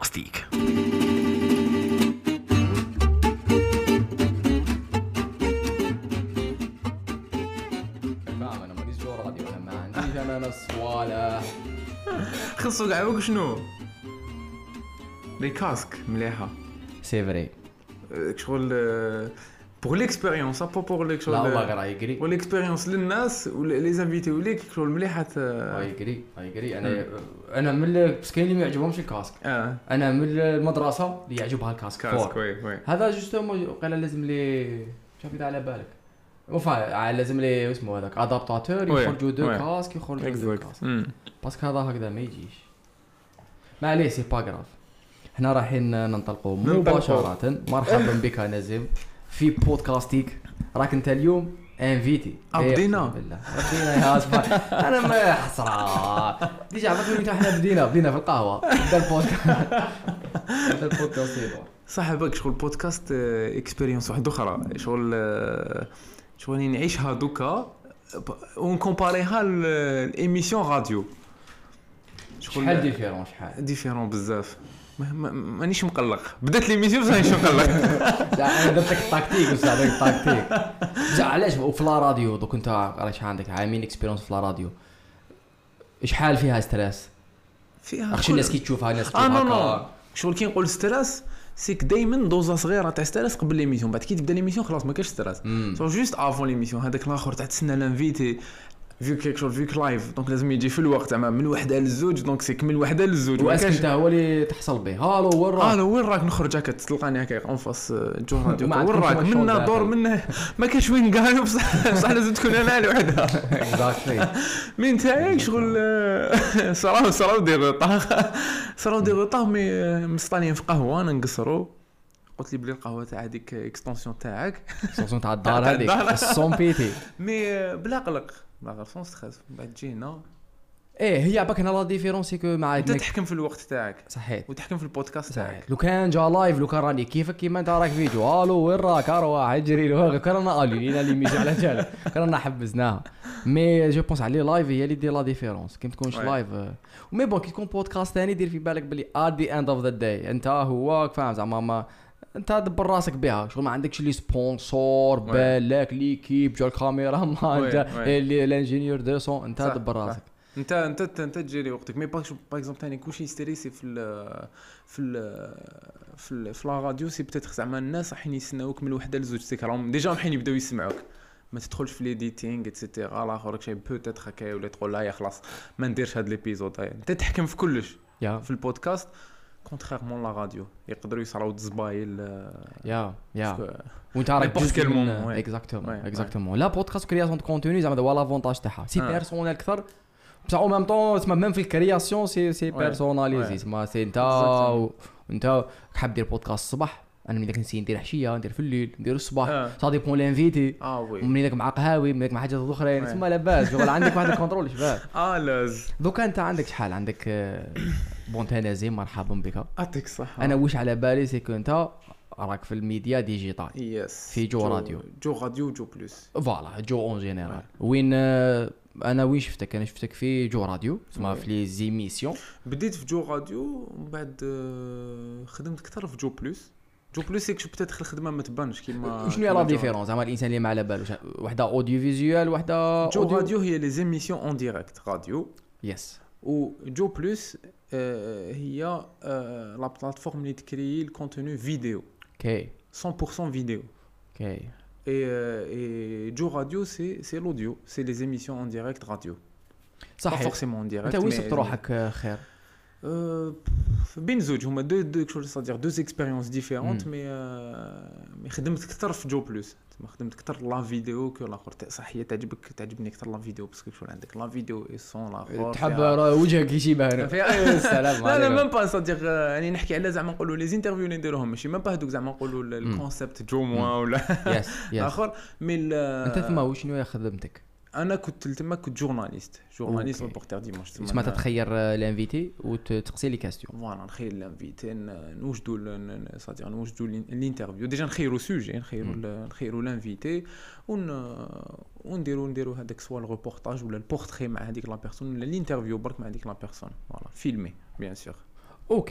بودكاستيك. فاهم انا ماليش جو راديو، انا ما عنديش انا نفس ولا خصو كاع واك شنو لي كاسك مليحه سي فري. شغل بور ليكسبيريونس بور ليك شغل لا والله غير يجري و ليكسبيريونس للناس ولي زانفيتيو ليك شغل مليحه يجري انا من بس كاين اللي ما يعجبهمش الكاسك. انا من المدرسه اللي يعجبها الكاسك فور. وي هذا جوستومون قال لازم لي شوف اذا على بالك وفا لازم لي اسمه هذاك ادابتاتور يخرجوا دو كاسك يخرجوا دو كاسك باسكو هذا هكذا ما يجيش. ما عليه سي با غراف. احنا رايحين ننطلقوا مباشره. مرحبا بك نزيم في بودكاستيك. راك انت اليوم انفيتي بدينا بدينا يا اصبر. انا ما حسره ديجا فكرت احنا بدينا في القهوه بدا البودكاست صاحبك شغل بودكاست اكسبيريونس واحده اخرى شغل نعيشها دوكا ونكومباريها للإيميسيون راديو. شحال ديفيرون بزاف. مانيش مقلق. بدات ليميسيون بصح مانيش مقلق. انا درت لك التكتيك بصح هذاك التكتيك علاش في لا راديو دوك انت علاش عندك عامين اكسبيريونس في لا راديو شحال فيها ستريس فيها اخشي الناس كي تشوفها الناس هكا شغل كي نقول ستريس سيك دائما دوزه صغيره تاع ستريس قبل ليميسيون بعد كي تبدا ليميسيون خلاص ما كاش ستريس سو جوست افون ليميسيون هذاك الاخر تاع تسنى لانفيتي فيك كيك شغل فيك لايف دونك لازم يجي في الوقت زعما من وحده للزوج دونك سيك من وحده للزوج واسك انت هو اللي تحصل به هالو وين راك نخرج هكا تلقاني هكا اون فاس جو راديو وين راك منا دور منه ما كاش وين كاع بصح لازم تكون انا لوحدها اكزاكتلي من تاعك شغل صراو دير طاغ مي مصطانين في قهوه انا نقصروا قلت لي بلي القهوه تاع هذيك اكستنسيون تاعك اكستنسيون تاع الدار هذيك الصون بيتي مي بلا قلق لا سون ستريس بعد جينا هي عباك هنا لا ديفيرونس كو مع انت تحكم في الوقت تاعك صحيح وتحكم في البودكاست تاعك. لو كان جا لايف لو كان راني كيفك كيما انت راك فيديو الو وين راك اروح اجري له كان انا لينا اللي ميجي على جال كان حبزناها مي جو بونس على لايف هي اللي دير لا ديفيرونس كي تكونش لايف ومي بون كي تكون بودكاست ثاني دير في بالك بلي ات ذا اند اوف ذا داي انت هو فاهم زعما ما انت دبر راسك بها شغل ما عندكش لي سبونسور بالك ليكيب جا الكاميرا ما جا الانجينيور دو سون انت دبر راسك انت تجري وقتك مي باغ اكزومبل ثاني كلشي ستريسي في لا راديو سي بتاتر زعما الناس راحين يسناوك من وحده لزوج سيك راهم ديجا راحين يبداو يسمعوك ما تدخلش في ليديتينغ ايتترا لا اخرك شي بوتيتر هكا ولا تقول لا يا خلاص ما نديرش هاد ليبيزود انت تحكم في كلش في البودكاست كونتريرمون لا راديو يقدروا يصراو دزبايل وانت راك جزء من اكزاكتومون لا بودكاست كرياسيون دو كونتوني زعما هو لافونتاج تاعها سي بيرسونيل اكثر بصح او ميم طون اسمها ميم في الكرياسيون سي بيرسوناليزي اسمها سي انت حاب دير بودكاست الصباح انا من داك نسي ندير حشيه ندير في الليل ندير الصباح سا ديبون لانفيتي ومن داك مع قهاوي من داك مع حاجات اخرين تسمى لاباس شغل عندك واحد الكونترول شباب لاز دوكا انت عندك شحال عندك بون تنازيم مرحبا بك يعطيك الصحه. انا واش على بالي سي كو انت راك في الميديا ديجيتال في جو راديو جو بلس فوالا جو اون جينيرال وين انا وين شفتك انا شفتك في جو راديو تسمى في لي زيميسيون بديت في جو راديو ومن بعد خدمت اكثر في جو بلس يكشف بتدخل الخدمه ما تبانش كيما شنو هي لا ديفيرونس زعما الانسان اللي ما على بالوش وحده اوديو فيزيوال وحده جو راديو هي لي زيميسيون اون ديريكت راديو يس و جو بلس هي لا بلاتفورم اللي تكري الكونتوني فيديو اوكي 100% فيديو اوكي et جو راديو c'est l'audio c'est les émissions en direct radio صح pas forcément en direct انت وين صرت روحك خير بين زوج هما دو شغل صدير دو اكسبيريونس ديفيرونت مي خدمت اكثر في جو بلس ما خدمت اكثر لا فيديو كو لاخر صح هي تعجبني اكثر لا فيديو باسكو شغل عندك لا فيديو اي سون لاخر تحب وجهك يشبه هنا السلام لا ميم با صديق يعني نحكي على زعما نقولوا لي انترفيو اللي نديروهم ماشي ميم با هذوك زعما نقولوا الكونسيبت جو موان ولا يس اخر مي انت تما شنو هي خدمتك انا كنت جورناليست ريبورتير ديماش تسمى تتخير الانفيتي وتقصي لي كاستيون فوالا نخير الانفيتي نوجدوا الانترفيو ديجا نخيروا سوجي نخيروا الانفيتي ونديروا هذاك سوا الريبورتاج ولا البورتري مع هذيك لا بيرسون ولا الانترفيو برك مع هذيك لا بيرسون فوالا فيلمي بيان سور اوكي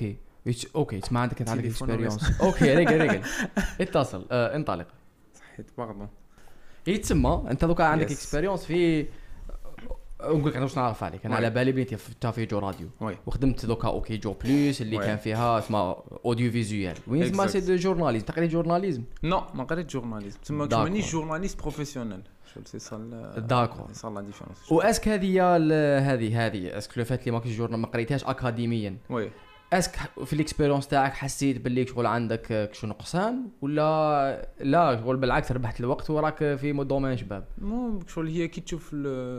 اوكي تسمع عندك انت عندك تليفون ولا اكسبيريونس اوكي ريقل اتصل انطلق. صحيت باردون. يتسمى انت دوكا عندك Yes. اكسبيريونس في نقول لك انا واش نعرف عليك انا وي. على بالي بنتي فتها في جو راديو وي وخدمت دوكا اوكي جو بلوس اللي وي. كان فيها اسمها اوديو فيزوال وين اسمها Exact. سي دو جورناليزم تقريبا جورناليزم نو ما قريت جورناليزم تما D'accord. مانيش جورناليست بروفيسيونيل سي صا داكور سي صا لا ديفيرونس واسك هذه اسك لو فات اللي ماكش جورنال ما قريتهاش اكاديميا وي اسك في الاكسبيريونس تاعك حسيت باللي شغل عندك شو نقصان ولا لا شغل بالعكس ربحت الوقت وراك في دومين شباب مو شغل هي كي تشوف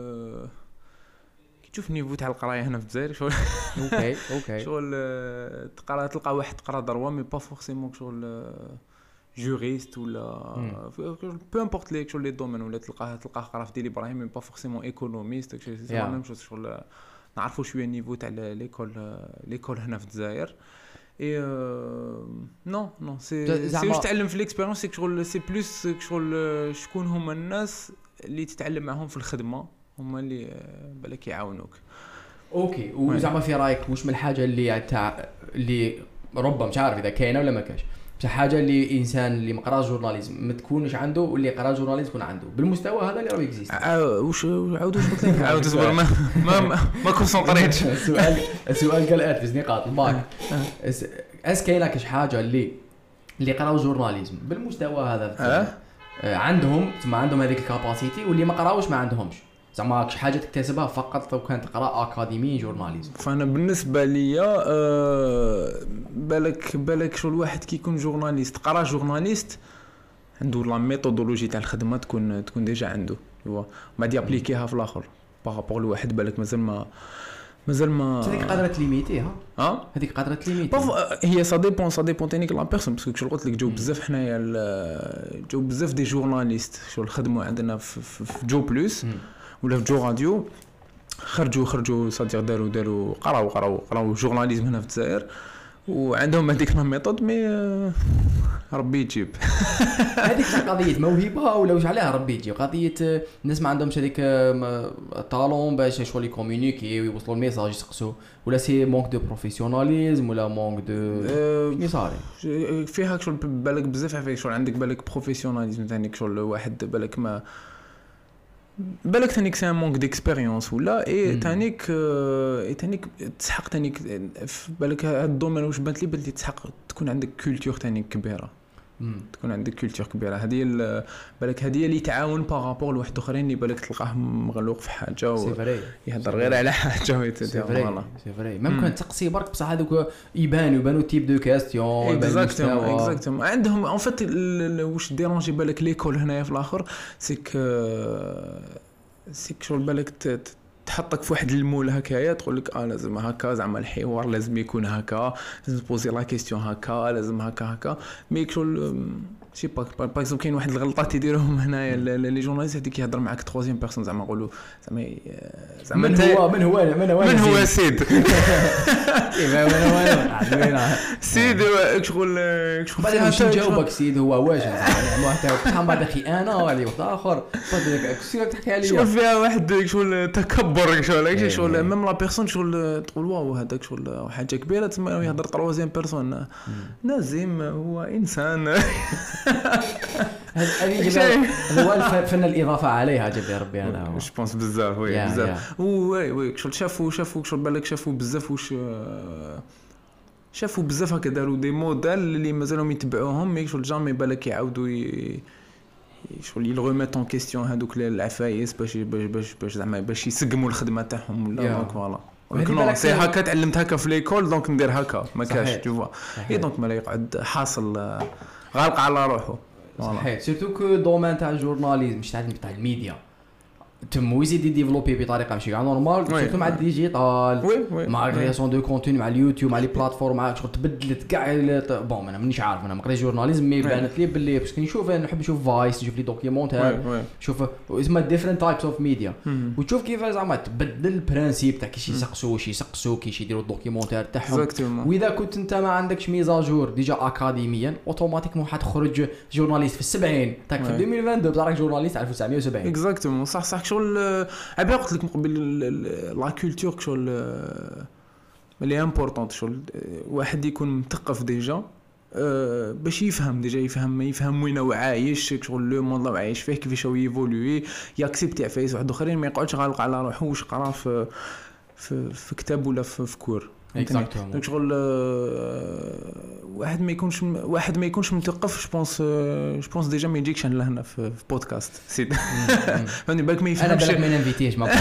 كي تشوف النيفو تاع القرايه هنا في الجزائر شغل اوكي شغل تقرا تلقى واحد تقرا دروا مي با فورسيمون شغل جوريست ولا بو امبورط ليك شغل لي دومين ولا تلقاه قرا في ديال ابراهيم مي با فورسيمون ايكونوميست سي لا ميم شوز شغل نعرفوا شويه النيفو تاع ليكول هنا في الجزائر اي نو سي واش تعلم في ليكسبيريونس سي شغل سي بلوس شغل شكون هما الناس اللي تتعلم معهم في الخدمه هما اللي بالك يعاونوك. اوكي وزعما في رايك واش من الحاجه اللي تاع اللي ربما مش عارف اذا كاينه ولا ما كاش بصح حاجه اللي انسان اللي ما قراش جورناليزم ما تكونش عنده واللي قرا جورناليزم يكون عنده بالمستوى هذا اللي راه اكزيست واش عاود واش قلت لك عاود اصبر ما كونسونطريتش السؤال قال في نقاط الباك كاينه كاش حاجه اللي قراو جورناليزم بالمستوى هذا عندهم تما عندهم هذيك الكاباسيتي واللي ما قراوش ما عندهمش زعما كاش حاجه تكتسبها فقط لو كانت تقرا اكاديمي جورناليزم. فانا بالنسبه ليا بالك شو الواحد كي يكون جورناليست قرا جورناليست عنده لا ميثودولوجي تاع الخدمه تكون ديجا عنده هو ما دي ابليكيها في الاخر بارابور لواحد بالك مازال ما هذيك قادره تليميتي هذيك قادره تليميتي هي سا ديبون تانيك لا بيرسون باسكو شو قلت لك جو بزاف حنايا جو بزاف دي جورناليست شو الخدمه عندنا في جو بلوس ولا في جو راديو خرجوا صديق داروا قراو جورناليزم هنا في الجزائر وعندهم هذيك لا ميثود مي ربي يجيب هذيك قضيه موهبه ولا واش عليها ربي يجيب قضيه الناس ما عندهمش هذيك طالون باش شغل يكومونيكي ويوصلوا الميساج يسقسوا ولا سي مونك دو بروفيسيوناليزم ولا مونك دو شنو صاري فيها شغل بالك بزاف فيك شغل عندك بالك بروفيسيوناليزم ثاني شغل واحد بالك ما بالك ثانيك سي مونك ديكسبيريونس ولا اي ثانيك تسحق ثانيك بالك هذا الدومين واش بانت لي تسحق تكون عندك كولتور ثانيك كبيره تكون عندك كولتور كبيره هذه بالك هذه اللي تعاون بارابور لواحد اخرين اللي بالك تلقاه مغلوق في حاجه يهضر غير على حاجه ويتدير سي فري ممكن تقصي برك بصح هذوك يبانوا تيب دو كاستيون اكزاكتومون عندهم ان فيت واش ديرونجي بالك ليكول هنايا في الاخر سيك شغل بالك تحطك في واحد المول هكايا تقول لك لازم هكا زعما الحوار لازم يكون هكا لازم تبوزي لا كيسيون هكا لازم هكا مي شغل شي با باغ كاين واحد الغلطات يديروهم هنايا لي جورناليست هذيك يهضر معاك تروزيام بيرسون زعما نقولوا زعما من هو سيد كيف هو سيد شغل بعدين باش نجاوبك سيد هو واش زعما حتى بعد اخي انا وعلي واحد اخر فضلك كيفاش تحكي عليا شغل فيها واحد شغل تكبر شغل ميم لا بيرسون شغل تقول واو هذاك شغل حاجه كبيره تما يهضر تروزيام بيرسون نازم هو انسان هذه هو الفن الاضافه عليها جاب ربي هذا هو جو بونس بزاف وي بزاف وي شغل شافوا شغل بالك شافوا بزاف واش شافوا بزاف هكا داروا دي موديل اللي مازالهم يتبعوهم مي شغل جامي بالك يعاودوا شغل يلغوميت اون كيستيون هذوك العفايس باش زعما باش يسقموا الخدمه تاعهم ولا دونك فوالا ولكن سي هكا تعلمت هكا في ليكول دونك ندير هكا ما كاش تو اي دونك ما يقعد حاصل غالق على روحه صحيح سيرتو كو دومين تاع الجورناليزم مش تاع الميديا تم يزيد ديفلوبي بطريقه ماشي كاع نورمال سيرتو مع الديجيتال مع الكرياسيون دو كونتوني مع اليوتيوب مع لي بلاتفورم مع شغل تبدلت كاع بون انا مانيش عارف انا ما قريت جورناليزم مي بانت لي باللي باش نشوف نحب نشوف فايس نشوف لي دوكيومونتير نشوف اسمها ديفرنت تايبس اوف ميديا وتشوف كيف زعما تبدل البرانسيب تاع كيش يسقسوا كيش يديروا الدوكيومونتير تاعهم واذا كنت انت ما عندكش ميزاجور ديجا اكاديميا اوتوماتيكمون حتخرج جورناليست في السبعين تاك في 2022 بصراحه جورناليست 1970 اكزاكتومون صح شغل عبا قلت لك من قبل لا كولتور شغل اللي امبورطونت شغل واحد يكون مثقف ديجا باش يفهم ديجا يفهم وين هو عايش شغل لو موند اللي عايش فيه كيفاش هو يفولوي ياكسبتي عفايس واحد اخرين ما يقعدش غالق على روحو واش قرا في كتاب ولا في كور دونك شغل واحد ما يكونش مثقف جو بونس ديجا ما يجيكش لهنا في بودكاست سيد فهمني بالك ما يفهمش انا بالك ما ننفيتيش ما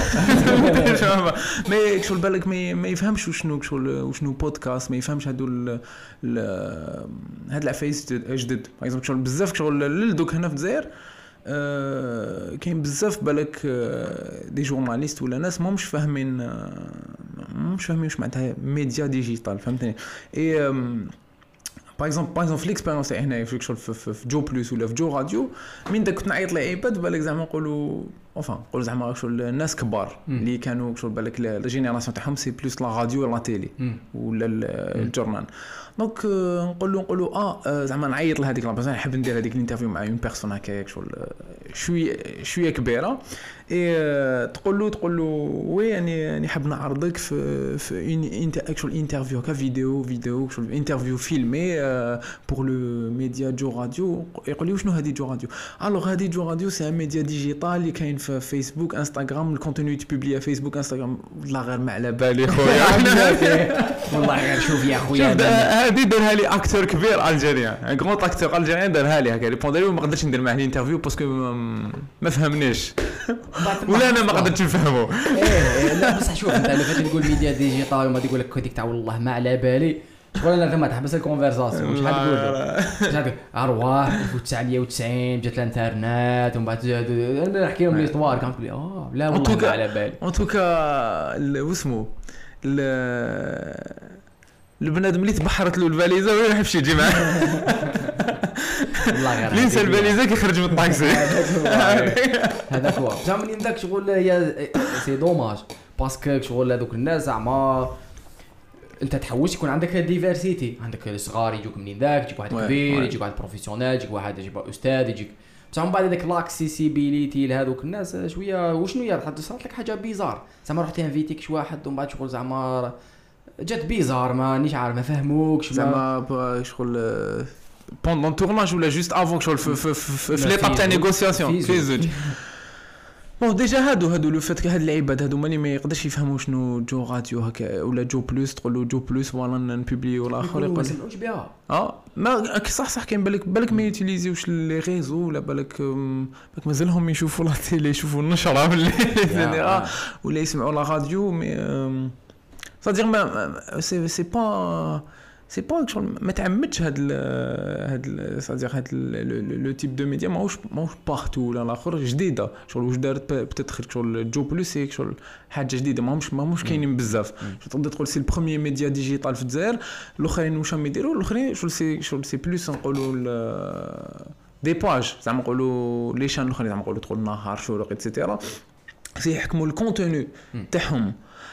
شغل بالك ما يفهمش وشنو بودكاست ما يفهمش هاد العفايس جدد باغ شغل بزاف شغل دوك هنا في الجزائر كاين بزاف بالك دي جورناليست ولا ناس ماهمش فاهمين واش معناتها ميديا ديجيتال فهمتني اي باغ اكزومبل في ليكسبيريونس تاعي هنايا في جو بلس ولا في جو راديو من دا كنت نعيط لي ايباد بالك زعما نقولوا نقولوا زعما شغل الناس كبار اللي كانوا شغل بالك لا جينيراسيون تاعهم سي بلوس لا راديو ولا تيلي ولا الجورنال دونك نقولوا زعما نعيط لهذيك لا بيرسون نحب ندير هذيك الانترفيو مع اون بيرسون هكاك شغل شويه كبيره اي تقول له وي يعني حاب نعرضك في اكشوال انترفيو فيديو شغل انترفيو فيلمي بور لو ميديا جو راديو يقول لي شنو هذه جو راديو الوغ هذه جو راديو سي ان ميديا ديجيتال اللي كاين في فيسبوك انستغرام الكونتوني تبوبلي فيسبوك انستغرام والله غير ما على بالي خويا والله غير شوف يا خويا هذه دارها لي اكتور كبير الجيريان غون اكتور الجيريان دارها لي هكا ريبوندري وما قدرتش ندير معاه الانترفيو باسكو ما فهمنيش ولا انا ما قدرتش نفهمه لا بصح شوف انت اللي فات تقول ميديا ديجيتال وما تقول لك هذيك تاع والله ما على بالي شغل انا غير ما تحبس الكونفرساسيون واش حتقول ارواح 1990 جات الانترنت ومن بعد انا نحكي لهم ليستوار كانت تقول لي لا والله ما على بالي ان توكا واسمو البنادم اللي تبحرت له الفاليزه ولا يحبش يجي معاه والله غير لينسى الفاليزه كيخرج من الطاكسي هذاك هو زعما من داك شغل هي سي دوماج باسكو شغل هذوك الناس زعما انت تحوس يكون عندك ديفيرسيتي عندك الصغار يجوك منين ذاك يجيك واحد كبير يجيك واحد بروفيسيونيل يجيك واحد استاذ يجيك بصح من بعد هذاك لاكسيسيبيليتي لهذوك الناس شويه وشنو هي صارت لك حاجه بيزار زعما رحت انفيتيك شي واحد ومن بعد شغل زعما جات بيزار مانيش عارف ما فهموكش زعما شغل بوندون تورناج ولا جوست افون شغل في ليطاب تاع نيغوسياسيون في زوج بون ديجا هادو لو فات هاد العباد هادو ماني ما يقدرش يفهموا شنو جو راديو هكا ولا جو بلس تقول له جو بلس فوالا نبوبليو الاخر يقول ما سمعوش بها ما صح كاين بالك ما يوتيليزيوش لي ريزو ولا بالك مازالهم يشوفوا لا تيلي يشوفوا النشره ولا يسمعوا لا راديو مي صديق ما سي با ما تعمدش هاد صديق هاد لو تيب دو ميديا ماهوش بارتو ولا الاخر جديده شغل واش دارت بتدخل شغل جو بلس شغل حاجه جديده ماهمش كاينين بزاف تقدر تقول سي البروميير ميديا ديجيتال في الجزائر الاخرين واش راهم يديروا الاخرين شغل سي بلوس نقولوا دي باج زعما نقولوا لي شان الاخرين زعما نقولوا تقول نهار شروق ايتترا سي يحكموا الكونتوني تاعهم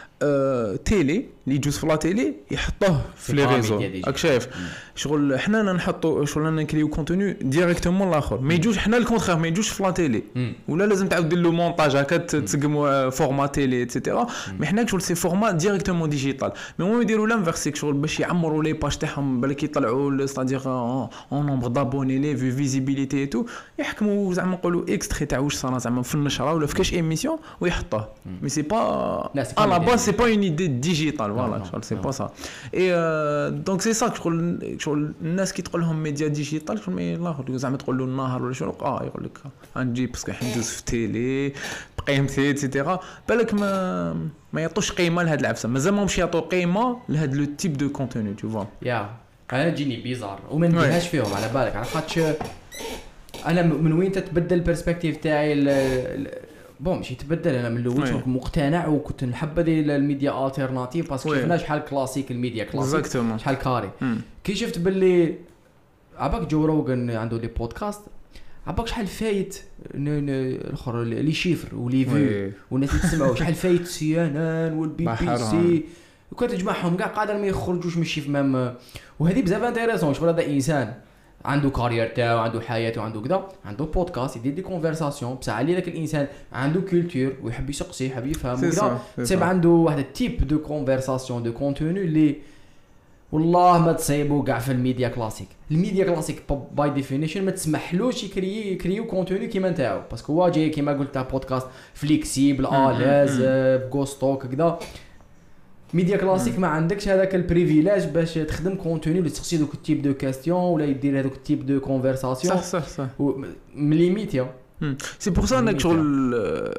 تيلي اللي يجوز في لا تيلي يحطوه في لي ريزو راك شايف شغل حنا نحطوا شغل نكريو كونتوني ديريكتومون الاخر ما يجوش حنا الكونترير ما يجوش في لا تيلي ولا لازم تعاود دير له مونتاج هكا تسقم فورما تيلي ايتترا مي حنا شغل سي فورما ديريكتومون ديجيتال مي هما يديروا لانفيرسيك شغل باش يعمروا لي باج تاعهم بالك يطلعوا ستادير اون نومبر دابوني لي فيزيبيليتي اي تو يحكموا زعما نقولوا اكستري تاع واش صار زعما في النشره ولا في كاش ايميسيون ويحطوه مي سي با على باز سي با اون ايدي ديجيتال فوالا سي با سا اي دونك سي سا شغل الناس كي تقول لهم ميديا ديجيتال شغل ما الاخر زعما تقول له النهار ولا شنو يقول لك غنجي باسكو حندوز في تيلي بقيمتي ايتترا بالك ما يعطوش قيمه لهاد العفسه مازال ماهمش يعطوا قيمه لهاد لو تيب دو كونتوني تو فوا انا تجيني بيزار وما نديرهاش فيهم على بالك على خاطش انا من وين تتبدل البيرسبكتيف تاعي بون ماشي تبدل انا من الاول كنت مقتنع وكنت نحب هذه الميديا التيرناتيف باسكو شفنا شحال كلاسيك الميديا كلاسيك شحال كاري كي شفت باللي عباك جو روغن عنده لي بودكاست عباك شحال فايت الاخر لي شيفر ولي فيو والناس تسمعوا شحال فايت سي ان ان والبي بي سي وكنت تجمعهم كاع قادر ما يخرجوش من شي فمام وهذه بزاف انتريسون شغل هذا انسان عنده كارير تاعو عنده حياته عنده كذا عنده بودكاست يدير دي كونفرساسيون بصح علي داك الانسان عنده كولتور ويحب يسقسي يحب يفهم وكذا تصيب عنده واحد التيب دو كونفرساسيون دو كونتوني اللي والله ما تصيبو كاع في الميديا كلاسيك. الميديا كلاسيك باي ديفينيشن ما تسمحلوش يكريو كونتوني كيما نتاعو باسكو هو جاي كيما قلت تاع بودكاست فليكسيبل الاز بغوستوك كذا. ميديا كلاسيك ما عندكش هذاك البريفيليج باش تخدم كونتوني اللي تسقسي دوك التيب دو كاستيون ولا يدير هذوك التيب دو كونفرساسيون صح من ليميتيا. سي بور سا انك شغل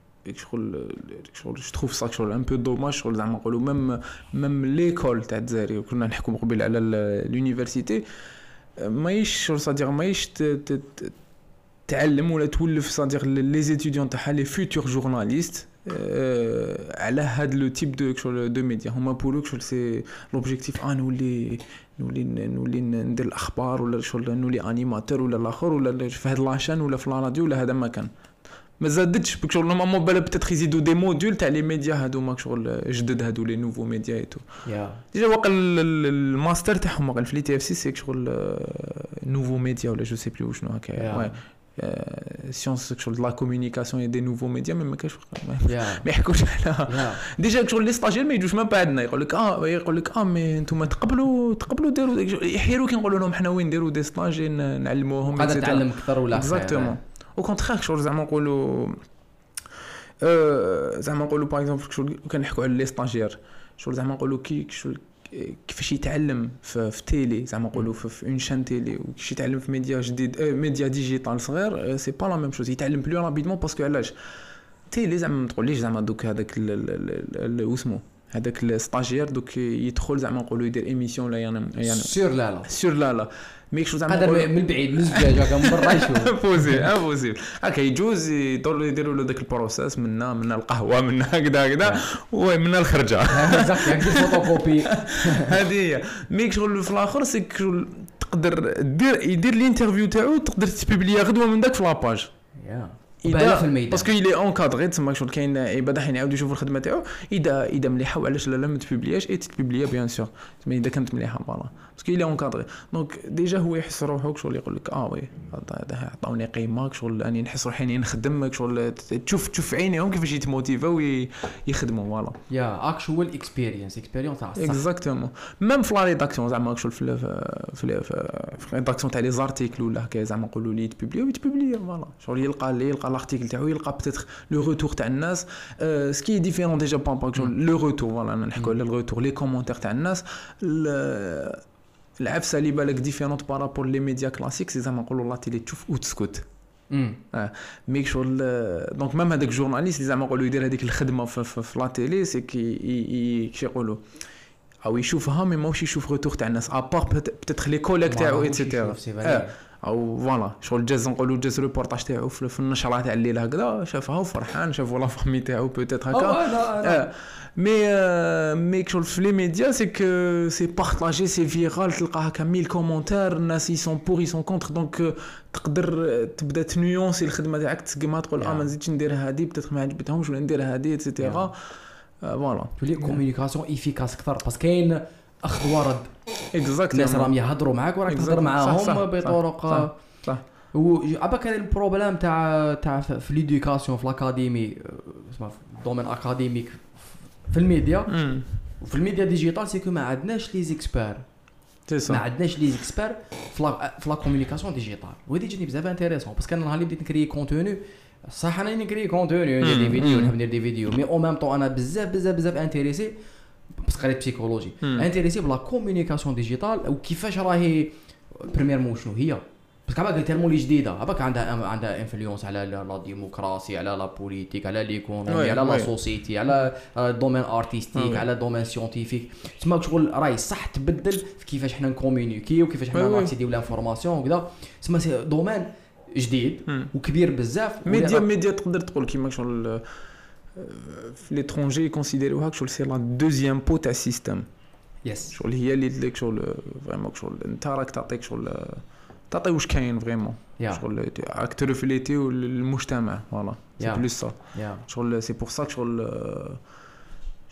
جو تروف سا شغل ان بو دوماج شغل زعما نقولوا ميم ليكول تاع الجزائر كنا نحكوا قبل على لونيفرسيتي ماهيش شغل صادير ماهيش تعلم ولا تولف صادير لي زيتيديون تاعها لي فيوتور جورناليست على هاد لو تيب دو ميديا هما بولوك شغل سي لوبجيكتيف نولي ندير الاخبار ولا شغل نولي انيماتور ولا الاخر ولا في هاد لاشين ولا في لا راديو ولا هذا ما كان ما زادتش بك شغل نورمالمون بالا بتاتر يزيدوا دي موديول تاع لي ميديا هادو ماك شغل جدد هادو لي نوفو ميديا ايتو ديجا واقع الماستر تاعهم واقع في تي اف سي سي شغل نوفو ميديا ولا جو سي بلو شنو هكا سيونس شغل لا كومونيكاسيون اي دي نوفو ميديا ما كاش ما يحكوش على ديجا شغل لي ستاجير ما يجوش ما بعدنا يقول لك مي نتوما تقبلوا ديروا يحيروا كي نقولوا لهم حنا وين نديروا دي ستاج نعلموهم قادر تعلم اكثر ولا اكزاكتومون او كونترير شغل زعما نقولوا باغ اكزومبل شغل كنحكوا على لي ستاجير شغل زعما نقولوا كيفاش يتعلم في تيلي زعما نقولوا في اون شان تيلي وكيفاش يتعلم في ميديا جديد ميديا ديجيتال صغير سي با لا ميم شوز يتعلم بلو رابيدمون باسكو علاش تيلي زعما ما تقوليش زعما دوك هذاك واسمو هذاك الستاجير دوك يدخل زعما نقولوا يدير ايميسيون ولا يعني سور لا ميك شو زعما قادر من بعيد من الزجاجه كان برا يشوف بوزيبل هكا يجوز يديروا له داك البروسيس منا القهوه منا هكذا ومنا الخرجه بزاف هكا فوتوكوبي هذه هي ميك شغل في الاخر سي تقدر يدير الانترفيو تاعو تقدر تبيبليا غدوه من داك في لاباج اذا في الميدان باسكو يلي اونكادري تسمى شغل كاين عباد حين يعاودوا يشوفوا الخدمه تاعو اذا مليحه وعلاش لا ما تبيبلياش تبيبليا بيان سور مي اذا كانت مليحه فوالا باسكو يلي اونكادري دونك ديجا هو يحس روحو شغل يقول لك وي هذا عطاوني قيمه شغل راني نحس روحي اني نخدم شغل تشوف عينيهم كيفاش يتموتيفاو يخدموا فوالا اكشوال اكسبيرينس تاع الصح اكزاكتومون ميم في لا ريداكسيون زعما شغل في ريداكسيون تاع لي زارتيكل ولا هكا زعما نقولوا لي تبيبليا فوالا شغل يلقى لارتيكل تاعو يلقى بتيتر لو روتور تاع الناس سكي ديفيرون ديجا لو روتور فوالا نحكوا على الروتور لي كومونتير تاع الناس العفسه اللي بالك ديفيرونت بارابور لي ميديا كلاسيك سي زعما نقولوا لا تيلي تشوف وتسكت ميك شغل دونك ميم هذاك جورناليست اللي زعما نقولوا يدير هذيك الخدمه في لا تيلي سي كي يقولوا او يشوفها مي ماهوش يشوف روتور تاع الناس ابار بتيتر لي كوليك تاعو ايتترا او فوالا شغل جاز ريبورتاج تاعو في النشره تاع الليل هكذا شافها وفرحان شافوا لا فامي تاعو بوتيتر هكا مي شغل في لي ميديا سي بارطاجي سي فيرال تلقى هكا 1000 كومونتير الناس يسون بور يسون كونتر دونك تقدر تبدا تنيونسي الخدمه تاعك تسقما تقول ما نزيدش ندير هذه بتيتر ما عجبتهمش ولا ندير هذه ايتترا فوالا تولي كومونيكاسيون افيكاس اكثر باسكو كاين اخذ ورد اكزاكتلي الناس راهم يهضروا معاك وراك تهضر معاهم بطرق صح وعبا كان البروبليم تاع في ليدوكاسيون في الاكاديمي اسمها في الدومين اكاديميك في الميديا وفي الميديا ديجيتال سي كو ما عندناش لي زيكسبير ما عندناش لي زيكسبير في لا كومونيكاسيون ديجيتال وهذه جاتني بزاف انتريسون باسكو انا نهار اللي بديت نكري كونتوني صح انا نكري كونتوني ندير دي فيديو نحب ندير دي فيديو مي او ميم طون انا بزاف انتريسي بس قريت بسيكولوجي انتريسي بلا كومونيكاسيون ديجيتال وكيفاش راهي بريمير مو شنو هي باسكو عباك تالمو لي جديده عباك عندها انفلونس على لا ديموقراطي على لا بوليتيك على ليكونومي على لا سوسيتي على الدومين ارتستيك على الدومين سيونتيفيك تسمى شغل راهي صح تبدل في كيفاش حنا نكومونيكي وكيفاش حنا ناكسيديو لانفورماسيون وكذا تسمى دومين جديد وكبير بزاف ميديا تقدر تقول كيما شغل في ليترونجي يكونسيديروها شغل سي لا دوزيام بو تاع السيستم شغل هي اللي لك شغل فريمون شغل انت راك تعطيك شغل تعطي واش كاين فريمون شغل راك ترفليتي المجتمع فوالا سي بلوس سا شغل سي بور سا شغل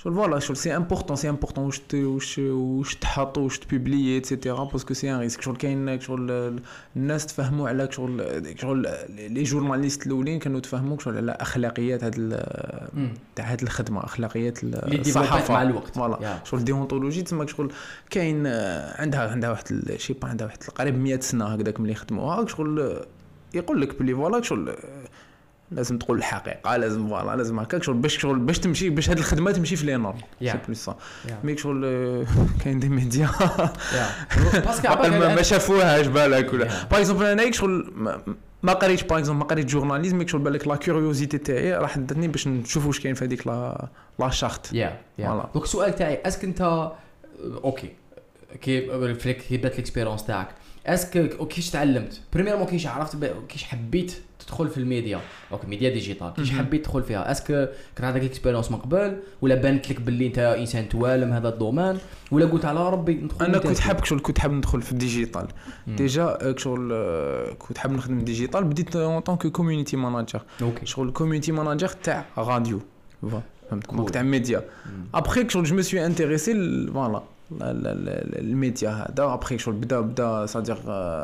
شغل فوالا شغل سي امبورطون واش تحط واش تبوبليي ايتترا باسكو سي ان ريسك شغل كاين شغل الناس تفهموا على شغل لي جورناليست الاولين كانوا تفهموا شغل على اخلاقيات تاع هاد الخدمه اخلاقيات الصحافه مع الوقت فوالا شغل ديونتولوجي تسمى شغل كاين عندها واحد شي با عندها واحد قريب 100 سنه هكذاك ملي خدموها شغل يقول لك بلي فوالا شغل لازم تقول الحقيقه لازم فوالا لازم هكاك شغل باش تمشي باش هاد الخدمه تمشي في لي نورم سي بلوس صا ميك شغل كاين دي ميديا باسكو ما شافوهاش بالك ولا باغ اكزومبل انا شغل ما قريتش باغ اكزومبل ما قريت جورناليزم ميك شغل بالك لا كيوريوزيتي تاعي راح داتني باش نشوف واش كاين في هذيك لا شارت فوالا دونك السؤال تاعي اسك انت اوكي كي بدات ليكسبيريونس تاعك اسك كيفاش تعلمت بريميرمون كيفاش عرفت كيفاش حبيت تدخل في الميديا اوكي ميديا ديجيتال كيفاش حبيت تدخل فيها اسك كان عندك اكسبيريونس من قبل ولا بانت لك باللي انت انسان توالم هذا الدومين ولا قلت على ربي ندخل انا كنت حاب ندخل في الديجيتال ديجا شغل كنت حاب نخدم الديجيتال بديت اون طونك كوميونيتي ماناجر شغل كوميونيتي ماناجر تاع راديو فهمت تاع ميديا ابري شغل جو مي سوي انتريسي فوالا الميديا هذا ابري شغل بدا صادير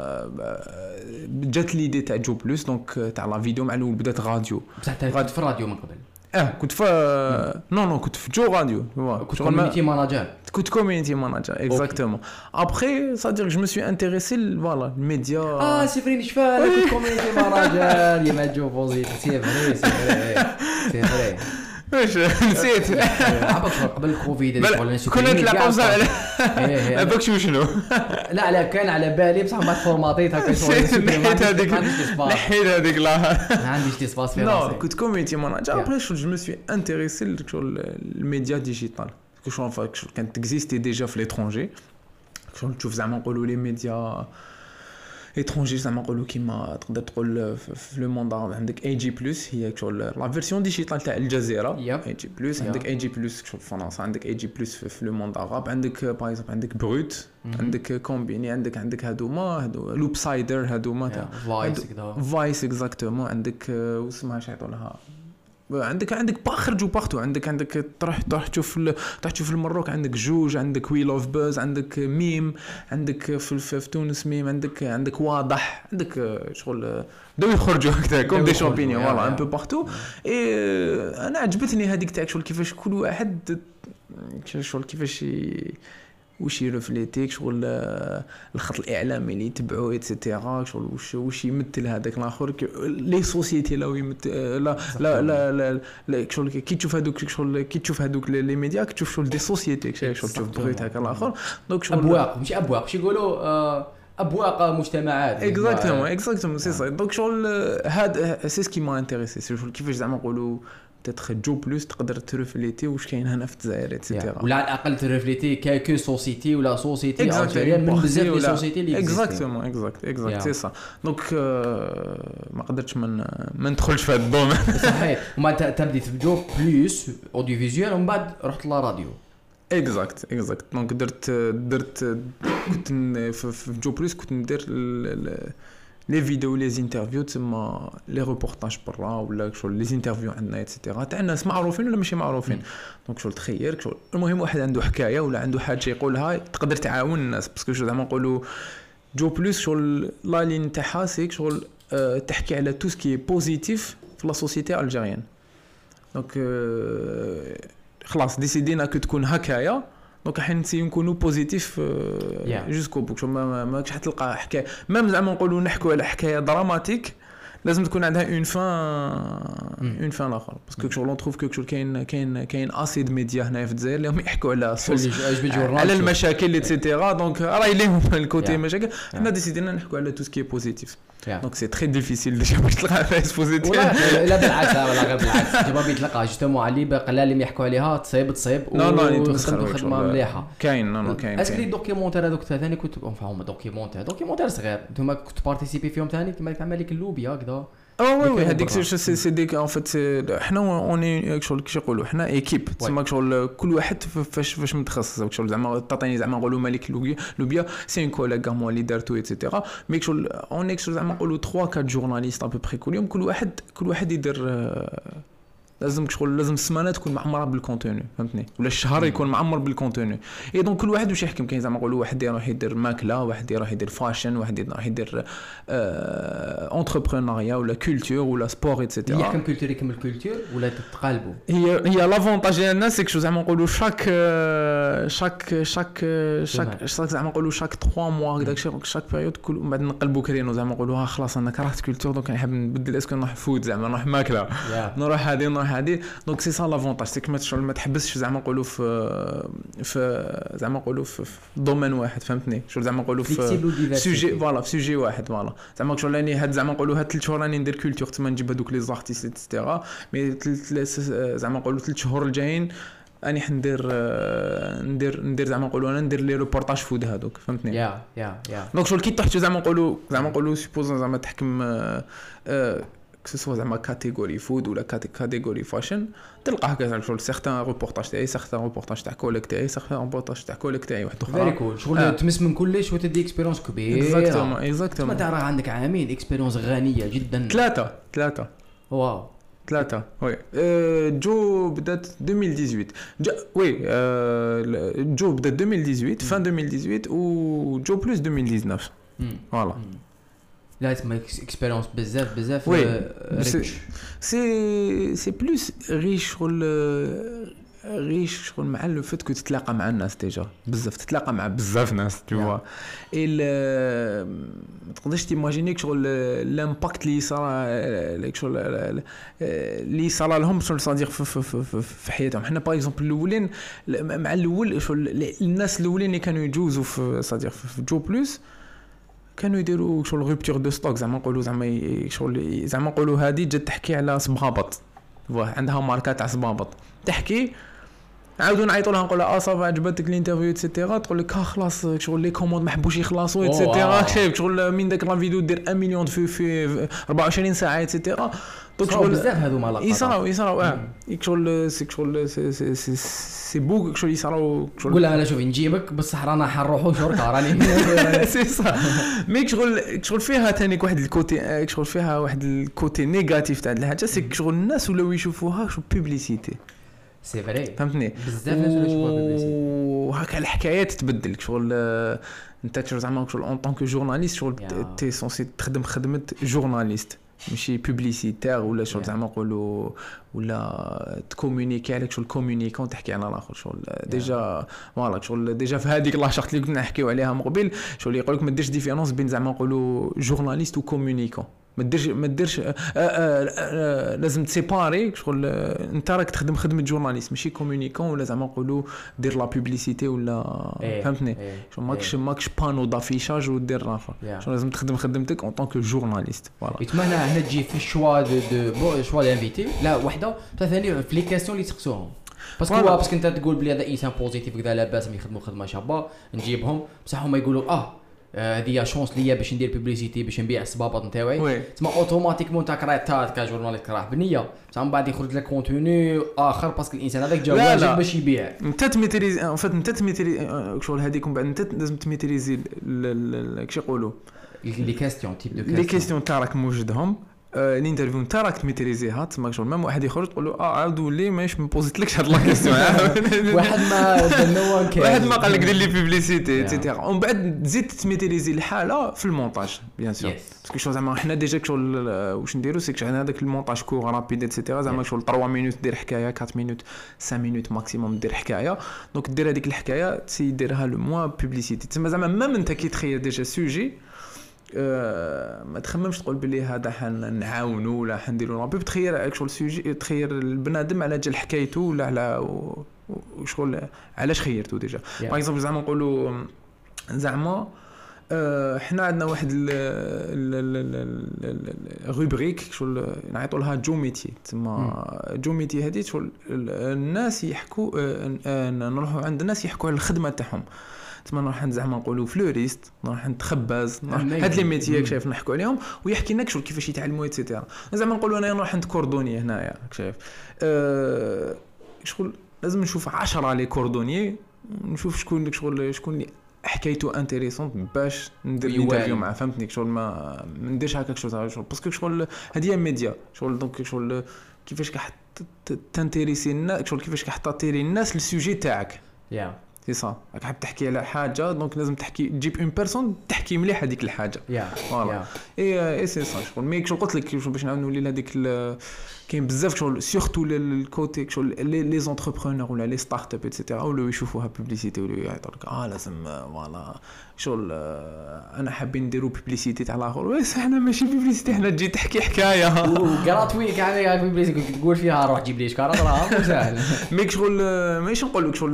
جات ليدي تاع جو بلوس دونك تاع لا فيديو مع الاول بدات راديو بصح كنت في الراديو من قبل كنت في نو كنت في جو راديو كنت كوميونيتي ماناجر كنت كوميونيتي ماناجر اكزاكتومون ابري صادير جو مي سوي انتريسي فوالا الميديا سي فري نشفى كنت كوميونيتي ماناجر يا ما جو بوزيت سي فري واش نسيت عباك قبل الكوفيد كنا نتلاقاو بصح عباك شنو لا كان على بالي بصح ما فورماتيت هكا شويه نحيت هذيك لا ما عنديش دي سباس في راسي كنت كوميونيتي ماناجر ابري جو مي سوي انتريسي الميديا ديجيتال شغل كانت اكزيستي ديجا في ليترونجي شغل تشوف زعما نقولوا لي ميديا étranger زعما نقولوا كيما تقدر تقول في لو موند عندك اي جي بلس هي شغل لا فيرسيون ديجيتال تاع الجزيره اي جي بلس عندك اي جي بلس شغل فرنسا عندك اي جي بلس في لو موند عرب عندك باغ اكزومبل عندك بروت عندك كومبيني عندك هادو لوب سايدر هادوما تاع فايس اكزاكتومون عندك واسمها شي يعطونها عندك خرجوا باختو عندك تروح تشوف المروك عندك جوج عندك وي لوف باز عندك ميم عندك في تونس ميم عندك واضح عندك شغل بداو يخرجوا هكذا كوم دي شامبينيون فوالا ان بو باختو اي انا عجبتني هذيك تاع شغل كيفاش كل واحد شغل كيفاش واش يرفليتيك شغل الخط الاعلامي اللي يتبعوه ايتترا شغل واش يمثل هذاك الاخر لي سوسيتي لا يمثل لا شغل كي تشوف هذوك شغل كي تشوف هذوك لي ميديا كتشوف شغل دي سوسيتي شغل تشوف بغيت هكا الاخر دونك شغل ابواق ماشي ابواق واش يقولوا ابواق مجتمعات اكزاكتومون سي صا دونك شغل هذا سي سكي ما انتريسي شغل كيفاش زعما نقولوا تتخ جو بلوس تقدر ترفليتي واش كاين هنا في الجزائر ايتترا ولا على الاقل ترفليتي كو سوسيتي ولا سوسيتي الجزائريه من بزاف لي سوسيتي اللي اكزاكتومون اكزاكت سي صا دونك ما قدرتش ما ندخلش في هذا الدومين صحيح وما تبديت في جو بلوس اوديو فيزيوال ومن بعد رحت لا راديو اكزاكت دونك درت كنت في جو بلوس كنت ندير لي فيديو لي انترفيو تما لي ريبورتاج برا ولا شغل لي انترفيو عندنا ايتترا تاع ناس معروفين ولا ماشي معروفين دونك شغل تخير شغل المهم واحد عنده حكايه ولا عنده حاجه يقولها تقدر تعاون الناس باسكو زعما نقولوا جو بلوس شغل لا لين تاعها سيك شغل تحكي على تو سكي بوزيتيف في لا سوسيتي الجيريان دونك خلاص ديسيدينا كو تكون هكايا دونك حين نسيو نكونوا بوزيتيف جوسكو بوك ماكش حتلقى حكايه ميم زعما نقولوا نحكوا على حكايه دراماتيك لازم تكون عندها اون فان اخر باسكو شغل نتروف كو شغل كاين اسيد ميديا هنا في الجزائر اللي هم يحكوا على المشاكل ايتترا دونك راهي ليهم الكوتي مشاكل حنا ديسيدينا نحكوا على تو سكي بوزيتيف دونك سي تري ديفيسيل باش تلقى فايس بوزيتيف لا بالعكس ولا غير بالعكس ديما بيتلقى جوستومون علي باقي اللي يحكوا عليها تصيب وخدموا خدمه مليحه كاين اسكو لي دوكيومونتير هذوك ثاني كنت فهم دوكيومونتير صغير انتما كنت بارتيسيبي فيهم ثاني كما تعمل لك اللوبي هكذا وي هذيك سي ديك ان فيت حنا اوني شغل كيش يقولوا حنا ايكيب تسمى شغل كل واحد فاش متخصص شغل زعما تعطيني زعما نقولوا مالك لوبيا سي ان كولاغ مو اللي دارتو ايتترا مي شغل اوني شغل زعما نقولوا 3 4 جورناليست ابو بري كل يوم كل واحد يدير لازم شغل لازم السمانه تكون معمره بالكونتوني فهمتني ولا الشهر يكون معمر بالكونتوني اي دونك كل واحد واش يحكم كاين زعما نقولوا واحد يروح يدير ماكله واحد يروح يدير فاشن واحد يروح يدير انتربرونيا ولا كولتور ولا سبور ايتترا يحكم كولتور يكمل كولتور ولا تتقالبوا هي لافونتاج ديال الناس كشو زعما نقولوا شاك زعما نقولوا شاك 3 موا هكذاك شاك بيريود كل من بعد نقلبوا كرينو زعما نقولوا خلاص انا كرهت كولتور دونك نحب نبدل اسكو نروح فود زعما نروح ماكله نروح هذه دونك سي سا لافونتاج سي كما ما تحبسش زعما نقولوا في زعما نقولوا في دومين واحد فهمتني شو زعما نقولوا في سوجي فوالا في سوجي واحد فوالا زعما شغل راني هاد زعما نقولوا هاد 3 شهور راني ندير كولتور تما نجيب هذوك لي زارتيست ايتترا مي زعما نقولوا 3 شهور الجايين اني حندير ندير زعما نقولوا انا ندير لي ريبورتاج فود هذوك فهمتني يا دونك شغل كي تحت زعما نقولوا سيبوز زعما تحكم كسوا زعما كاتيجوري فود ولا كاتيجوري فاشن تلقى هكا شغل سيغتان ريبورتاج تاعي سيغتان ريبورتاج تاع كوليك تاعي سيغتان ريبورتاج تاع كوليك تاعي واحد اخرى فيري كول شغل تمس من كلش وتدي اكسبيريونس كبيره اكزاكتومون انت راه عندك عامين اكسبيريونس غنيه جدا 3 واو 3 وي جو بدات 2018 جو بدات 2018 فان 2018 و جو بلس 2019 فوالا لا تسمى اكسبيريونس بزاف سي بلوس ريش شغل مع لو فيت كو تتلاقى مع الناس ديجا بزاف تتلاقى مع بزاف ناس tu vois ما تقدرش تيماجينيك شغل الامباكت اللي صار شغل اللي صار لهم شغل صادق في حياتهم حنا باغ اكزومبل الاولين مع الاول شغل الناس الاولين اللي كانوا يجوزوا في صادق في جو بلس كانوا يديروا شغل ريبتور دو ستوك زعما نقولوا زعما نقولوا هذه جات تحكي على صبابط عندها ماركه تاع صبابط تحكي عاودوا نعيطوا لها نقول لها صافا عجبتك الانترفيو ايتترا تقول لك خلاص شغل لي كوموند ما حبوش يخلصوا ايتترا شايف شغل من داك لا فيديو دير 1 مليون في 24 ساعه ايتترا دونك شغل بزاف هذو مع يصراو شغل سي بوك شغل يصراو شغل قول لها انا شوفي نجيبك بصح رانا حنروحوا شركه راني سي صح ميك شغل فيها ثاني واحد الكوتي شغل فيها واحد الكوتي نيجاتيف تاع الحاجه سي شغل الناس ولاو يشوفوها شو بوبليسيتي سي فري فهمتني بزاف ناس ولا يشوفوها بوبليسيتي وهكا الحكايات تبدل شغل انت زعما شغل اون طونك جورناليست شغل تي سونسي تخدم خدمه جورناليست ماشي بوبليسيتير ولا شغل زعما نقولوا ولا تكومونيكي عليك شغل كومونيكون تحكي على الاخر شغل ديجا فوالا شغل ديجا في هذيك لاشارت اللي كنا نحكيو عليها من قبل شغل يقول لك ما ديرش ديفيرونس بين زعما نقولوا جورناليست وكومونيكون ما ديرش لازم تسيباري شغل انت راك تخدم خدمه جورناليست ماشي كومونيكون ولا زعما نقولوا دير لا بوبليسيتي ولا فهمتني شغل ماكش بانو دافيشاج ودير الاخر شغل لازم تخدم خدمتك اون طونك جورناليست فوالا يتمنى هنا تجي في الشوا دو شوا دانفيتي لا وحده ثاني في لي كاستيون اللي تسقسوهم باسكو انت تقول بلي هذا انسان بوزيتيف كذا لاباس يخدموا خدمه شابه نجيبهم بصح هما يقولوا هذه شونس ليا باش ندير بوبليسيتي باش نبيع الصبابط نتاعي تسمى اوتوماتيكمون تاع كريتات كجورناليست راح بنيه بصح من بعد يخرج لك كونتوني اخر باسكو الانسان هذاك جا واجب باش يبيع انت تميتريزي ان فات انت تميتريزي شغل هذيك من بعد انت لازم تميتريزي كش يقولوا لي كاستيون تيب دو لي كاستيون تاعك موجودهم الانترفيو نتاع راك تميتريزيها تما شغل ميم واحد يخرج تقول له عاودوا لي ماش ما بوزيتلكش هاد لا كيسيون واحد ما قال لك دير لي بوبليسيتي ايتترا ومن بعد تزيد تميتريزي الحاله في المونتاج بيان سور باسكو شغل زعما حنا ديجا شغل واش نديرو سي عندنا هذاك المونتاج كور رابيد ايتترا زعما شغل 3 مينوت دير حكايه 4 مينوت 5 مينوت ماكسيموم دير حكايه دونك دير هذيك الحكايه تسيديرها لو موا بوبليسيتي تسمى زعما ميم انت كي تخيل ديجا سوجي ما تخممش تقول بلي هذا حنعاونوا ولا حنديروا رابي تخير شغل سوجي تخير البنادم على جال حكايته ولا على شغل علاش خيرته ديجا باغ اكزومبل زعما نقولوا زعما حنا عندنا واحد روبريك شغل نعيطوا لها جو ميتي تما جو ميتي هذه شغل الناس يحكوا نروحوا عند الناس يحكوا على الخدمه تاعهم تما نروح زعما نقولوا فلوريست نروح عند خباز هاد لي ميتيك شايف نحكوا عليهم ويحكي لنا شغل كيفاش يتعلموا ايتترا زعما نقولوا انا نروح عند كوردوني هنايا شايف شغل لازم نشوف 10 لي كوردوني نشوف شكون اللي حكايته انتريسونت باش ندير انترفيو معاه فهمتني شغل ما نديرش هكاك شغل باسكو شغل هذه ميديا شغل دونك شغل كيفاش تنتريسي الناس شغل كيفاش كتعطي الناس السوجي تاعك يا سي صا راك حاب تحكي على حاجه دونك لازم تحكي تجيب اون بيرسون تحكي مليح هذيك الحاجه يا فوالا اي سي صا شغل مي شغل قلت لك باش نعاود نولي لهذيك كاين بزاف شغل سورتو الكوتي شغل لي زونتربرونور ولا لي ستارت اب ايتترا ولاو يشوفوها بوبليسيتي ولاو يعيطوا لك لازم فوالا شغل انا حابين نديروا بوبليسيتي تاع الاخر واش احنا ماشي بوبليسيتي حنا تجي تحكي حكايه وكراتوي كاع بوبليسيتي تقول فيها روح جيب لي شكاره راه ساهل ميك شغل ماشي نقول لك شغل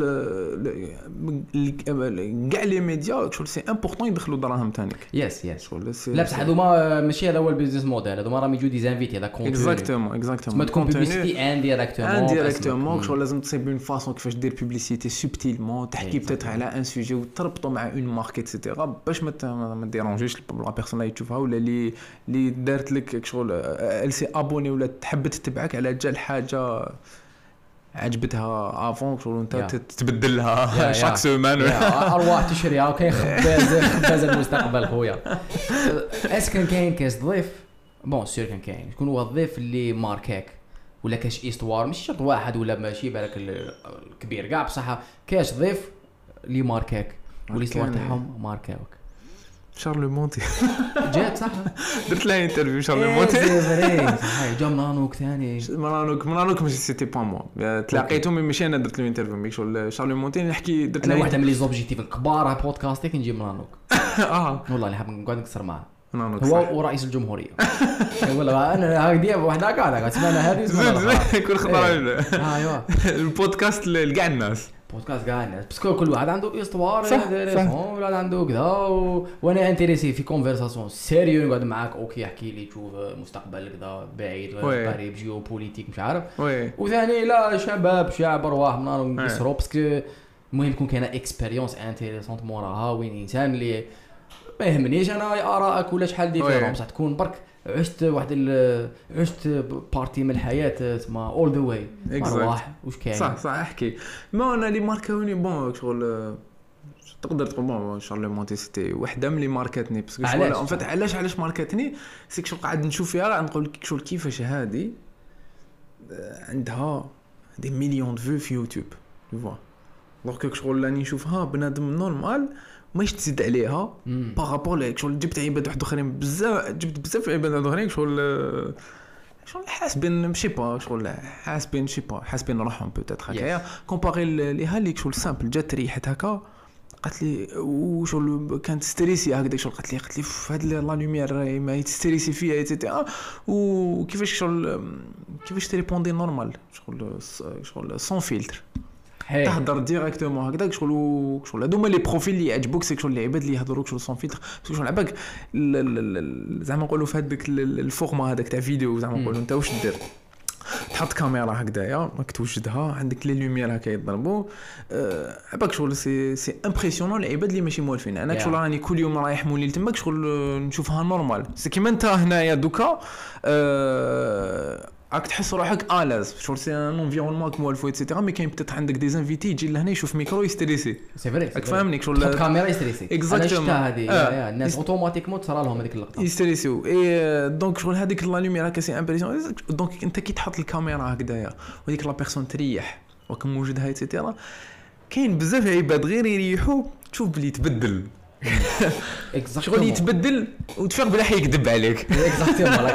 كاع لي ميديا شغل سي امبورطون يدخلوا دراهم تانيك يس شغل لا بصح هذوما ماشي هذا هو البيزنس موديل هذوما راهم يجوا دي زانفيتي هذا كونتوني اكزاكتومون ما تكون بوبليسيتي انديريكتومون شغل لازم تصيب اون فاصون كيفاش دير بوبليسيتي سوبتيلمون تحكي بتاتر على ان سوجي وتربطوا مع اون مارك ايتترا باش ما ديرونجيش لا بيرسون اللي تشوفها ولا اللي دارت لك شغل ال سي ابوني ولا تحب تتبعك على جال حاجه عجبتها افون شغل انت تتبدل لها شاك سيمان ارواح تشريها وكاين خباز المستقبل خويا اس كاين كاس ضيف بون سير كاين شكون هو الضيف اللي ماركاك ولا كاش ايستوار ماشي شرط واحد ولا ماشي بالك الكبير كاع بصح كاش ضيف اللي ماركاك والايستوار تاعهم ماركاوك شارل مونتي جات صح درت له انترفيو شارل مونتي سي فري صحيح جا مرانوك ثاني مرانوك ماشي سيتي با موا تلاقيته مي ماشي انا درت له انترفيو مي شغل شارل مونتي نحكي درت له واحده من لي زوبجيكتيف الكبار على بودكاستيك نجيب مرانوك والله اللي حاب نقعد نكسر معاه هو ورئيس الجمهوريه والله انا هكذا وحده كاع سمعنا هذه زين كل خطره ايوا البودكاست لكاع الناس بودكاست كاع الناس بس كل واحد عنده استوار ولا عنده كذا وانا انتريسي في كونفرساسيون سيريو نقعد معاك اوكي احكي لي تشوف مستقبل كذا بعيد قريب جيوبوليتيك مش عارف وثاني لا شعب ارواح نكسروا باسكو المهم يكون كاينه اكسبيريونس انتريسونت موراها وين انسان اللي ما يهمنيش انا ارائك ولا شحال ديفيرون بصح تكون برك عشت بارتي من الحياه تما اول ذا واي ارواح واش كاين صح احكي ما انا اللي ماركاوني بون شغل تقدر تقول بون شارل مونتي سيتي وحده من اللي ماركاتني باسكو شغل ان فيت علاش ماركاتني سيك شغل قاعد نشوف فيها نقول لك شغل كيفاش هذه عندها دي مليون دو في يوتيوب تو فوا دونك شغل راني نشوفها بنادم نورمال ماش تزيد عليها بارابور ليك شغل جبت عباد واحد اخرين بزاف جبت بزاف عباد اخرين شغل حاسبين ماشي با شغل حاسبين روحهم بوتيتر هكايا كومباري ليها ليك شغل سامبل جات ريحت هكا قالت لي وشغل كانت ستريسي هكذا شغل قالت لي في هاد لا لوميير ما يستريسي فيها ايتترا وكيفاش شغل كيفاش تريبوندي نورمال شغل سون فيلتر تهضر ديريكتومون هكذاك شغل هادو هما لي بروفيل اللي يعجبوك سيك شغل العباد اللي يهضروك شغل سون فيلتر شغل عباك زعما نقولوا في هذاك الفورما هذاك تاع فيديو زعما نقولوا انت واش دير تحط كاميرا هكذايا راك توجدها عندك لي لوميير هكا يضربوا عباك شغل سي امبرسيونون العباد اللي ماشي موالفين انا شغل راني كل يوم رايح مولي تماك شغل نشوفها نورمال سي كيما انت هنايا دوكا راك تحس روحك الاز شغل سي ان انفيرونمون موالفو ايتترا مي كاين بتات عندك دي انفيتي يجي لهنا يشوف ميكرو يستريسي سي فري راك فاهمني شغل تحط كاميرا يستريسي اكزاكتومون هذه الناس اوتوماتيكمون تصرا لهم هذيك اللقطه يستريسيو اي دونك شغل هذيك لا لوميير هكا سي امبرسيون دونك انت كي تحط الكاميرا هكذايا وديك لا بيرسون تريح وكم موجودها ايتترا كاين بزاف عباد غير يريحوا تشوف بلي تبدل شغل يتبدل وتفيق بلا حيكذب عليك اكزاكتومون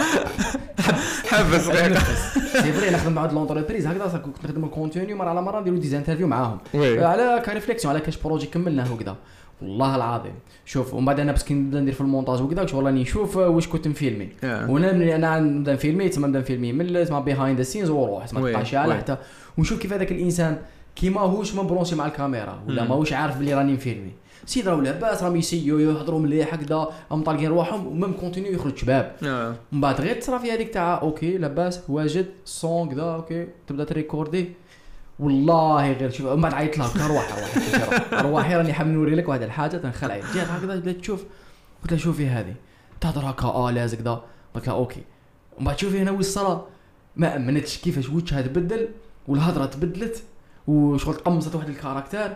حبس سي فري نخدم مع هاد لونتربريز هكذا كنت نخدم الكونتوني مره على مره نديرو دي انترفيو معاهم على كريفليكسيون على كاش بروجي كملناه وكذا والله العظيم شوف ومن بعد انا بس كي نبدا ندير في المونتاج وكذا شغل راني نشوف واش كنت نفيلمي وانا نبدا نفيلمي تما نبدا نفيلمي من تما بيهايند ذا سينز وروح ما تبقاش على حتى ونشوف كيف هذاك الانسان كي ماهوش مبرونسي مع الكاميرا ولا ماهوش عارف بلي راني نفيلمي سيد راهو لاباس راهم يسيو يهضروا مليح هكذا هم طالقين رواحهم ومام كونتينيو يخرج شباب من بعد غير تصرا في هذيك تاع اوكي لاباس واجد الصون كذا اوكي تبدا تريكوردي والله غير شوف من بعد عيط لها ارواحي راني حاب نوري لك واحد الحاجه تنخلع جات هكذا بدات تشوف قلت لها شوفي هذه تهضر هكا لازق كذا قلت لها اوكي ومن بعد شوفي هنا والصلاه ما امنتش كيفاش وجهها تبدل والهضره تبدلت وشغل تقمصت واحد الكاركتير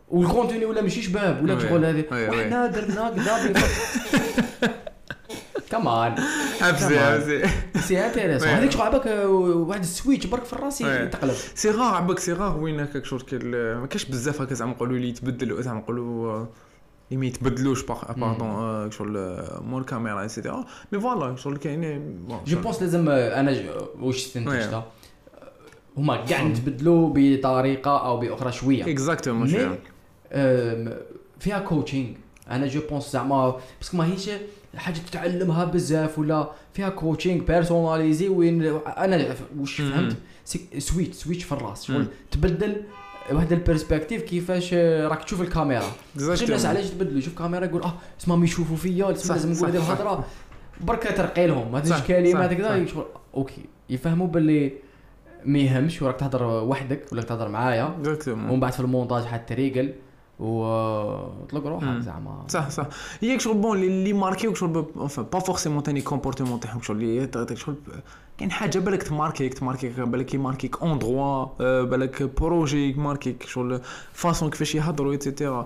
والكونتينيو ولا ماشي شباب ولا شغل هذه وحنا درنا كذا كمان عفسي سي انتريسون هذيك شغل عباك واحد السويتش برك في الراس يتقلب سي غار عباك سي غار وين هكاك شغل ما كاش بزاف هكا زعما نقولوا لي يتبدلوا زعما نقولوا ما يتبدلوش باردون شغل مول كاميرا ايتترا مي فوالا شغل كاين جو بونس لازم انا واش استنتجتها هما كاع نتبدلوا بطريقه او باخرى شويه اكزاكتومون شويه فيها كوتشينغ انا جو بونس زعما باسكو ماهيش حاجه تتعلمها بزاف ولا فيها كوتشينغ بيرسوناليزي وين انا واش فهمت سويتش في الراس شغل تبدل واحد البيرسبكتيف كيفاش راك تشوف الكاميرا شي الناس علاش تبدلوا يشوف كاميرا يقول اسمهم يشوفوا فيا لازم نقول هذه الهضره برك ترقي لهم ما تجيش كلمات هكذا شغل اوكي يفهموا باللي ما يهمش وراك تهضر وحدك ولا تهضر معايا ومن بعد في المونتاج حتى تريقل وطلق روحك زعما صح هي شغل بون اللي ماركيوك شغل با فورسيمون تاني كومبورتمون تاعهم شغل اللي شغل كاين حاجه بالك تماركيك بالك يماركيك اون دروا بالك بروجي يماركيك شغل فاصون كيفاش يهضروا ايتترا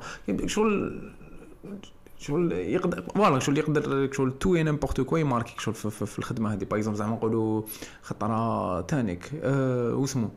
شغل يقدر فوالا شغل يقدر شغل تو نيمبورط كوا يماركيك شغل في الخدمه هذه باغ اكزومبل زعما نقولوا خطره تانيك واسمو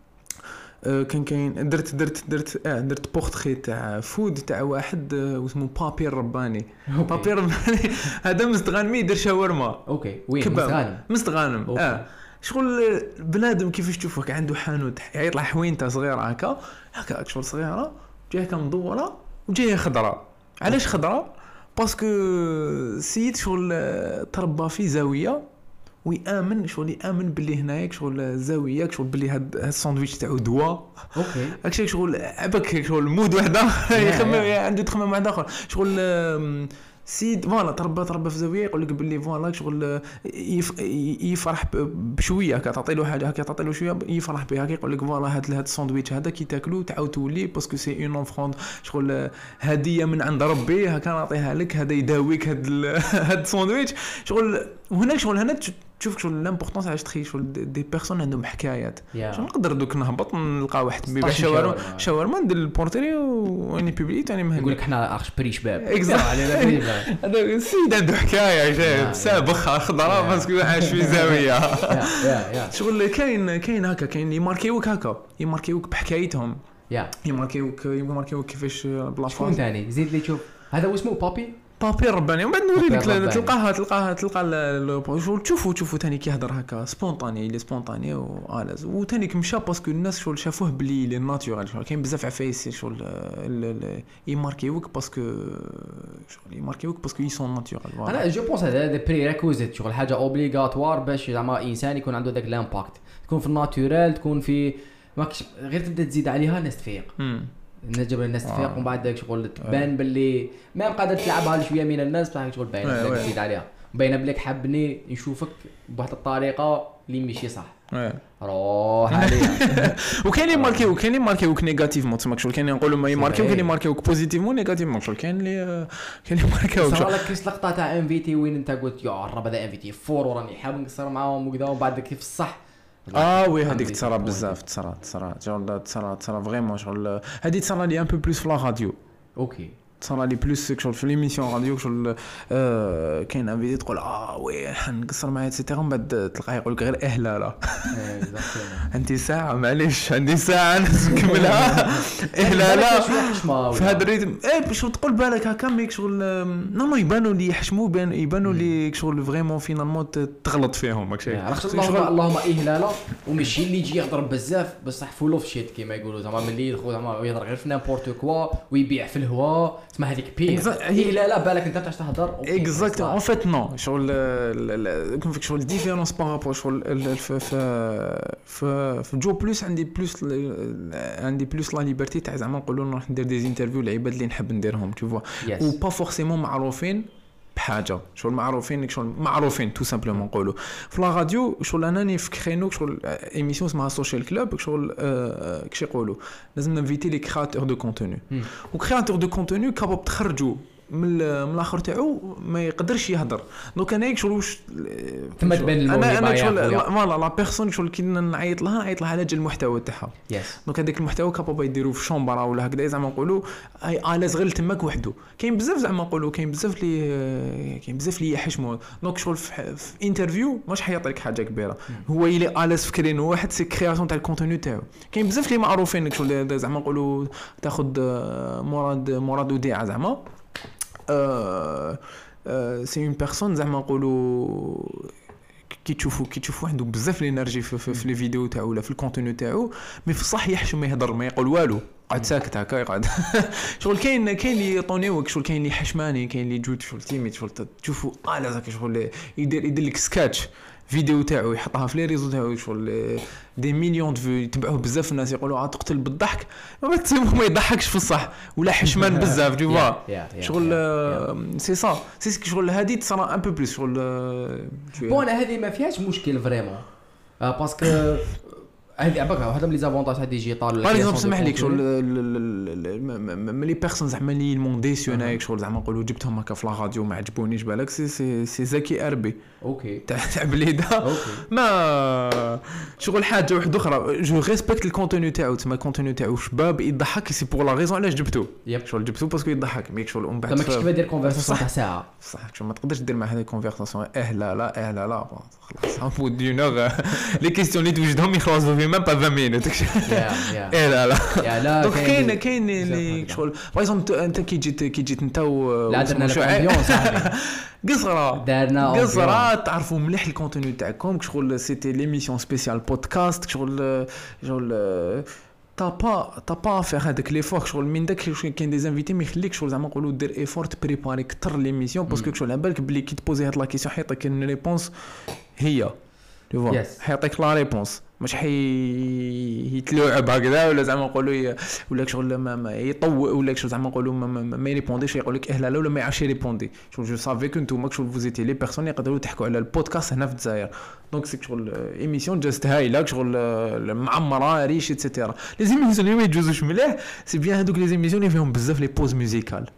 كاين درت بورتري تاع فود تاع واحد اسمه بابي الرباني بابي الرباني هذا مستغانم يدير شاورما اوكي وين مستغانم شغل بنادم كيفاش تشوفه عنده حانوت يطلع حوينته صغيره هكا شغل صغيره جايه كمدوره وجايه خضراء علاش خضراء باسكو سيد شغل تربى في زاويه ويامن باللي هنايا شغل زاويه شغل باللي هاد الساندويتش تاعو دواء اوكي هكاك شغل عباك شغل مود وحده يخمم عنده تخمم واحد اخر شغل سيد فوالا تربى في زاويه يقول لك باللي فوالا شغل يفرح بشويه تعطي له حاجه هكا تعطي له شويه يفرح بها يقول لك فوالا هذا الساندويتش هذا كي تاكلو تعاود تولي باسكو سي اون اوفروند شغل هديه من عند ربي هكا نعطيها لك هذا يداويك هذا الساندويتش شغل وهنا شغل هنا تشوف شغل لامبورطونس علاش تخيل شغل دي بيرسون عندهم حكايات شغل نقدر دوك نهبط نلقى واحد بيبيع شاورما ندير البورتري واني بوبليت يعني يقول لك حنا اخش بري شباب هذا السيد عنده حكايه جايب سابخه خضراء باسكو عايش في زاويه شغل كاين هكا كاين يماركيوك بحكايتهم يماركيوك كيفاش بلاصه شكون ثاني زيد لي شوف هذا اسمه بابي الرباني ومن بعد نوري لك تلقى تشوفوا ثاني كيهضر هكا سبونطاني لي سبونطاني والاز وثاني مشى باسكو الناس شغل شافوه بلي لي ناتورال شغل كاين بزاف عفايس شغل يماركيوك باسكو يي سون ناتورال انا جو بونس هذا دي بري ريكوزيت شغل حاجه اوبليغاتوار باش زعما انسان يكون عنده داك لامباكت تكون في الناتورال تكون في ماكش غير تبدا تزيد عليها الناس تفيق نجبر الناس تفيق ومن بعد داك شغل تبان باللي ما قادر تلعبها لشويه من الناس بصح شغل باين تزيد عليها باينه بليك حابني نشوفك بواحد الطريقه اللي ماشي صح روح عليها وكاين اللي ماركيوك نيجاتيفمون تسمى شغل كاين نقولوا ما يماركيوك كاين ماركيوك بوزيتيفمون نيجاتيفمون شغل كاين اللي ماركيوك صار لك كيس لقطه تاع انفيتي وين انت قلت يا رب هذا انفيتي فور وراني حاب نقصر معاهم وكذا ومن بعد كيف الصح وي هذيك تصرا بزاف تصرا فريمون شغل هذه تصرا لي ان بو بلوس في لا راديو اوكي تصرا لي بلوس شغل في ليميسيون راديو شغل كاين ان فيديو تقول وي حنقصر معايا ايتترا من بعد تلقاه يقول لك غير اهلاله عندي ساعه معليش عندي ساعه نكملها اهلاله في هذا الريتم باش تقول بالك هكا ميك شغل نو يبانوا لي يحشموا يبانوا لي شغل فريمون فينالمون تغلط فيهم ماكشي اللهم اهلاله وماشي اللي يجي يهضر بزاف بصح فول اوف شيت كيما يقولوا زعما ملي يدخل زعما يهضر غير في نيمبورط كوا ويبيع في الهواء تسمى هذيك بير اهلاله بالك انت تاعش تهضر اكزاكتومون ان فيت نو شغل كون فيك شغل ديفيرونس بارابور شغل في جو بلوس عندي بلوس لا ليبرتي تاع زعما نقولوا نروح ندير دي انترفيو لعباد اللي نحب نديرهم تو فوا و با فورسيمون معروفين بحاجه شغل معروفين تو سامبلومون نقولوا في لا راديو شغل انني في كرينو شغل ايميسيون اسمها سوشيال كلوب شغل كيش يقولوا لازم نفيتي لي كرياتور دو كونتوني و كرياتور دو كونتوني كاباب تخرجوا من الاخر تاعو ما يقدرش يهضر. دونك انا شغل واش ثم تبان الموهبه. انا شغل فوالا لا بيرسون شغل كي نعيط لها على جال المحتوى تاعها. دونك هذاك المحتوى كابابا يديروه في شومبرا ولا هكذا زعما نقولوا الاز غير تماك وحده. كاين بزاف زعما نقولوا كاين بزاف اللي يحشموا. دونك شغل في انترفيو ماش حيعطي لك حاجه كبيره، هو يلي الاز فكرين واحد سي كرياسيون تاع الكونتوني تاعو. كاين بزاف اللي معروفين شغل زعما نقولوا تاخذ مراد وديعه زعما سي اون بيرسون زعما نقولوا كي تشوفوا عنده بزاف الانرجي في لي فيديو تاعو ولا في الكونتوني تاعو، مي في الصح يحشم ما يهضر ما يقول والو، قاعد ساكت هكا يقعد. شغل كاين اللي يطونيوك، شغل كاين اللي حشماني، كاين اللي جود شغل تيميت، شغل تشوفوا لا زاك شغل يدير لك سكاتش فيديو تاعو يحطها في لي ريزو تاعو، شغل دي مليون دو فيو يتبعوه بزاف الناس يقولوا تقتل بالضحك، ما يضحكش في الصح ولا حشمان بزاف دو فوا. شغل سي سا سي شغل هذه تصرا ان بو بليس شغل بون هذه ما فيهاش مشكل فريمون باسكو هذه عباك واحده من لي زافونتاج تاع ديجيتال. باغ اكزومبل سمح لي شغل لي بيرسون زعما لي المونديسيونايك شغل زعما نقولوا جبتهم هكا في لا راديو ما عجبونيش بالك سي زكي اربي اوكي تاع بليده ما شغل حاجه واحده اخرى. جو ريسبكت الكونتوني تاعو، تما الكونتوني تاعو شباب يضحك سي بور لا ريزون علاش جبتو شغل جبتو باسكو يضحك ميك شغل ومن بعد ما كنتش دير كونفرساسيون تاع ساعه صح شغل ما تقدرش دير مع هذه الكونفرساسيون لا خلاص ها بو دي نور لي كيستيون اللي توجدهم يخلصوا في ميم با 20 مينوت لا دونك كاين اللي شغل باغ اكزومبل انت كي جيت انت لا درنا لامبيون صاحبي قصرة تعرفوا مليح الكونتوني تاعكم شغل سيتي ليميسيون سبيسيال بودكاست شغل تا با فير هذاك لي فور شغل من داك كاين دي انفيتي ما يخليك شغل زعما نقولوا دير ايفور تبريباري كثر ليميسيون باسكو شغل على بالك بلي كي تبوزي هاد لا كيسيون حيعطيك ان ريبونس هي تو فوا حيعطيك لا ريبونس مش يتلوعب هكذا ولا زعما نقولوا ولا شغل ما يطوع ولا شغل زعما نقولوا ما يريبونديش يقول لك لا ولا ما يعرفش يريبوندي. شغل جو سافي كو نتوما شغل فوزيتي لي بيرسون يقدروا تحكوا على البودكاست هنا في الجزائر. دونك سي شغل ايميسيون جاست هايله شغل معمره ريش ايتترا. لي زيميسيون اللي ما يجوزوش مليح سي بيان هذوك لي زيميسيون اللي فيهم بزاف لي بوز ميوزيكال.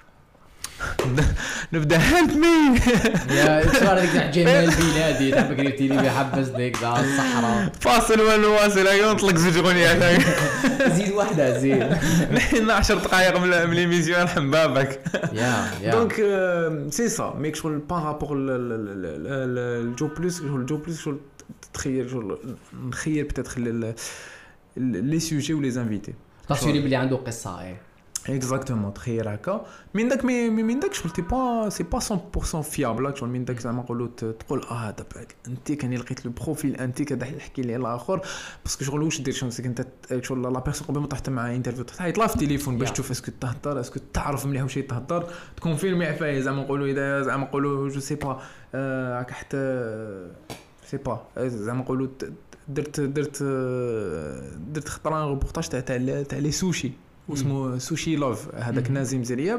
نبدا هيلب مي يا صار ديك تاع جمال بلادي تاع بكري تيلي بيحبس ديك تاع الصحراء فاصل ولا واصل ينطلق زوج اغنيات زيد واحده زيد نحن 10 دقائق من ليميسيون نحن بابك يا دونك سي سا ميك شغل بارابور الجو بلس شغل تخيل شغل نخيل بتدخل لي سوجي ولي انفيتي تصويري بلي عنده قصه اكزاكتومون تخيل هكا من داك شغل سي با 100% فيابل شغل من داك زعما نقولوا تقول دابا انت كان لقيت لو بروفيل انت كدا يحكي لي الاخر باسكو شغل واش دير شغل انت شغل لا بيرسون قبل ما تحط معاه انترفيو تحيط في التليفون باش تشوف اسكو تهضر اسكو تعرف مليح واش تهضر تكونفيرمي عفايه زعما نقولوا اذا زعما نقولوا جو سي با هكا حتى سي با زعما نقولوا درت خطره روبورتاج تاع لي سوشي واسمه سوشي لوف هذاك نازم زرياب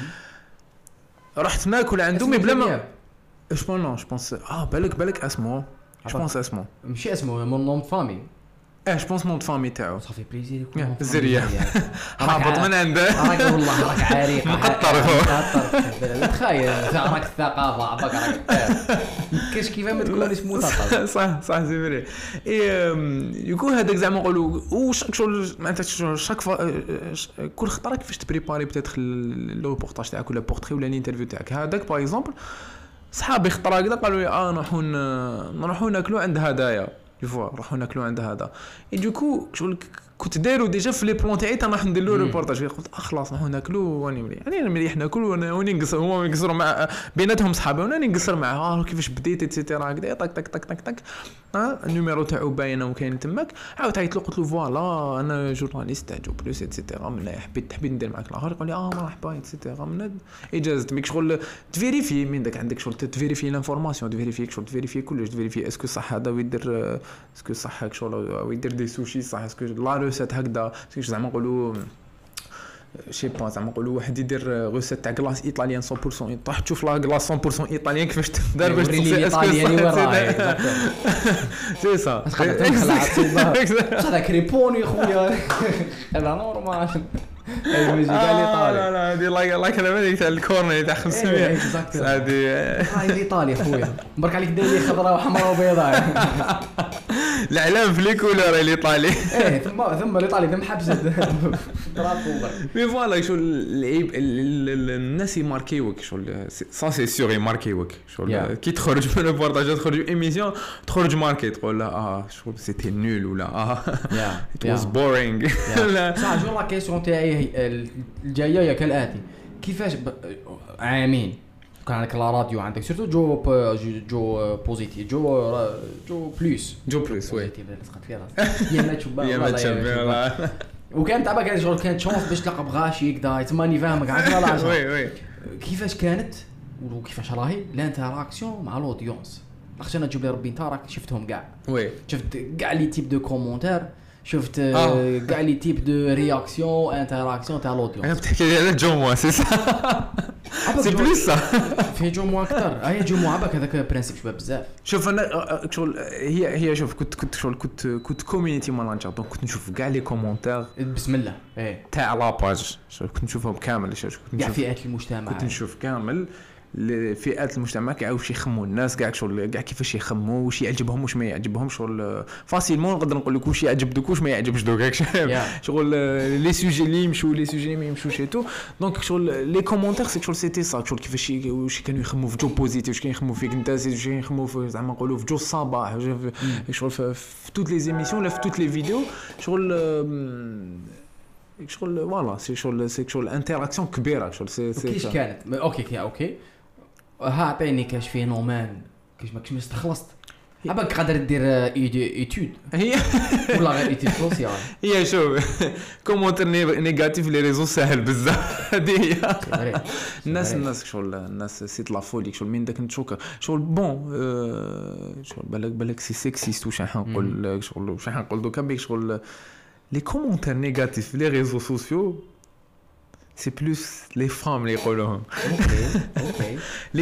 رحت ناكل عنده مي بلا ما جو بونس بالك اسمه جو بونس اسمه ماشي اسمه من نوم فامي جو بونس نوم فامي تاعو صافي بليزير يكون زرياب هابط من عنده راك والله راك عريق مقطر تخيل راك الثقافه عباك راك كاش كيف ما تكون اسمه مثقف صح سي فري يكون هذاك زعما نقولوا واش شغل معناتها شاك كل خطره كيفاش تبريباري بتدخل لو ريبورتاج تاعك ولا بورتري ولا الانترفيو تاعك هذاك باغ اكزومبل صحابي خطره كذا قالوا لي نروحوا ناكلوا عند هدايا نروحوا ناكلوا عند هذا دوكو شغل كنت دايرو ديجا في لي بلون تاعي راح ندير له ريبورتاج قلت خلاص نروحوا ناكلوا واني مليح يعني مليح ناكل وني نقصر هما يقصروا مع بيناتهم صحابي وانا نقصر معاه كيفاش بديت ايتترا هكذا طق النيميرو تاعو باينه وكاين تماك عاود عيط له قلت له فوالا انا جورناليست تاع جو بلوس ايتترا من حبيت ندير معاك الاخر قال لي مرحبا ايتترا من اجازه ميك شغل تفيريفي من داك عندك شغل تفيريفي لانفورماسيون تفيريفي شغل تفيريفي كلش تفيريفي اسكو صح هذا ويدير اسكو صح هاك شغل ويدير دي سوشي صح اسكو لا روسيت هكذا زعما نقولوا شي با زعما نقولوا واحد يدير روسيت تاع كلاص ايطاليان 100% تروح تشوف لا كلاص 100% ايطاليان كيفاش تدار باش تصير اسكو سي سا تخلع هذاك ريبوني خويا هذا نورمال الموجي كاع اللي لا طالع لا هذه لايك انا هذيك تاع الكورنر تاع 500 هذه هاي اللي طالع خويا برك عليك داير لي خضراء وحمراء وبيضاء الاعلام في لي كولور اللي طالع ثم اللي طالع ثم حبس مي فوالا شو العيب الناس يماركيوك شو سا سي سيغ يماركيوك شو كي تخرج من البورتاج تخرج ايميسيون تخرج ماركي تقول لا شو سيتي نول ولا ات واز بورينغ صح. جو لا كيسيون تاعي الجايه كالاتي كيفاش عامين كان عندك لا راديو عندك سيرتو جو بوزيتيف جو بلوس وي لصقت فيها يا ما تشوف والله وكان تعبا كان شغل كانت شونس باش تلقى بغاشي كدا تماني فاهمك عارف لا وي كيفاش كانت وكيفاش راهي لانتراكسيون مع الاودينس لاخاطش انا تجيب لي ربي انت راك شفتهم كاع وي شفت كاع لي تيب دو كومونتير شفت كاع لي تيب دو رياكسيون انتراكسيون تاع الاودينس انا بتحكي على جو موا سي سي بليس سا في جو موا اكثر هي جو موا عباك هذاك برينسيپ شباب بزاف شوف انا شغل هي شوف كنت كوميونيتي ماناجر دونك كنت نشوف كاع لي كومونتير بسم الله تاع لاباج كنت نشوفهم كامل كاع فئات المجتمع كنت نشوف كامل فئات المجتمع كاع واش يخموا الناس كاع شغل كاع كيفاش يخموا واش يعجبهم واش ما يعجبهم شغل فاسيلمون نقدر نقول لك واش يعجب دوك واش ما يعجبش دوك شغل لي سوجي اللي يمشوا لي سوجي اللي ما يمشوش ايتو دونك شغل لي كومونتير سي شغل سيتي صا شغل كيفاش واش كانوا يخموا في جو بوزيتيف واش كانوا يخموا فيك انت واش كانوا يخموا في زعما نقولوا في جو الصباح شغل في توت لي زيميسيون ولا في توت لي فيديو شغل فوالا سي شغل انتراكسيون كبيره شغل سي كيش كانت اوكي ها عطيني كاش فينومان كيش ما كنتش استخلصت عباك قادر دير ايتود هي ولا غير ايتود سوسيال هي شوف كومونتير نيجاتيف لي ريزو ساهل بزاف هذه هي الناس شغل الناس سيت لا فولي شغل من داك نتشوك شغل بون شغل بالك سي سيكسيست واش نقول شغل واش نقول دوكا بيك شغل لي كومونتير نيجاتيف لي ريزو سوسيو c'est plus les femmes les يقولوهم اوكي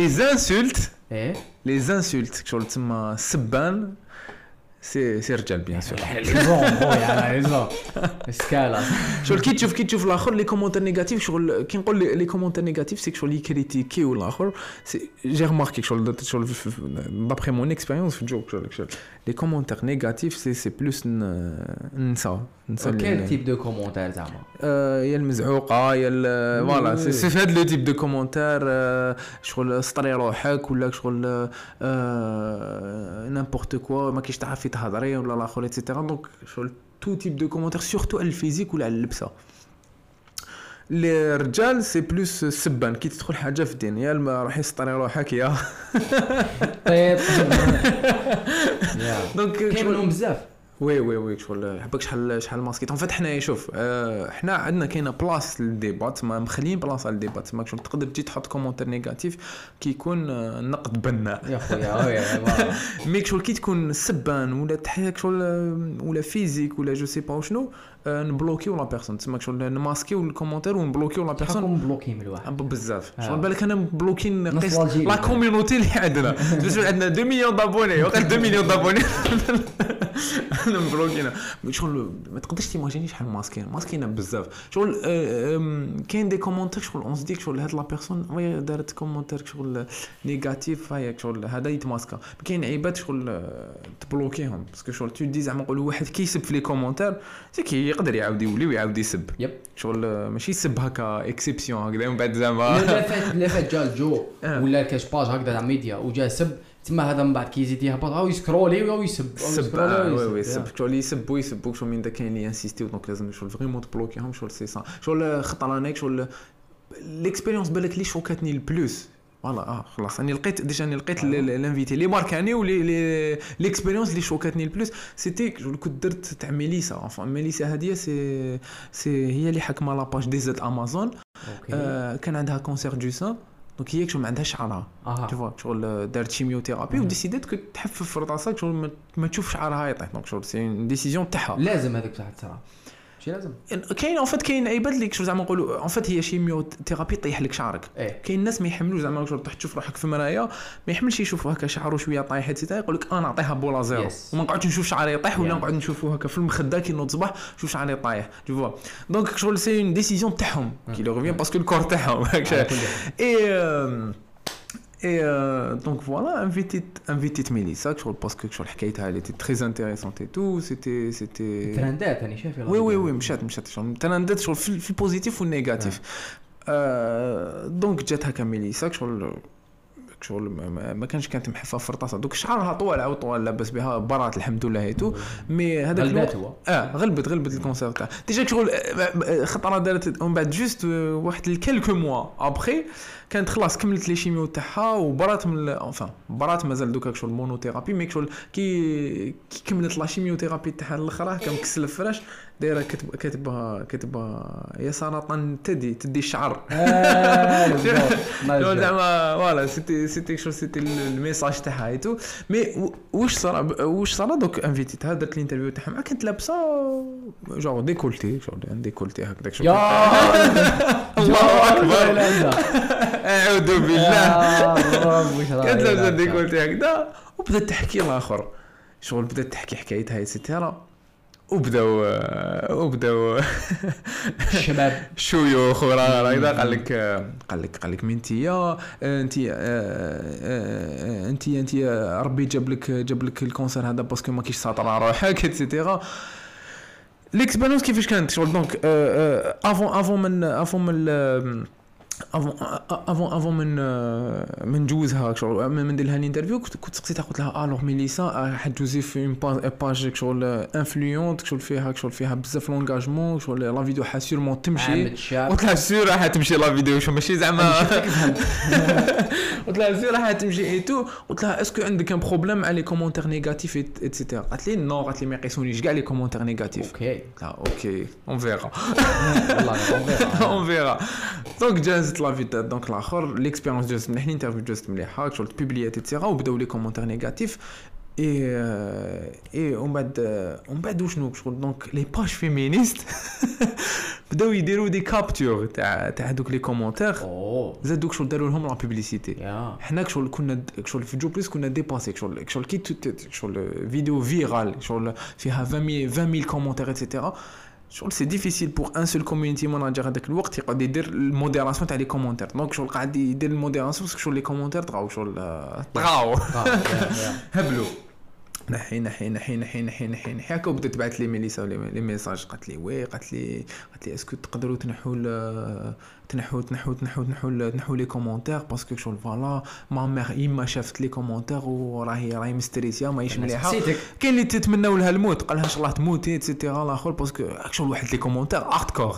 les insultes شغل تما سبان سي رجال بيان سور ليزون سكالا شغل كي تشوف الاخر لي كومونتير نيجاتيف شغل كي نقول لي كومونتير نيجاتيف سي شغل يكريتيكي ولا اخر جي رماركي شغل دابري مون اكسبيريونس في جوك شغل لي كومونتير نيجاتيف سي بلوس نسا كيل تيب دو كومونتير زعما يا المزعوقه يا فوالا سي في هذا لو تيب دو كومونتير شغل سطري روحك ولا شغل نيمبورت كوا ما كاينش تعرفي تهضري ولا الاخر ايتترا دونك شغل تو تيب دو كومونتير سورتو على الفيزيك ولا على اللبسه لي رجال سي بلوس سبان كي تدخل حاجه في الدين يا راح يسطري روحك يا طيب دونك كاين منهم بزاف وي شغل حبك شحال ماسكيت ان فات حنايا شوف حنا عندنا كاينه بلاص للديبات ما مخليين بلاصه للديبات ما شغل تقدر تجي تحط كومونتير نيجاتيف كي يكون نقد بناء يا خويا ميك شغل كي تكون سبان ولا تحيك شغل ولا فيزيك ولا جو سي با شنو نبلوكيو لا بيرسون تسمى شغل نماسكيو الكومونتير ونبلوكيو لا بيرسون نبلوكي من الواحد بزاف شغل بالك انا مبلوكين لا كوميونيتي اللي عندنا عندنا 2 مليون دابوني وقت 2 مليون دابوني مبلوكينا شغل ما تقدرش تيماجيني شحال ماسكينا بزاف شغل كاين دي كومونتير شغل اون سديك شغل هاد لا بيرسون وهي دارت كومونتير شغل نيجاتيف هاي شغل هذا يتماسكا كاين عيبات شغل تبلوكيهم باسكو شغل تو دي زعما نقولوا واحد كيسب في لي كومونتير كي يقدر يعاود يولي ويعاود يسب شغل ماشي يسب هكا اكسيبسيون هكذا من بعد زعما لا فات جا الجو ولا كاش باج هكذا تاع ميديا وجا سب تما هذا من بعد كيزيد يهبط او يسكرولي او يسب وي شغل يسبوا شغل من دا كاين لي انسيستيو دونك لازم شغل فريمون تبلوكيهم شغل سي سا شغل خطر اناك شغل ليكسبيريونس بالك لي شوكاتني البلوس فوالا خلاص اني لقيت لانفيتي لي ماركاني ولي ليكسبيريونس اللي شوكاتني البلوس سيتي جو كنت درت تاع ميليسا انفون ميليسا هذه سي هي اللي حكمه لاباج دي زد امازون كان عندها كونسير دو سان دونك هي ما عندهاش شعرها تشوف شغل دارت شيميوثيرابي وديسيدات كنت تحفف في راسها شغل ما تشوف شعرها يطيح دونك شغل سي ديسيزيون تاعها لازم هذيك بصح تصرا ماشي لازم كاين اون فيت كاين عباد اللي شغل زعما نقولوا اون فيت هي شيميو ثيرابي طيح لك شعرك. كاين ناس ما يحملوش زعما شغل تشوف روحك في المرايه ما يحملش يشوفوا هكا شعره شويه طايح حتى يقول لك انا نعطيها بولا زيرو وما نقعدش نشوف شعري يطيح ولا نقعد نشوفه هكا في المخده كي نوض الصباح شوف شعري طايح جو فوا دونك شغل سي اون ديسيزيون تاعهم كي لو ريفيان باسكو الكور تاعهم Et donc voilà, invité Mélissa, parce que sur le elle était très intéressante et tout, c'était trendette, أنا شايف. Oui, مشات trendette sur le positif ou le négatif. Donc جات هكا ميليسا شغل ما كانش كانت محفه فرطاسه دوك شعرها طوال لاباس بها برات الحمد لله هيتو مي هذاك غلبت الكونسير تاع ديجا شغل خطره دارت ومن بعد جوست واحد الكالكو موا ابري كانت خلاص كملت لي شيميو تاعها وبرات من برات مازال دوكا شغل مونوثيرابي مي شغل كي كملت لا شيميو ثيرابي تاعها الاخرى كان مكسل الفراش دايره كاتبه يا سرطان تدي الشعر زعما فوالا سيتي الميساج تاعها ايتو مي واش صرا دوك انفيتيتها درت الانترفيو تاعها كانت لابسه جونغ ديكولتي هكذاك شوف الله اكبر اعوذ بالله كانت لابسه ديكولتي هكذا وبدات تحكي الاخر شغل بدات تحكي حكايتها ايتترا وبداو الشباب شويوخ ولا اذا قال لك منتيا انت ربي جاب لك الكونسير هذا باسكو ما كيش ساطر على روحك ايتترا ليكسبيريونس كيفاش كانت شغل دونك افون من نجوزها شغل من ندير لها الانترفيو كنت سقسيتها قلت لها الوغ ميليسا حتجوزي في اون باج شغل انفلونت شغل فيها بزاف لونغاجمون شغل لا فيديو حاسيرمون تمشي قلت لها سير راح تمشي لا فيديو ماشي زعما قلت لها سير راح تمشي اي تو قلت لها اسكو عندك ان بروبليم على لي كومونتير نيجاتيف ايتترا قالت لي نو قالت لي ما يقيسونيش كاع لي كومونتير نيجاتيف اوكي اون فيرا والله اون فيرا دونك جازت لا فيتا دونك الاخر ليكسبيريونس جوست مليح الانترفيو جوست مليحه شغل بوبليات ايتترا وبداو لي كومونتير نيجاتيف اي ومن بعد وشنو شغل دونك لي باج فيمينيست بداو يديروا دي كابتور تاع دوك لي كومونتير زادوك شغل داروا لهم لا بوبليسيتي حنا شغل كنا شغل في جو بليس كنا ديباسي شغل كي شغل فيديو فيرال شغل فيها 20000 كومونتير ايتترا شغل سي ديفيسيل بور ان سول كوميونيتي ماناجر هذاك الوقت يقعد يدير الموديراسيون تاع لي كومونتير دونك شغل قاعد يدير الموديراسيون باسكو شغل لي كومونتير طغاو هبلوا نحي هكا وبدات تبعث لي ميليسا لي ميساج قالت لي وي قالت لي اسكو تقدروا تنحوا لي كومونتير باسكو شغل فوالا ما مير يما شافت لي كومونتير وراهي مستريسيا ماهيش مليحه كاين اللي تتمناو لها الموت قال لها ان شاء الله تموتي ايتترا الاخر باسكو شغل واحد لي كومونتير هاردكور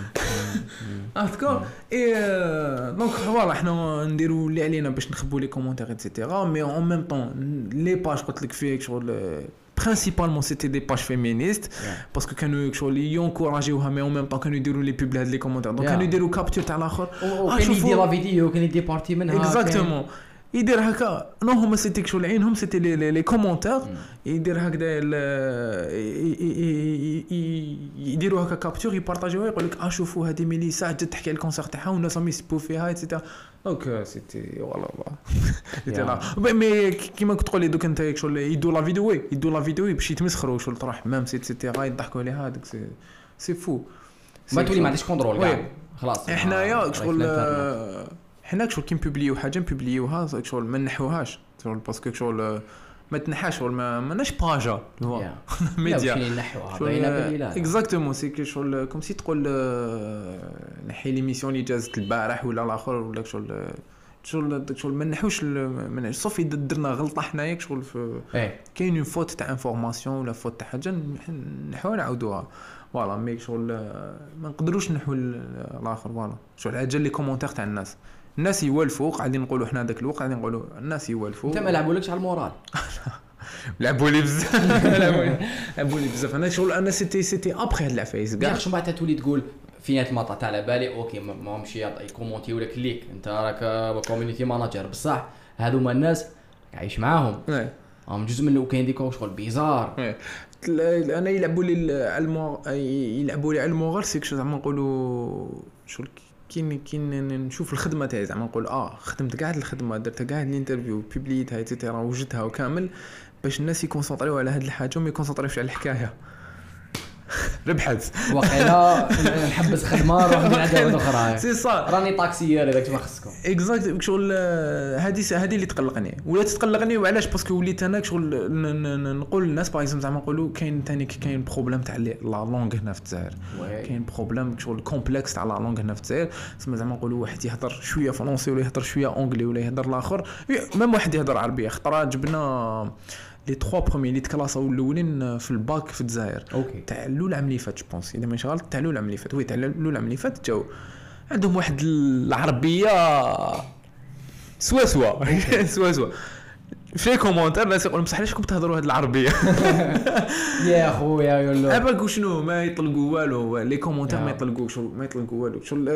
اي دونك فوالا حنا نديروا اللي علينا باش نخبوا لي كومونتير ايتترا مي اون ميم طون لي باج قلت لك فيك شغل principalement c'était des pages féministes parce que كانوا شغل ينكوراجيوها مي اون ميم طون كانوا يديروا لي بوب لهاد لي كومونتير دونك كانوا يديروا كابتور تاع الاخر كان يدير لا فيديو كان يدير بارتي منها اكزاكتومون يدير هكا نو هما سيتي شغل عينهم سيتي لي كومونتير يدير هكذا يديروا هكا كابتور يبارطاجيوها يقول لك شوفوا هذه ميليسا جات تحكي على الكونسير تاعها والناس راهم يسبوا فيها ايتترا دونك سيتي والله مي كيما كنت تقولي دوك انت شغل يدوا لا فيديو باش يتمسخروا شغل تروح حمام ايتترا يضحكوا عليها هذاك سي فو ما تولي ما عندكش كونترول كاع خلاص حنايا شغل حنا شغل كي نبوبليو حاجه نبوبليوها شغل ما نحوهاش شغل باسكو شغل ما تنحاش شغل ما ناش باجا هو ميديا نحوها باينه بالله اكزاكتومون سي كي شغل كوم سي تقول نحي لي ميسيون اللي جازت البارح ولا الاخر ولا شغل ما نحوش من صافي درنا غلطه حنايا شغل في كاين اون فوت تاع انفورماسيون ولا فوت تاع حاجه نحاول نعاودوها فوالا مي شغل ما نقدروش نحو الاخر فوالا شغل حاجه لي كومونتير تاع الناس يوالفوا قاعدين نقولوا حنا داك الوقت قاعدين نقولوا الناس يوالفوا انت ما لعبولكش على المورال لعبوا لي بزاف انا شغل انا سيتي ابخي هاد العفايس كاع شنو بعد تولي تقول فين المطا تاع على بالي اوكي ماهمش يكومونتيو لك ليك انت راك كوميونيتي ماناجر بصح هذوما الناس عايش معاهم هم جزء منه وكاين ديك شغل بيزار انا يلعبوا لي على الموغال سيك شو زعما نقولوا شغل كاين نشوف الخدمه تاعي زعما نقول خدمت كاع الخدمه درت كاع الانترفيو بوبليتها ايتترا وجدتها وكامل باش الناس يكونسونطريو على هاد الحاجه وما يكونسونطريوش على الحكايه. ربحت وقيلا نحبس خدمه نروح نعدها واحده اخرى سي صا راني طاكسيير هذاك ما خصكم اكزاكت شغل هذه اللي تقلقني ولا تقلقني وعلاش باسكو وليت انا شغل نقول للناس باغ اكزومبل زعما نقولوا كاين بروبليم تاع لا لونغ هنا في الجزائر كاين بروبليم شغل كومبلكس تاع لا لونغ هنا في الجزائر زعما نقولوا واحد يهضر شويه فرونسي ولا يهضر شويه انجلي ولا يهضر الاخر ميم واحد يهضر عربيه خطره جبنا لي 3 بروميي اللي تكلاساو الاولين في الباك في الجزائر تاع الاولى عام اللي فات جو بونس اذا ماشي غلط تاع الاولى عام اللي فات تاع الاولى عام اللي فات جاو عندهم واحد العربيه سوا في كومونتير ناس يقولوا بصح علاش كنتوا تهضروا هذه العربيه يا خويا يقول له ابا شنو ما يطلقوا والو لي كومونتير ما يطلقوش والو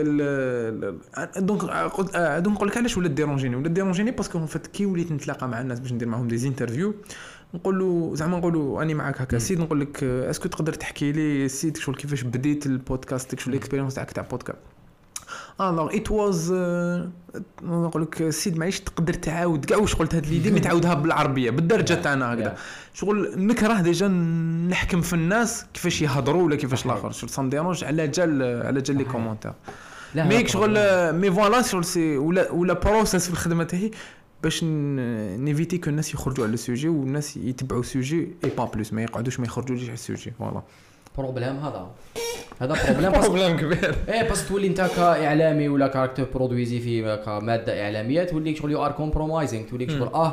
دونك نقول لك علاش ولا ديرونجيني باسكو ان فات كي وليت نتلاقى مع الناس باش ندير معهم دي انترفيو نقول له زعما نقولوا اني معاك هكا سيد نقول لك اسكو تقدر تحكي لي سيد شغل كيفاش بديت البودكاست شغل الاكسبيريونس تاعك تاع بودكاست alors it was نقول لك سيد معليش تقدر تعاود كاع واش قلت هاد ليدي متعاودها بالعربيه بالدرجه تاعنا هكذا شغل نكره ديجا نحكم في الناس كيفاش يهضروا ولا كيفاش الاخر شغل سام ديرونج على جال لي كومونتير مي شغل مي فوالا شغل سي ولا بروسيس في الخدمه تاعي باش نيفيتي كو الناس يخرجوا على السوجي والناس يتبعوا السوجي اي با بلوس ما يقعدوش ما يخرجوش على السوجي فوالا بروبليم هذا بروبليم كبير بس تولي انت كاعلامي ولا كاركتر برودويزي في كماده اعلاميه تولي شغل يو ار كومبرومايزينغ تولي شغل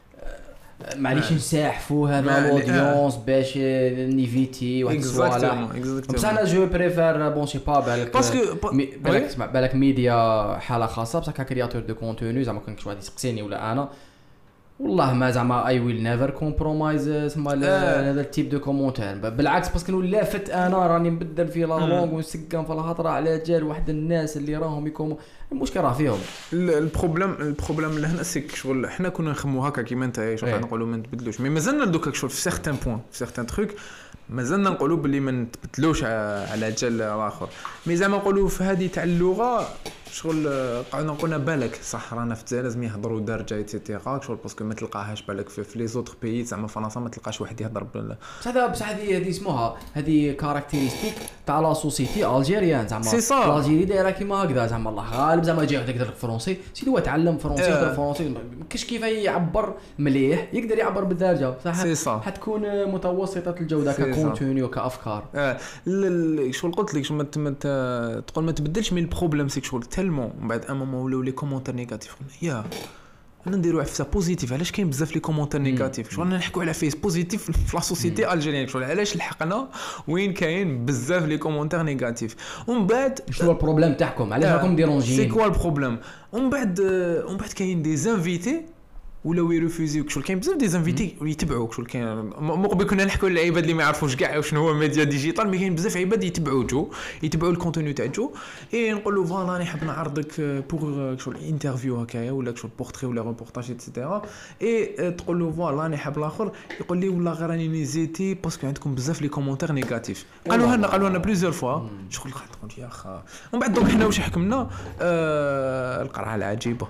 معليش نساحفوا هذا الاودينس باش نيفيتي واحد الصوالح بصح انا جو بريفير بون سي با بالك اسمع بالك ميديا حاله خاصه بصح كرياتور دو كونتوني زعما كان شي واحد يسقسيني ولا انا والله ما زعما اي ويل نيفر كومبرومايز اسمها هذا التيب دو كومونتير بالعكس باسكو لافت انا راني نبدل في لا لونغ ونسقم في الهضره على جال واحد الناس اللي راهم يكونوا المشكل راه فيهم البروبليم لهنا سيك شغل حنا كنا نخمو هكا كيما انت شغل نقولوا ما نتبدلوش مي مازلنا دوكا شغل في سيغتان بوين في سيغتان تروك مازلنا نقولوا بلي ما نتبدلوش على جال الاخر مي زعما نقولوا في هذه تاع اللغه شغل قعدنا قلنا بالك صح رانا في الجزائر لازم يهضروا درجه ايتترا شغل باسكو ما تلقاهاش بالك في لي زوتر بيي زعما فرنسا ما تلقاش واحد يهضر بصح هذه اسمها هذه كاركتيرستيك تاع لا سوسيتي الجيريان زعما الجيري دايره كيما هكذا زعما الله غالب زعما يجي يهضر فرونسي سيدي هو تعلم فرونسي يهضر فرونسي كاش كيف يعبر مليح يقدر يعبر بالدارجه صح حتكون متوسطه الجوده ككونتوني وكافكار شغل قلت لك شو تقول ما تبدلش من البروبليم سيك شغل تالمون من بعد امام ولاو لي كومونتير نيجاتيف يا انا نديروا عفسه بوزيتيف علاش كاين بزاف لي كومونتير نيجاتيف شغل نحكوا على فيس بوزيتيف في لا سوسيتي الجيريان شغل علاش لحقنا وين كاين بزاف لي كومونتير نيجاتيف ومن بعد شنو البروبليم تاعكم علاش راكم ديرونجين سي كوا البروبليم ومن بعد كاين دي زانفيتي ولا يرفوزيوك شغل كاين بزاف دي زانفيتي يتبعوك شغل كاين مقبل كنا نحكوا على العباد اللي ما يعرفوش كاع شنو هو ميديا ديجيتال مي كاين بزاف عباد يتبعوا الكونتوني تاع جو اي نقولوا فوالا راني حاب نعرضك بور شغل انترفيو هكايا ولا شغل بورتري ولا ريبورتاج ايتترا اي تقول له فوالا راني حاب الاخر يقول لي والله غير راني نيزيتي باسكو عندكم بزاف لي كومونتير نيجاتيف قالوا لنا بليزيور فوا شغل قلت يا اخا ومن بعد دوك حنا واش حكمنا القرعه العجيبه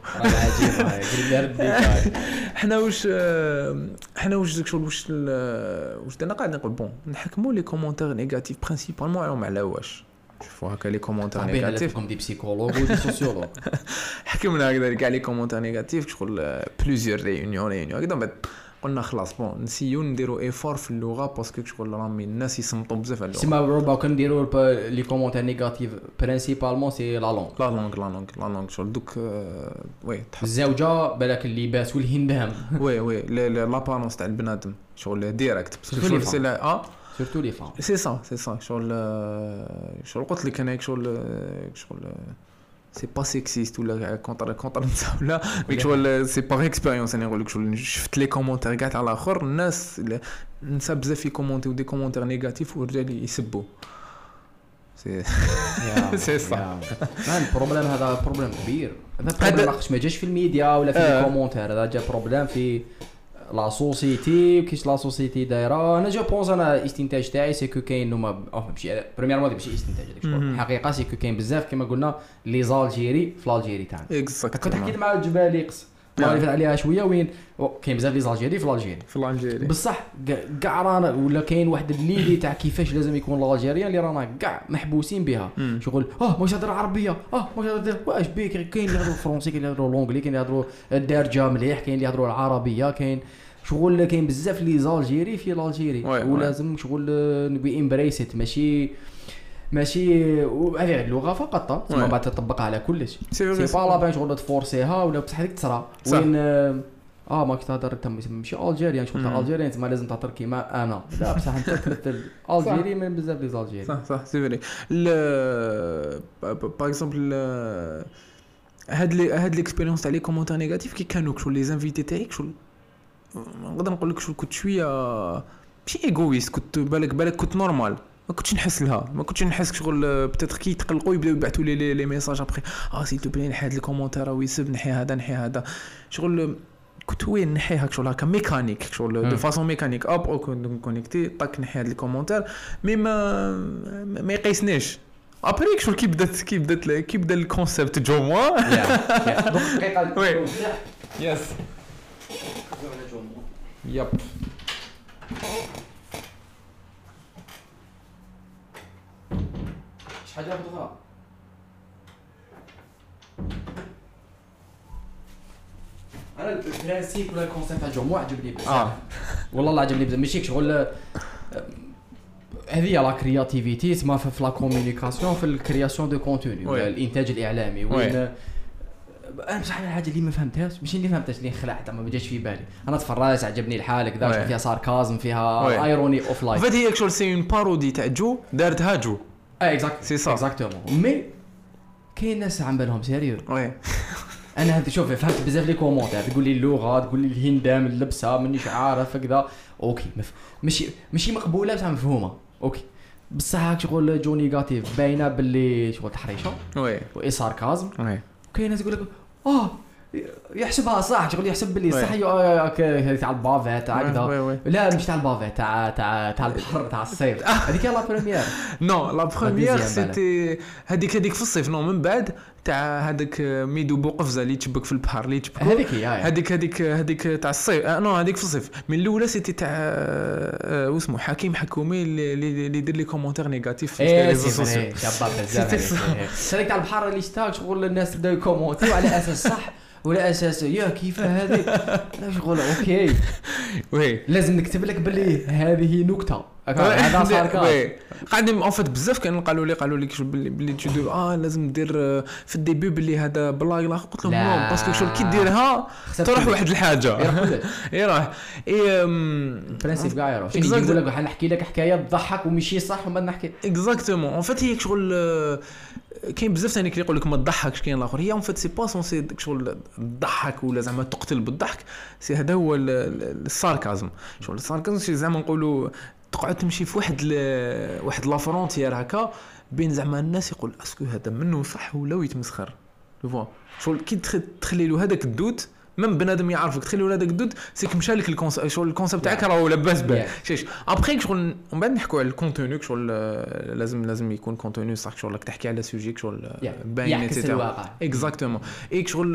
حنا واش شغل واش درنا قاعد نقول بون نحكموا لي كومونتير نيجاتيف برينسيبالمون على واش شوفوا هكا لي كومونتير نيجاتيف كوم دي بسيكولوج ودي سوسيولوج حكمنا هكذا كاع لي كومونتير نيجاتيف شغل بليزيور ريونيون هكذا بعد قلنا خلاص بون نسيو نديرو ايفور في اللغه باسكو شغل راهم الناس يصمتوا بزاف على اللغه سيما ربما كنديرو لي كومونتير نيجاتيف برينسيبالمون سي لا لونغ شغل دوك وي الزوجه بالك اللباس والهندام وي لابارونس تاع البنادم شغل ديريكت باسكو سي لا سورتو لي فام سي سا شغل قلت لك انا شغل سي با سيكسيست ولا كونتر نساء ولا مي شغل سي با اكسبيريونس انا نقول لك شغل شفت لي كومونتير كاع على الاخر الناس نسى بزاف يكومونتيو دي كومونتير نيجاتيف والرجال يسبوا سي صح البروبليم هذا بروبليم كبير هذا بروبليم ما جاش في الميديا ولا في الكومونتير هذا جا بروبليم في لا سوسيتي كيش لا سوسيتي دايره. انا جو بونس انا الاستنتاج تاعي سي كو كاين هما ماشي بريميرمون ماشي استنتاج هذاك الحقيقه سي كو كاين بزاف كما قلنا لي زالجيري في الجيري تاعنا. كنت حكيت مع الجبالي قص ما عرفت عليها شويه وين كاين بزاف لي زالجيري في الجيري بصح كاع رانا ولا كاين واحد الليدي تاع كيفاش لازم يكون الالجيريان اللي رانا كاع محبوسين بها. شغل واش هضر عربيه واش هضر واش بيك كاين اللي يهضروا فرونسي كاين اللي يهضروا لونجلي كاين اللي يهضروا الدارجه مليح كاين اللي يهضروا العربيه كاين شغل كاين بزاف لي زالجيري في الجيري ولازم شغل نبي امبريسيت ماشي هذه اللغه فقط ثم بعد تطبقها على كل شيء سي با لا بين شغل تفورسيها ولا بصح هذيك تصرا وين ماك تهضر انت ماشي الجيريان شغل الجيريان انت ما لازم تهضر كيما انا لا بصح انت تمثل الجيري من بزاف لي زالجيري صح سي فري باغ اكزومبل هاد ليكسبيريونس تاع لي كومونتير نيجاتيف كي كانوا شغل لي انفيتي تاعك شغل نقدر نقول لك شغل كنت شويه ماشي ايغويست كنت بالك كنت نورمال ما كنتش نحس لها ما كنتش نحس شغل بتاتر كي يتقلقوا يبداو يبعثوا لي ميساج ابري سيل تو بلي نحي هاد الكومونتير ويسب نحي هذا شغل كنت وين نحيها شغل هكا ميكانيك شغل دو فاصون ميكانيك او كونيكتي طاك نحي هاد الكومونتير مي ما يقيسنيش ابري شغل كي بدا الكونسيبت جو موا دقيقه وي يس ياب حاجه اخرى انا البرانسيب ولا الكونسيبت تاع الجمهور عجبني بزاف والله الله عجبني بزاف ماشي شغل هذه لا كرياتيفيتي تما في لا كومونيكاسيون في الكرياسيون دو كونتوني ولا الانتاج الاعلامي وين انا بصح الحاجه اللي ما فهمتهاش ماشي اللي فهمتهاش اللي خلعت ما جاش في بالي انا تفرجت عجبني الحال كذا فيها ساركازم فيها ايروني اوف لايف فهاد هي شغل سي اون بارودي تاع جو دارتها جو اكزاكتومون مي كاين ناس عم بالهم سيريو انا هذا شوف فهمت بزاف لي كومونتير تقول لي اللغه تقول لي الهندام اللبسه مانيش عارف كذا اوكي ماشي مقبوله بصح مفهومه اوكي بصح هاك شغل جو نيجاتيف باينه باللي شغل تحريشه وي ساركازم كاين ناس يقول لك يحسبها صح شغل يحسب باللي صح تاع البافيت تاع كذا لا مش تاع البافيت تاع البحر تاع الصيف هذيك لا بريمير نو لا بريمير سيتي هذيك في الصيف نو من بعد تاع هذاك ميدو بوقفزه اللي تشبك في البحر اللي تشبك هذيك تاع الصيف نو هذيك في الصيف من الاولى سيتي تاع واسمه حكيم حكومي اللي يدير لي كومونتير نيجاتيف في لي ريزو سوسيو شباب بزاف هذيك تاع البحر اللي اشتاق شغل الناس بداو يكومونتيو على اساس صح ولا اساس يا كيف هذه لا شغل اوكي وي لازم نكتب لك باللي هذه نكته هذا صار قاعدين اون فيت بزاف كانوا قالوا لي باللي تشدو لازم دير في الديبي باللي هذا بلاغ لا قلت لهم نو باسكو شغل كي ديرها تروح واحد الحاجه يروح برينسيپ كاع يروح يقول لك نحكي لك حكايه تضحك ومشي صح وما نحكي اكزاكتومون اون فيت هي شغل كاين بزاف ثاني كيقول لك ما تضحكش كاين الاخر هي اون فيت سي با سونسي شغل تضحك ولا زعما تقتل بالضحك سي هذا هو الساركازم شغل الساركازم زعما نقولوا تقعد تمشي في واحد لا فرونتيير هكا بين زعما الناس يقول اسكو هذا منه صح ولا يتمسخر فوا شغل كي تخلي له هذاك الدوت من بنادم يعرفك تخلي له هذاك الدوت سيك مشى لك الكونسيبت تاعك راه لاباس به شيش ابري شغل ومن بعد نحكوا على الكونتوني شغل لازم يكون كونتوني صح شغل راك تحكي على سوجي شغل باين اكزاكتومون اي شغل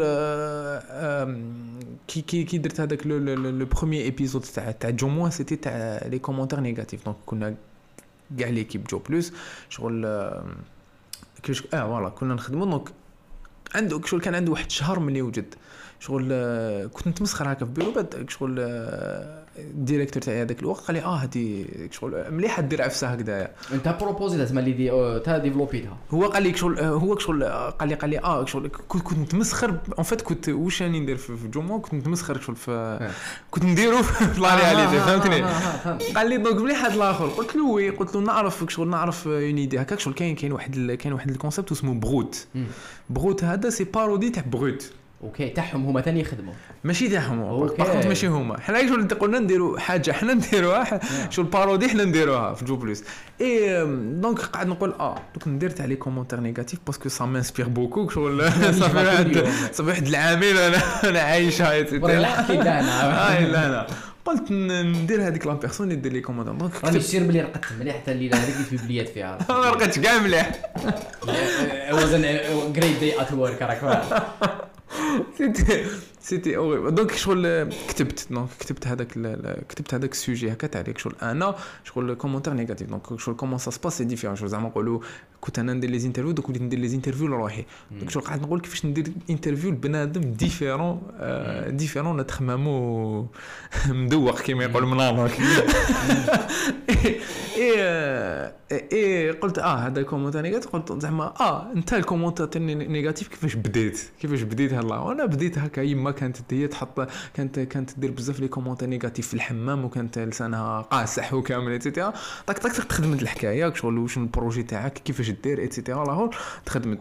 كي درت هذاك لو بروميير ايبيزود تاع جو موا سيتي تاع لي كومونتير نيجاتيف دونك كنا كاع ليكيب جو بلس شغل كيش فوالا كنا نخدموا دونك عنده شغل كان عنده واحد شهر ملي وجد شغل كنت نتمسخر هكا في بيرو بعد شغل الديريكتور تاعي هذاك الوقت قال لي هذه شغل مليحه دير عفسه هكذايا انت بروبوزي لازم اللي تا ديفلوبيتها هو قال لي شغل قال لي شغل كنت نتمسخر اون فيت كنت واش راني ندير في جومو كنت نتمسخر شغل في كنت نديرو في لا رياليتي فهمتني قال لي دونك مليح هذا الاخر قلت له وي قلت له نعرف اون ايدي هكاك شغل كاين واحد الكونسيبت اسمه بروت هذا سي بارودي تاع بروت اوكي تاعهم هما ثاني يخدموا ماشي تاعهم أوكي. باغ كونط ماشي هما حنا شغل قلنا نديروا حاجه حنا نديروها شغل بارودي حنا نديروها في جو بلس اي دونك قاعد نقول دوك ندير تاع لي كومونتير نيجاتيف باسكو سا مانسبير بوكو شغل صافي واحد العامين انا عايشها ولا حكيت انا لا لا قلت ندير هذيك لا بيرسون يدير لي كوموندار دونك راني سير بلي رقدت مليح حتى الليله هذيك في بليات فيها ما لقيتش كاع مليح وزن جريت داي ات ورك راك سيتي اوري دونك شغل كتبت هذاك السوجي هكا تاع ليك شغل انا شغل كومونتير نيجاتيف دونك شغل كومون سا سباس سي ديفيرون شغل زعما نقولوا كنت انا ندير لي انترفيو دوك وليت ندير لي انترفيو لروحي دونك شغل قاعد نقول كيفاش ندير انترفيو لبنادم ديفيرون نتخممو مدوق كيما يقول مناظر اي قلت هذا كومونتير نيجاتيف قلت زعما انت الكومونتير نيجاتيف كيفاش بديت هلا وانا بديت هكا يما كانت هي تحط كانت تدير بزاف لي كومونتير نيجاتيف في الحمام وكانت لسانها قاصح وكامل ايتترا طاك تخدمت الحكايه شغل واش البروجي تاعك كيفاش دير ايتترا لاهور تخدمت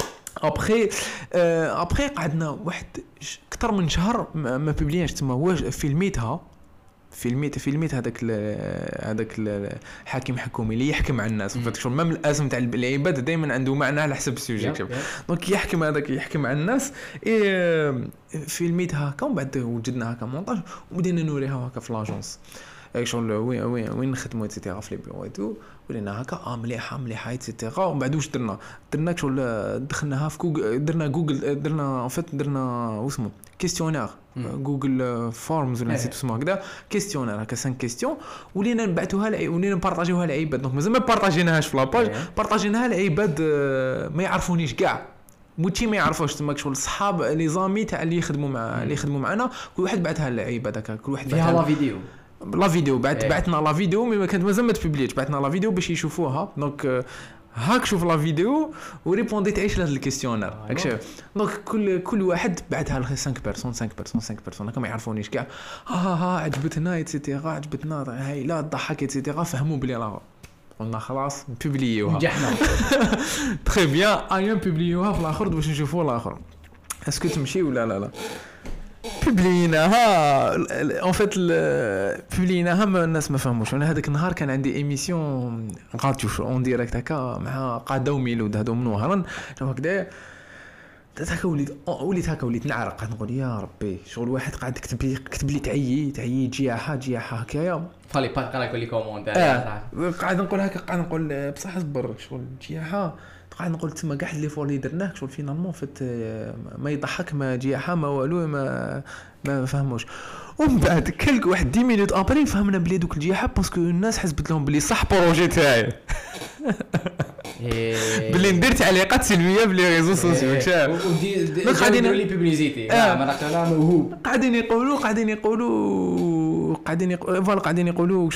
ابخي قعدنا واحد اكثر من شهر ما بوبلياش تما هو فيلميت هذاك الحاكم حكومي اللي يحكم على الناس شغل مام الاسم تاع العباد دائما عنده معنى على حسب السوجي دونك يحكم على الناس فيلميت هكا ومن بعد وجدنا هكا مونتاج وبدينا نوريها هكا في لاجونس شغل وين نخدموا ايتترا في لي بيرو ايتو ولينا هكا مليحه ايتترا ومن بعد واش درنا شغل دخلناها في جوجل درنا درنا واسمو كيستيونير جوجل فورمز ولا نسيت اسمه هكذا كيستيونير هكا 5 كيستيون ولينا نبعثوها ولينا نبارطاجيوها للعباد دونك مازال ما بارطاجيناهاش في لاباج بارطاجيناها للعباد ما يعرفونيش كاع موتشي ما يعرفوش تما شغل صحاب لي زامي تاع اللي يخدموا معنا كل واحد بعثها للعباد هكا كل واحد فيها لا فيديو بعثنا لا فيديو مي ما كانت مازال ما تبليتش بعثنا لا فيديو باش يشوفوها دونك هاك شوف لا فيديو وريبوندي تعيش لهاد الكيستيونير هاك دونك كل واحد بعثها ل 5 بيرسون هكا ما يعرفونيش كاع عجبتنا ايتترا عجبتنا هايله ضحك ايتترا فهموا بلي راه قلنا خلاص نبوبليوها نجحنا تري بيان ايام بوبليوها في الاخر باش نشوفوا الاخر اسكو تمشي ولا لا بوبليناها اون فيت بوبليناها الناس ما فهموش انا هذاك النهار كان عندي ايميسيون غاتيو اون ديريكت هكا مع قاده وميلود هادو من وهران هكذا هكا وليت نعرق قاعد نقول يا ربي شغل واحد قاعد كتب لي تعيي جياحه هكايا فالي با قال لي كوموند قاعد نقول بصح صبر شغل جياحه قاعد نقول تما كاع لي فور اللي درناه شغل فينالمون فت ما يضحك ما جياحه ما والو ما فهموش ومن بعد كلك واحد 10 مينوت ابري فهمنا بلي دوك الجياحه باسكو الناس حسبت لهم بلي صح بروجي تاعي بلي ندير تعليقات سلبيه بلي ريزو سوسيو ودي قاعدين لي بوبليسيتي انا موهوب قاعدين يقولوا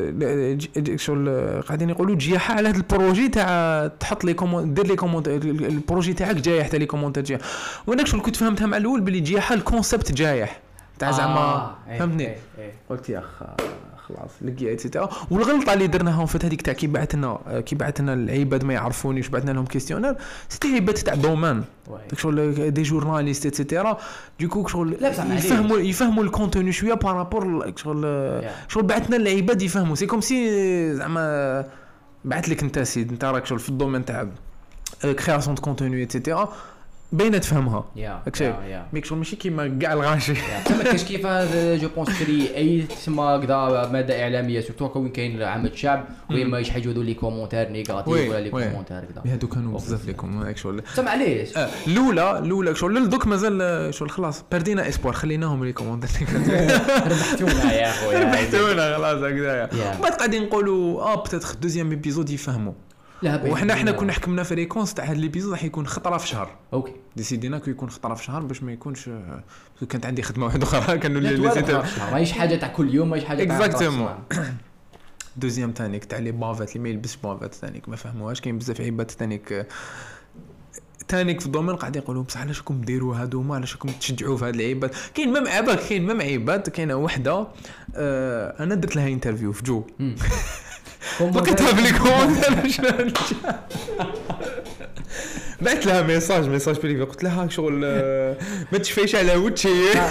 شغل قاعدين يقولوا جياحه على هذا البروجي تاع تحط لي كومون دير لي كومون البروجي تاعك جايح تاع لي كومونتير جايح وانا شغل كنت فهمتها مع الاول بلي جياحه الكونسيبت جايح تاع زعما فهمتني قلت يا خلاص لقيت ايتترا والغلطه اللي درناها في هذيك تاع كي بعثنا العباد ما يعرفونيش بعثنا لهم كيستيونير سيتي عباد تاع دومان شغل دي جورناليست ايتترا دوكو شغل يفهموا الكونتوني شويه بارابور شغل بعثنا للعباد يفهموا سي كوم سي زعما بعث لك انت سيد انت راك شغل في الدومين تاع كرياسيون دو كونتوني ايتترا باينه تفهمها هكا ميك شغل ماشي كيما كاع الغاشي ما كاينش كيف جو بونس كري اي تسمى كذا ماده اعلاميه سورتو كون كاين عامه الشعب وين ما يحاجوا لي كومونتير نيجاتيف ولا لي كومونتير كذا هادو كانوا بزاف لي كومونتير شغل سمع عليه الاولى شغل دوك مازال شغل خلاص بردينا اسبوار خليناهم لي كومونتير ربحتونا يا خويا ربحتونا خلاص هكذا بعد قاعدين نقولوا بتاتخ دوزيام ايبيزود يفهموا وحنا كنا حكمنا فريكونس تاع هاد ليبيزود راح يكون خطره في شهر اوكي ديسيدينا كو يكون خطره في شهر باش ما يكونش كانت عندي خدمه واحده اخرى كانوا لي ماهيش حاجه تاع كل يوم ماهيش حاجه تاع اكزاكتومون دوزيام تانيك تاع لي بافات اللي ما يلبس بافات تانيك ما فهموهاش كاين بزاف عباد تانيك في الدومين قاعدين يقولوا بصح علاش راكم ديروا هادوما علاش راكم تشجعوا في هاد العباد كاين مام عباد كاينه وحده انا درت لها انترفيو في جو وكتبها لي كومونتير بعث لها ميساج بريفي قلت لها شغل ما تشفيش على وجهي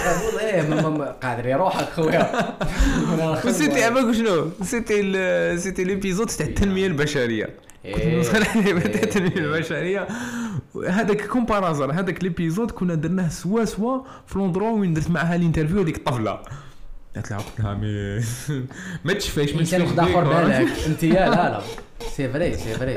قادر يروحك خويا. وسيتي عباك شنو سيتي ليبيزود تاع التنميه البشريه. كنت نوصل عليه تاع التنميه البشريه. هذاك كومبارازر هذاك ليبيزود كنا درناه سوا في لوندرو وين درت معها الانترفيو هذيك الطفله. قالت لها ما تشفيش من انت داخل بالك انت لا سي فري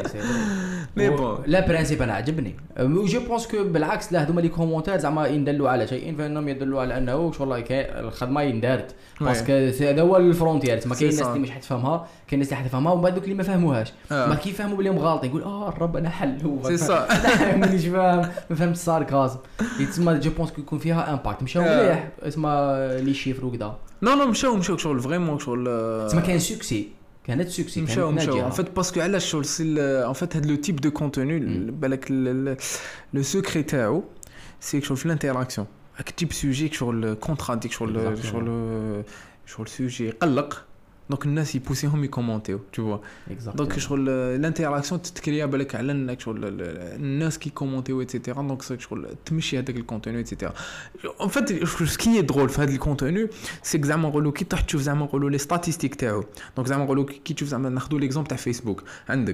مي بون لا برينسيپ انا عجبني جو بونس كو بالعكس لا هذوما لي كومونتير زعما يدلوا على شيء فانهم يدلوا على انه والله الخدمه يندارت باسكو هذا هو الفرونتيير ما كاين الناس اللي مش حتفهمها كاين الناس اللي حتفهمها ومن بعد دوك اللي ما فهموهاش ما كيفهموا بلي مغالطين يقول الرب انا حل سي صا مانيش فاهم ما فهمت الساركازم تسمى جو بونس كو يكون فيها امباكت مشاو مليح اسمها لي شيفر وكذا نو مشاو شغل فريمون شغل تسمى كاين سوكسي كانت سوكسي مشاو ان فيت باسكو علاش شغل سي ان فيت هاد لو تيب دو كونتوني بالك لو سيكري تاعو سي شغل في الانتراكسيون هاك تيب سوجي شغل كونتراديك شغل سوجي يقلق دونك الناس يبوسيهم يكومونتيو تو فوا دونك شغل الانتراكسيون تتكريا بالك على انك شغل الناس كي كومونتيو ايتترا دونك شغل تمشي هذاك الكونتوني ايتترا ان فيت سكي درول في هذا الكونتوني سي زعما نقولوا كي تروح تشوف زعما نقولوا لي ستاتيستيك تاعو دونك زعما نقولوا كي تشوف زعما ناخذوا ليكزومبل تاع فيسبوك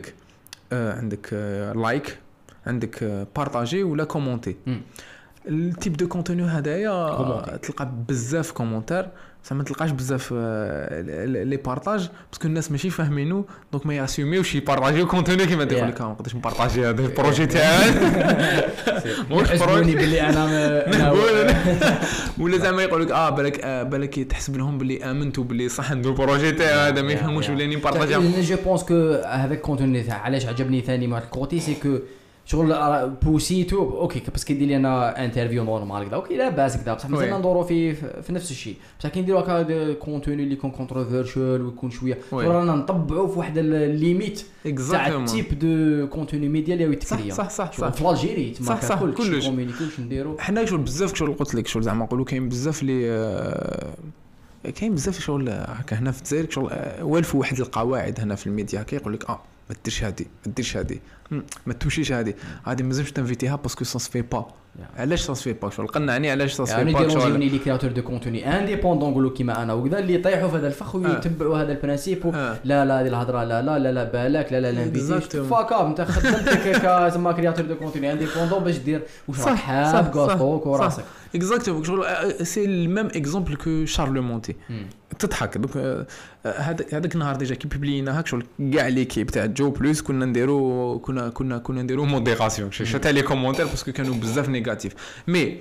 عندك لايك عندك بارطاجي ولا كومونتي التيب دو كونتوني هذايا تلقى بزاف كومونتير ما تلقاش بزاف لي بارطاج باسكو الناس ماشي فاهمينو دونك ما ياسوميوش يبارطاجيو كونتوني كيما تقول لك ما نقدرش نبارطاجي هذا البروجي تاعي واش بروجي بلي انا ولا زعما يقول لك بالك تحسب لهم بلي امنتوا بلي صح ندير البروجي تاعي هذا ما يفهموش ولا نبارطاجي جو بونس كو هذاك الكونتوني تاع علاش عجبني ثاني مع الكوتي سي كو شغل بوسيتو اوكي بس كيدير لي انا انترفيو نورمال كذا اوكي لا باس كذا بصح مازال ندورو في نفس الشيء بصح كي نديرو هكا كونتوني اللي يكون كونتروفيرشال ويكون شويه رانا نطبعوا في واحد الليميت تاع التيب دو كونتوني ميديا اللي يتكريا صح في الجيري تما كلش كومونيكيشن نديرو حنا شغل بزاف شغل قلت لك شغل زعما نقولوا كاين بزاف كاين بزاف شغل هكا هنا في الجزائر شغل والفوا واحد القواعد هنا في الميديا هكا يقول لك ما ديرش هذه ما توشيش هذه مازالش تنفيتيها باسكو سا سفي با علاش سا سفي با شغل قنعني علاش سا سفي با شغل يعني لي كرياتور دو كونتوني انديبوندون نقولوا كيما انا وكذا اللي يطيحوا في هذا الفخ ويتبعوا هذا البرانسيب لا هذه الهضره لا بالك لا نفيتيش فاكا انت خدمتك كما كرياتور دو كونتوني انديبوندون باش دير واش راك حاب غاطوك وراسك اكزاكتومون شغل سي الميم اكزومبل كو شارلمونتي تضحك دونك هذاك النهار ديجا كي بوبلينا هاك شغل كاع ليكيب تاع جو بلس كنا نديرو موديراسيون شتا لي كومونتير باسكو كانوا بزاف نيجاتيف مي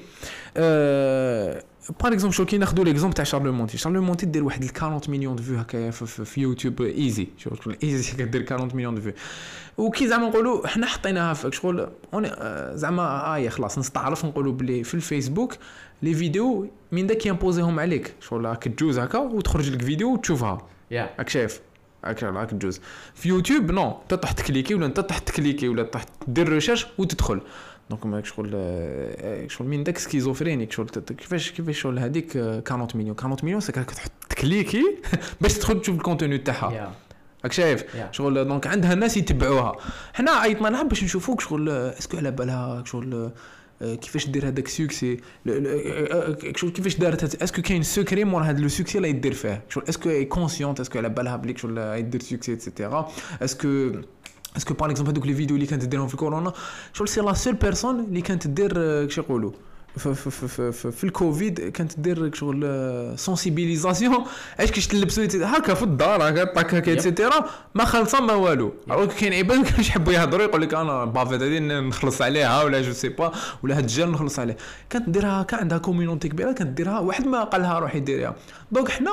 باغ اكزومبل شو كي ناخذوا ليكزومبل تاع شارلمونتي دير واحد 40 مليون دو فيو هكا في يوتيوب ايزي شغل ايزي كدير 40 مليون دو فيو وكي زعما نقولوا حنا حطيناها في شغل زعما خلاص نستعرف نقولوا بلي في الفيسبوك لي فيديو من داك يمبوزيهم عليك شغل راك تجوز هكا وتخرج لك فيديو وتشوفها راك شايف راك تجوز في يوتيوب نو تطح تكليكي ولا انت تطح تكليكي ولا تطح دير ريشيرش وتدخل دونك ماك شغل من داك سكيزوفرينيك شغل كيفاش شغل هذيك 40 مليون ساك تحط تكليكي باش تدخل تشوف الكونتوني تاعها راك شايف شغل دونك عندها الناس يتبعوها حنا عيطنا لها باش نشوفوك شغل اسكو على بالها شغل كيفاش دير هذاك سوكسي شغل كيفاش دارت اسكو كاين سكري مور هذا لو سوكسي لا يدير فيه شغل اسكو اي كونسيونت اسكو على بالها بليك شغل يدير سوكسي ايتترا اسكو باغ اكزومبل هذوك لي فيديو اللي كانت ديرهم في الكورونا شغل سي لا سول بيرسون اللي كانت دير كش يقولوا في الكوفيد كانت دير شغل سونسيبيليزاسيون اش كيش تلبسوا هكا في الدار هكا طاك هكا ايتترا ما خلصا ما والو راك كاين عباد كانش يحبوا يهضروا يقول لك انا بافيت هذه نخلص عليها ولا جو سي با ولا هاد الجير نخلص عليه كانت ديرها هكا عندها كوميونيتي كبيره كانت ديرها واحد ما قالها روحي ديريها دونك حنا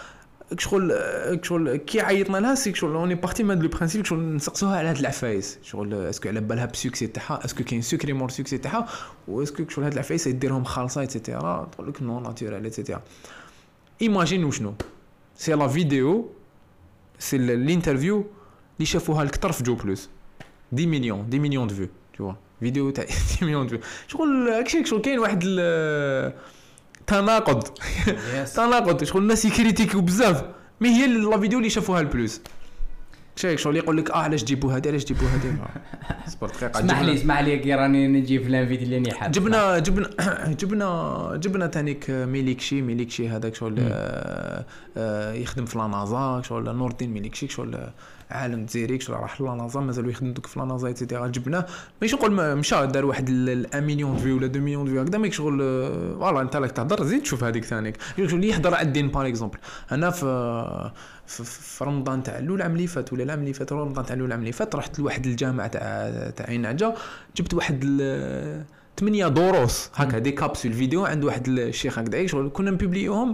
شغل كي عيطنا لها سي شغل اوني بارتي من لو برينسيپ شغل نسقسوها على هاد العفايس شغل اسكو على بالها بسوكسي تاعها اسكو كاين سكري مور سوكسي تاعها واسكو شغل هاد العفايس يديرهم خالصه ايتترا تقول لك نو ناتورال ايتترا ايماجين شنو سي لا فيديو سي الانترفيو اللي شافوها الكثر في جو بلس 10 مليون دو فيو تو فيديو تاع 10 مليون دو فيو شغل هكاك شغل كاين واحد تناقض شغل الناس يكريتيكيو بزاف مي هي لا فيديو اللي شافوها البلوس شيك شغل يقول لك علاش جيبوا هذه علاش جيبوا هذه صبر دقيقه اسمح لي كي راني نجي في لانفيتي اللي راني حاب جبنا تانيك ميليكشي هذاك شغل يخدم في لانازا شغل نور الدين ميليكشي شغل عالم جزيري شغل راح لانازا مازالوا يخدموا دوك في لانازا ايتترا جبناه ماشي نقول مشى دار واحد 1 مليون فيو ولا 2 مليون فيو هكذا ماك شغل فوالا انت راك تهضر زيد تشوف هذيك ثانيك شغل يحضر على الدين باغ اكزومبل انا في رمضان تاع الاول العام اللي فات ولا العام اللي فات رمضان تاع الاول العام اللي فات رحت لواحد الجامع تاع عين عجا جبت واحد 8 دروس هكا دي كابسول فيديو عند واحد الشيخ هكذا شغل كنا نبوبليوهم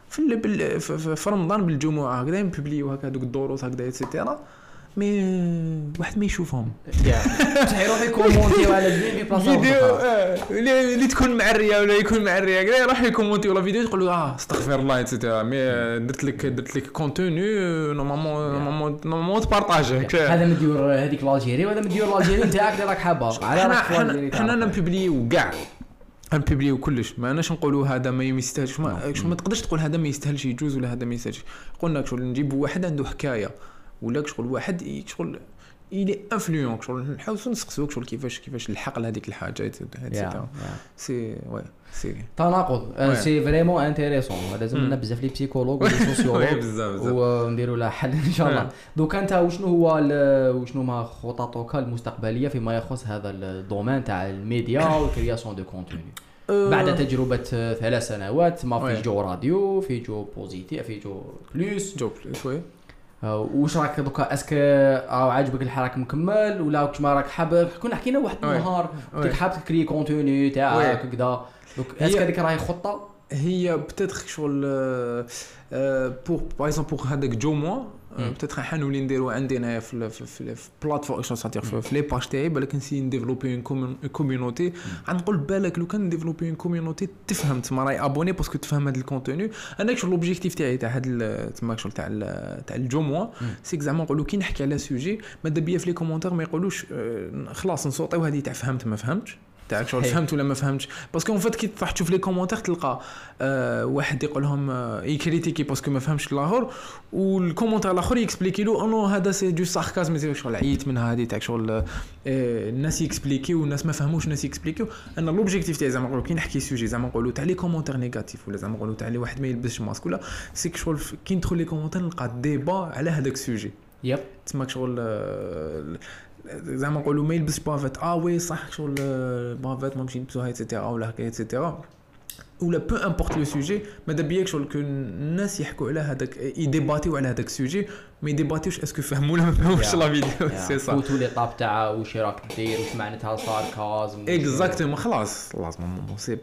في رمضان بالجمعه هكذا نبوبليو هكا دوك الدروس هكذا ايتترا مي واحد ما يشوفهم صح يروح يكومونتي على الفيديو فيديو اللي تكون معريه ولا يكون معريه كذا يروح يكومونتي ولا فيديو يقول له استغفر الله ايتترا مي درت لك كونتوني نورمالمون تبارطاجيه هذا مديور هذيك الجيري وهذا مديور الجيري نتاعك اللي راك حابه على راك حنا نبوبليو كاع نبوبليو كلش ما اناش نقولوا هذا ما يستاهلش ما تقدرش تقول هذا ما يستاهلش يجوز ولا هذا ما يستاهلش قلنا شغل نجيبوا واحد عنده حكايه ولا شغل واحد شغل إلي انفلونس شغل نحاولوا نسقسوك شغل كيفاش الحق لهذيك الحاجه هذيك سي وي سي تناقض سي فريمون انتريسون لازم لنا بزاف لي بسيكولوج ولي سوسيولوج ونديروا لها حل ان شاء الله دوك انت وشنو ما خططك المستقبليه فيما يخص هذا الدومين تاع الميديا والكرياسيون دو كونتوني بعد تجربه 3 سنوات ما في جو راديو في جو بوزيتيف في جو بلوس وي واش راك دوكا اسكو عاجبك الحراك مكمل ولا واش ما راك حابب كنا حكينا واحد النهار كنت حابب تكري كونتوني تاعك هكذا دوك اسكو هذيك راهي خطه هي بتاتخ شغل بور باغ اكزومبل هذاك جو موا بتاتخ حنولي نديرو عندنا في بلاتفورم في لي باج تاعي بالك نسي نديفلوبي اون كوميونيتي غنقول بالك لو كان نديفلوبي اون كوميونيتي تفهم تما راهي ابوني باسكو تفهم هذا الكونتوني انا شغل لوبجيكتيف تاعي تاع هذا تما شغل تاع الجو موا سيك زعما نقولوا كي نحكي على سوجي ماذا بيا في لي كومونتير ما يقولوش خلاص نصوتيو هذه تاع فهمت ما فهمتش تاعك شغل فهمت ولا ما فهمتش باسكو اون فات كي تروح تشوف لي كومونتير تلقى واحد يقول لهم يكريتيكي باسكو ما فهمش الاخر والكومونتير الاخر يكسبليكي له انه هذا سي دو ساركازم شغل عييت منها هذه تاعك شغل الناس يكسبليكيو والناس ما فهموش الناس يكسبليكيو انا لوبجيكتيف تاعي زعما نقولوا كي نحكي سوجي زعما نقولوا تاع لي كومونتير نيجاتيف ولا زعما نقولوا تاع لي واحد ما يلبسش ماسك ولا سيك شغل كي ندخل لي كومونتير نلقى ديبا على هذاك السوجي يب تسمى شغل زعما نقولوا ما يلبسش بافيت وي صح شغل بافيت ما نمشي نلبسوها ايتترا ولا هكا ايتترا ولا بو امبورط لو سوجي ماذا بيك شغل كو الناس يحكوا على هذاك يديباتيو على هذاك السوجي ما يديباتيوش اسكو فهموا ولا ما فهموش لا فيديو سي صح فوتوا لي طاب تاع واش راك دير واش معناتها ساركازم اكزاكتومون خلاص نورمالمون سي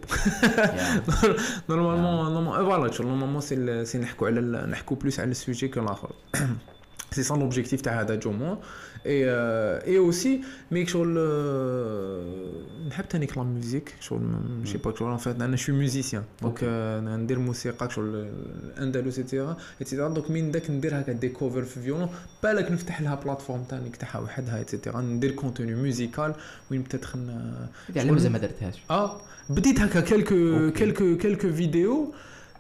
نورمالمون فوالا شغل نورمالمون سي نحكوا بلوس على السوجي كو الاخر سي سون لوبجيكتيف تاع هذا جومون اي اوسي ميك شغل نحب تاني لا ميوزيك شغل ماشي با شغل ان فيت انا شوي ميوزيسيان دونك ندير موسيقى شغل اندلس ايتترا دونك من داك ندير هكا دي كوفر في فيولون بالك نفتح لها بلاتفورم تاني تاعها وحدها ايتترا ندير كونتوني ميوزيكال وين بتاتخ يعني مازال ما درتهاش بديت هكا كلكو فيديو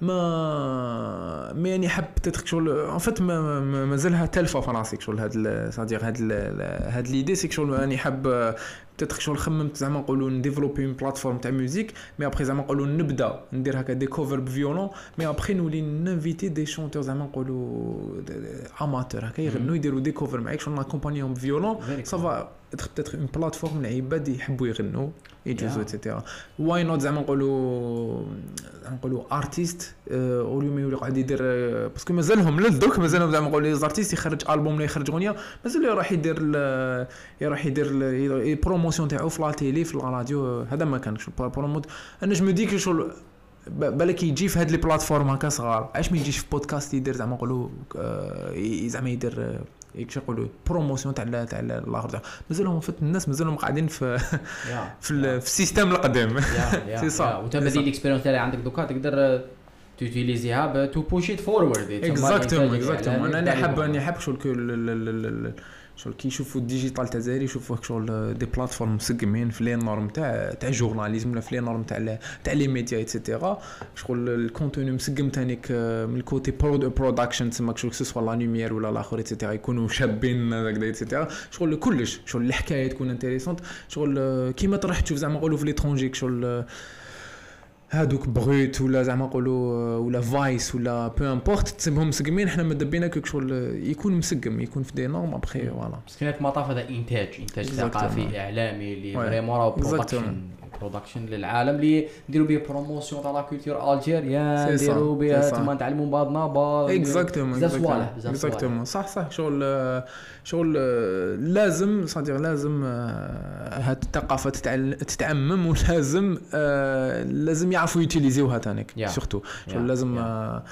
ما يعني حب تدخل ان فيت مازالها تلفه في راسي شغل هاد صادير هاد ليدي سي شغل راني حب تدخل خممت زعما نقولوا نديفلوبي اون بلاتفورم تاع ميوزيك مي ابري زعما نقولوا نبدا ندير هكا دي كوفر بفيولون مي ابري نولي نانفيتي دي شونتور زعما نقولوا اماتور هكا يغنوا يديروا دي كوفر معاك شغل ناكومبانيهم بفيولون صافا peut-être une plateforme العباد يحبوا يغنوا يجوزوا ايتترا واي نوت زعما نقولوا ارتيست اوليو ما يولي قاعد يدير باسكو مازالهم للدوك مازالهم زعما نقولوا لي زارتيست يخرج البوم ولا يخرج اغنيه مازال يروح يدير بروموسيون تاعو في لا تيلي في الراديو هذا ما كانش بروموت انا جو مديك شغل بالك يجي في هاد لي بلاتفورم هكا صغار علاش ما يجيش في بودكاست يدير زعما نقولوا زعما يدير يكش يقولوا بروموسيون تاع الاخر مازالهم فت الناس مازالهم قاعدين في السيستم القديم سي صح وتبدي الاكسبيرينس تاعي عندك دوكا تقدر تيوتيليزيها تو بوش ات فورورد اكزاكتومون انا حاب شغل شغل كي يشوفوا الديجيتال تاع الجزائر يشوفوه شغل دي بلاتفورم مسقمين في لي نورم تاع جورناليزم ولا في لي نورم تاع لي ميديا ايتترا شغل الكونتوني مسقم تانيك من الكوتي برودكشن تسمى شغل سوا لا لوميير ولا الاخر ايتترا يكونوا شابين هكذا ايتترا شغل كلش شغل الحكايه تكون انتريسونت شغل كيما تروح تشوف زعما نقولوا في ليترونجي شغل هادوك بروت ولا زعما نقولوا ولا فايس ولا بو امبورت تسمهم مسقمين حنا ماذا بينا كيك شغل يكون مسقم يكون في دي نورم ابخي فوالا بس كانت مطاف هذا انتاج ثقافي اعلامي اللي فريمون راه برودكشن للعالم اللي نديروا به بروموسيون تاع لا كولتور الجيريان نديروا بها تما نتعلموا بعضنا بعض اكزاكتومون صح شغل لازم صديق لازم هاد الثقافه تتعمم ولازم لازم يعرفوا يوتيليزيوها تانيك سورتو شغل لازم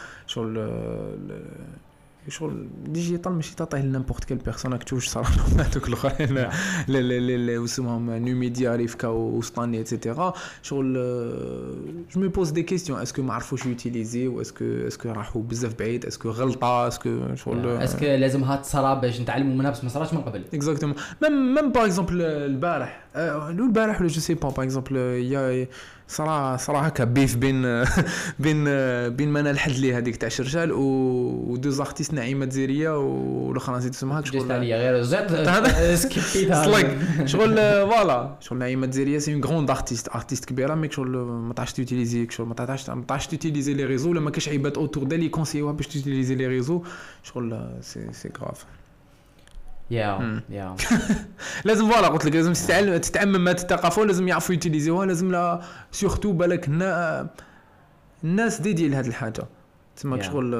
شغل ديجيتال ماشي تعطيه لنيمبورت كيل بيرسون راك تشوف صراحه هذوك الاخرين لا واسمهم نيو ميديا ريفكا وسطاني ايتترا شغل جو مي بوز دي كيستيون اسكو ما عرفوش يوتيليزي اسكو راحوا بزاف بعيد اسكو غلطه اسكو شغل اسكو لازمها تصرا باش نتعلموا منها بس ما صراش من قبل اكزاكتومون ميم باغ اكزومبل البارح ولا جو سي با باغ اكزومبل يا صراحه هكا بيف بين منال الحدلي هذيك تاع شرشال و دو زارتيست نعيمه الجزائريه والاخرى نسيت اسمها شغل عليا غير زاد سكيبيتها شغل فوالا شغل نعيمه الجزائريه سي اون غروند ارتيست كبيره ميك شغل ما تعرفش تيوتيليزي شغل ما تعرفش تيوتيليزي لي ريزو ولا ما كاش عيبات اوتور دالي كونسيوها باش تيوتيليزي لي ريزو شغل سي غراف يا لازم فوالا قلت لك لازم تتعمم هاد الثقافه لازم يعرفوا يوتيليزيوها لازم لا سورتو بالك الناس ديدي لهاد الحاجه تسمى شغل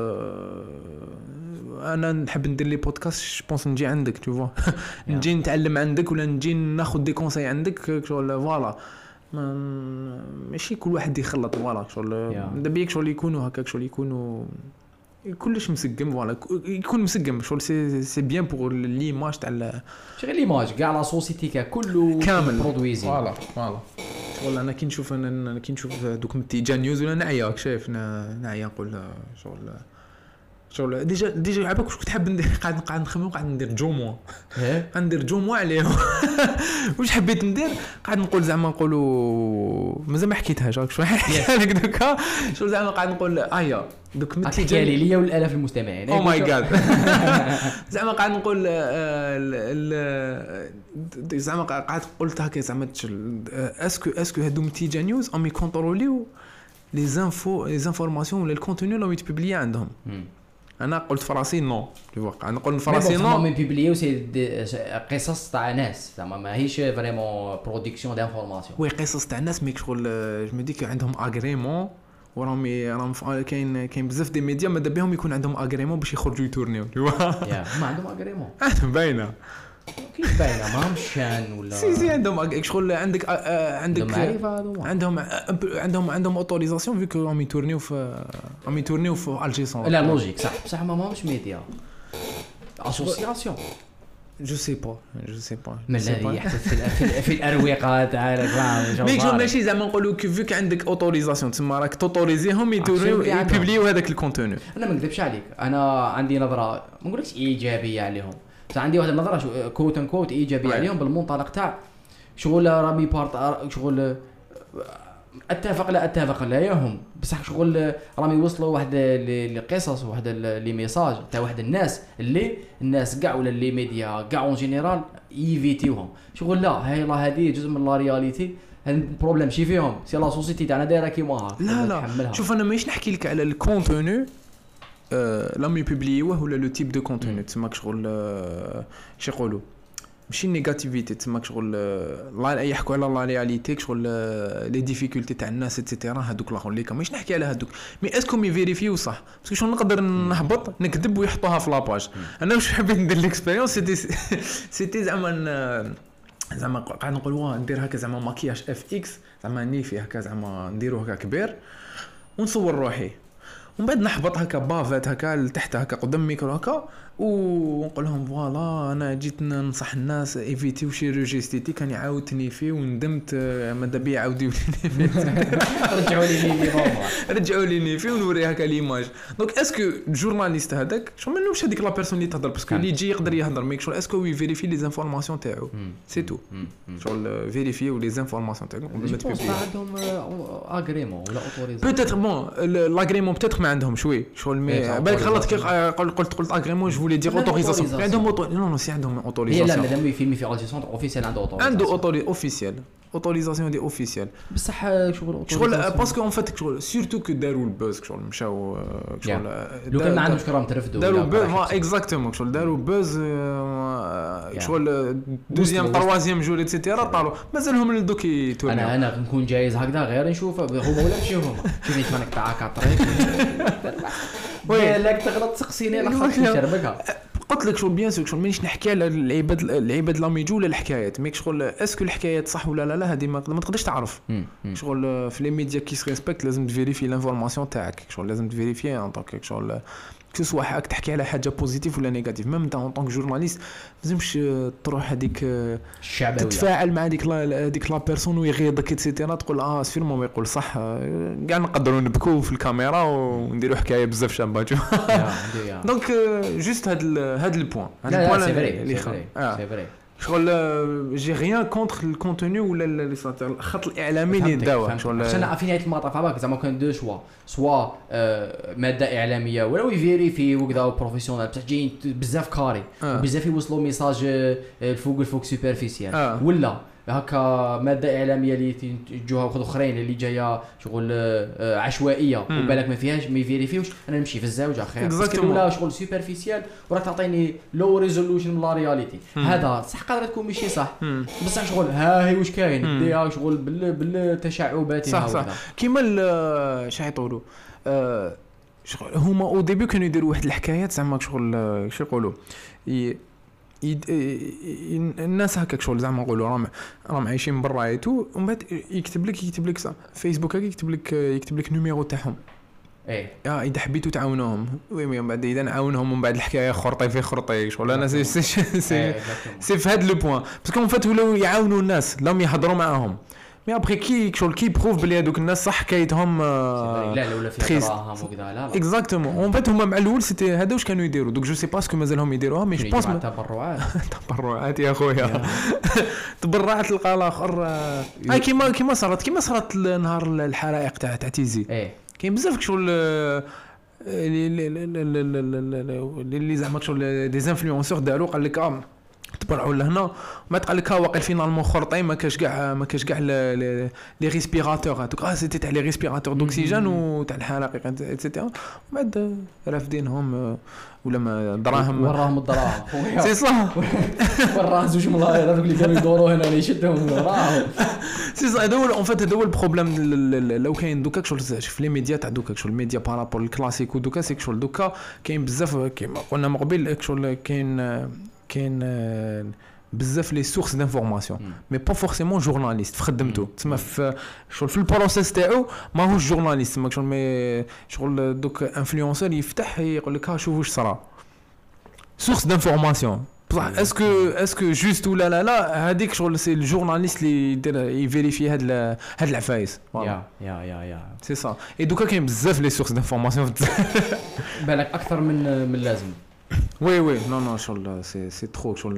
انا نحب ندير لي بودكاست بونس نجي عندك تو نجي نتعلم عندك ولا نجي ناخذ دي كونساي عندك شغل فوالا ماشي كل واحد يخلط فوالا شغل دابا شغل يكونوا هكاك شغل يكونوا كلش مسقم فوالا يكون مسقم شغل سي بيان بور ليماج تاع شغل ليماج كاع لا سوسيتي كله كامل برودويزي فوالا شغل انا كي نشوف دوك متيجا نيوز ولا نعيا شايف نعيا نقول شغل ديجا عباك واش كنت حاب ندير قاعد نخمم قاعد ندير جوموا ندير جوموا عليهم واش حبيت ندير قاعد نقول زعما نقولوا مازال ما حكيتهاش شويه لك دوكا شغل زعما قاعد نقول دوك متيجا ليا والالاف المستمعين او ماي جاد زعما قاعد نقول زعما قاعد قلت هكا زعما اسكو هادو متيجا نيوز ام يكونتروليو لي انفورماسيون ولا الكونتوني اللي يتببلي عندهم انا قلت فراسي نو قاعد نقول فراسي نو مي بيبليو سي قصص تاع ناس زعما ماهيش فريمون برودكسيون دانفورماسيون وي قصص تاع ناس ميك شغل جو مي ديك عندهم اغريمون وراهم كاين بزاف دي ميديا ماذا بهم يكون عندهم اغريمون باش يخرجوا يتورنيو يا ما عندهم اغريمون عندهم باينه كيف باينه ماهمش شان ولا سي عندهم شغل عندك عندهم اوتوريزاسيون فيك راهم يتورنيو في الجيسون لا لوجيك صح بصح ماهمش ميديا اسوسياسيون جو سي با ما لا يحدث في الاروقه تاع ميك جو ماشي زعما نقولوا فيك عندك اوتوريزاسيون تما راك توتوريزيهم يبوبليو هذاك الكونتوني انا ما نكذبش عليك انا عندي نظره ما نقولكش ايجابيه عليهم بس عندي واحد النظره كوت ان كوت ايجابيه عليهم بالمنطلق تاع شغل رامي بارت شغل اتفق لا يهم بصح شغل رامي وصلوا واحد القصص واحد لي ميساج تاع واحد الناس كاع ولا لي ميديا كاع اون جينيرال يفيتيوهم شغل لا هاي لا هذه جزء من لا رياليتي البروبليم شي فيهم سي لا سوسيتي تاعنا دايره كيما هاك لا شوف انا ماشي نحكي لك على الكونتوني لام يبوبليوه ولا لو تيب دو كونتوني تسمى شغل شي يقولوا ماشي نيجاتيفيتي تسمى شغل لا يحكوا على لا رياليتي شغل لي ديفيكولتي تاع الناس ايتترا هذوك الاخرين اللي ماشي نحكي على هذوك مي اسكو مي فيريفيو صح باسكو شنو نقدر نهبط نكذب ويحطوها في لاباج انا واش حبيت ندير ليكسبيريونس سيتي زعما قاعد نقول واه ندير هكا زعما ماكياج اف اكس زعما نيفي هكا زعما نديرو هكا كبير ونصور روحي ومن بعد نحبط هكا بافات هكا لتحت هكا قدام الميكرو هكا ونقول لهم فوالا انا جيت ننصح الناس ايفيتيو شيروجي استيتيك، راني عاودتني فيه وندمت، ماذا بيا عاوديو لي فيه رجعوا لي نورمال، رجعوا لي فيه ونوري هكا ليماج. دونك اسكو الجورناليست هذاك شو منوش هذيك لا بيرسون اللي تهضر باسكو اللي يجي يقدر يهضر ميك شغل اسكو يفيريفي لي زانفورماسيون تاعو سي تو شغل فيريفيو لي زانفورماسيون تاعو قبل ما تبيبلي. عندهم اغريمون ولا اوتوريزاسيون بوتيتر بون لاغريمون بوتيتر ما عندهم شوي شغل مي بالك غلط كي قلت اغريمون جو فولي دير اوتوريزاسيون عندهم نو سي عندهم هي لا اوتوريزاسيون مادام يفيلمي في اجيسون اوفيسيال عنده عنده اوتوريزاسيون اوفيسيال اوتوريزاسيون دي اوفيسيال بصح شغل باسكو اون فات شغل سورتو كو داروا البوز شغل مشاو شغل لو كان ما عندهمش كرام ترفدوا داروا بوز اكزاكتومون شغل داروا بوز شغل دوزيام تروازيام جور اتسيتيرا طالوا مازالهم لدوك يتورنيو. انا نكون جايز هكذا غير نشوف هما ولا نمشي هما شوفني تمنك تاعك على الطريق بالك تغلط تسقسيني على خاطر نشربكها. قلت لك شغل بيان سور شغل مانيش نحكي على العباد لاميجو ولا الحكايات ميك شغل اسكو الحكايات صح ولا لا هذه ما تقدرش تعرف شغل في لي ميديا كي ريسبكت لازم تفيريفي لانفورماسيون تاعك شغل لازم تفيريفي ان طونك شغل كو سوا حاك تحكي على حاجه بوزيتيف ولا نيجاتيف ميم انت ان طونك جورناليست لازمش تروح هذيك الشعبويه تتفاعل مع هذيك لا بيرسون ويغيظك اتسيتيرا تقول سيرمون ما يقول صح كاع نقدروا نبكوا في الكاميرا ونديروا حكايه بزاف شابه دونك جوست هاد البوين اللي سي فري شغل جي ريان كونتر الكونتوني ولا الخط الاعلامي اللي داوه شغل عشان في نهايه المطاف هذاك زعما كان دو سوا ماده اعلاميه ولا يفيريفي وكذا بروفيسيونال بصح جايين بزاف كاري وبزاف يوصلوا ميساج الفوق سوبرفيسيال ولا هكا ماده اعلاميه اللي يجوها واحد اخرين اللي جايه شغل عشوائيه وبالك ما فيهاش ما يفيريفيوش انا نمشي في الزاوجه خير بس ولا شغل سوبرفيسيال وراك تعطيني لو ريزولوشن من لا رياليتي هذا صح قادر تكون ماشي صح بصح شغل ها هي واش كاين ديها شغل بالتشعبات صح كيما شنو يطولوا شغل هما او ديبي كانوا يديروا واحد الحكايات زعما شغل شو يقولوا الناس هكاك شغل زعما نقولوا راهم عايشين برا ايتو ومن بعد يكتب لك فيسبوك هكا يكتب لك نيميرو تاعهم اذا حبيتوا تعاونوهم وي من بعد اذا نعاونهم ومن بعد الحكايه خرطي في خرطي شغل انا سي في هذا لو بوين باسكو فات ولاو يعاونوا الناس لهم يهضروا معاهم مي ابري كي شغل كي بروف بلي هذوك الناس صح حكايتهم لا ولا في دراهم وكذا لا اكزاكتومون اون فات هما مع الاول سيتي هذا واش كانوا يديروا دوك جو سي باسكو مازالهم يديروها مي جو بونس تبرعات يا خويا تبرعات تلقى الاخر كيما صارت نهار الحرائق تاع تيزي كاين بزاف شغل اللي زعما شغل دي انفلونسور داروا قال لك تبرعوا لهنا ما تقال لك واقيل فينالمون خرطي ما كاش كاع لي ريسبيراتور هذوك سيتي تاع لي ريسبيراتور دوكسيجين وتاع الحرائق ايتترا وبعد رافدينهم ولا ما دراهم وراهم الدراهم سي صح وراه زوج ملاير هذوك اللي كانوا يدوروا هنا اللي يشدهم وراهم سي صح هذا هو اون فات هذا هو البروبليم لو كاين دوكا شغل في لي ميديا تاع دوكا شغل الميديا بارابول الكلاسيك ودوكا سي شغل دوكا كاين بزاف كيما قلنا من قبل شغل كاين بزاف لي سورس دانفورماسيون مي با فورسيمون جورناليست في خدمته تسمى في شغل في البروسيس تاعو ماهوش جورناليست تسمى شغل مي شغل دوك انفلونسور يفتح يقول لك شوف واش صرا سورس دانفورماسيون بصح اسكو جوست ولا لا هذيك شغل سي الجورناليست اللي يدير يفيريفي هاد العفايس يا سي صا اي دوكا كاين بزاف لي سورس دانفورماسيون بالك اكثر من اللازم وي نو شغل سي ترو شغل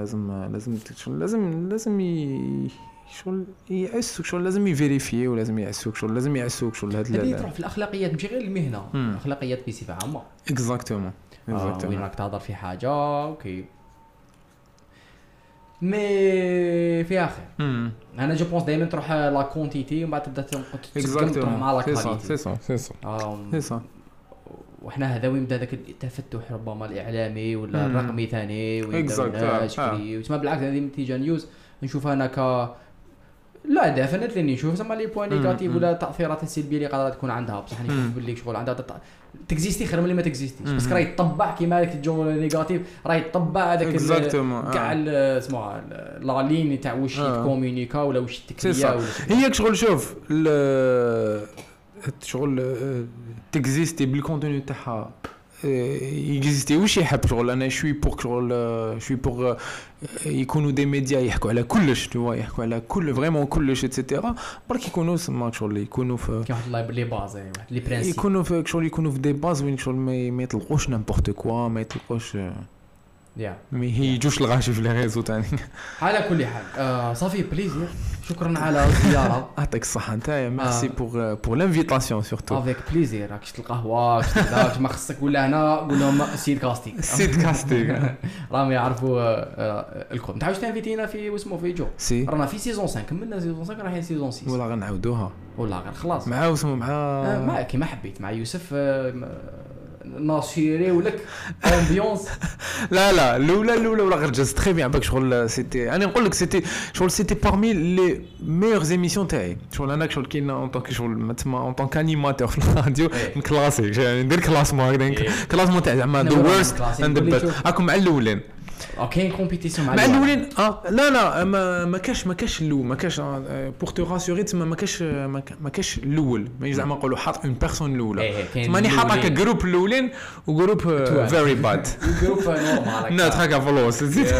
لازم شغل يعسوك شغل لازم يفيريفي ولازم يعسوك شغل هذا تروح في الاخلاقيات ماشي غير المهنه الاخلاقيات بصفه عامه اكزاكتومون وين راك تهضر في حاجه اوكي مي في اخر انا جو بونس دائما تروح لا كونتيتي ومن بعد تبدا تروح مع لا كاليتي سي صح وحنا هذا وين بدا ذاك التفتح ربما الاعلامي ولا الرقمي ثاني وين وتما بالعكس هذه تيجا نيوز نشوفها انا لا دافنت لاني نشوف زعما لي بوين نيجاتيف ولا التاثيرات السلبيه اللي قادره تكون عندها بصح نشوف باللي شغل عندها تكزيستي خير من اللي ما تكزيستيش بس راه يطبع كيما هذاك الجو نيجاتيف راه يطبع هذاك كاع اسمها لا لين تاع واش يكومونيكا ولا واش التكنيه هي شغل شوف شغل تكزيستي بالكونتوني تاعها يكزيستي واش يحب شغل انا شوي بور شغل شوي بور يكونوا دي ميديا يحكوا على كلش تو يحكوا على كل فريمون كلش ايتترا برك يكونوا سما شغل يكونوا في كاين واحد لي باز واحد لي برينسيپ يكونوا في شغل يكونوا في دي باز وين شغل ما يطلقوش نيمبورت كوا ما يطلقوش ما يجوش الغاشي في لي ريزو تاعي. على كل حال صافي بليزير شكرا على الزياره. يعطيك الصحه نتايا ميرسي بور لانفيتاسيون سورتو افيك بليزير. راك شفت القهوه شفت داك ما خصك ولا هنا قول لهم سيد كاستيك سيد كاستيك راهم يعرفوا الكل. انت عاوز تانفيتينا في واسمو في جو رانا في سيزون 5 كملنا سيزون 5 رايحين سيزون 6 ولا غنعاودوها ولا غير خلاص مع واسمو مع كيما حبيت مع يوسف ناصيري ولك امبيونس. لا الاولى ولا غير جاز تري بيان باك شغل سيتي انا نقول لك سيتي شغل سيتي بارمي لي ميور ايميسيون تاعي شغل انا شغل كاين اون طونك شغل تما اون طونك انيماتور في الراديو نكلاسي يعني ندير كلاسمون هكذا كلاسمون تاع زعما ذا وورست اند ذا بيست راكم مع الاولين كاين كومبيتيسيون مع الاولين لا ما كاش الاول ما كاش بور تو راسيوري تما ما كاش الاول ما زعما نقولوا حاط اون بيرسون الاولى ماني حاطك جروب الاولين وجروب فيري باد جروب نورمال نوت هكا فلوس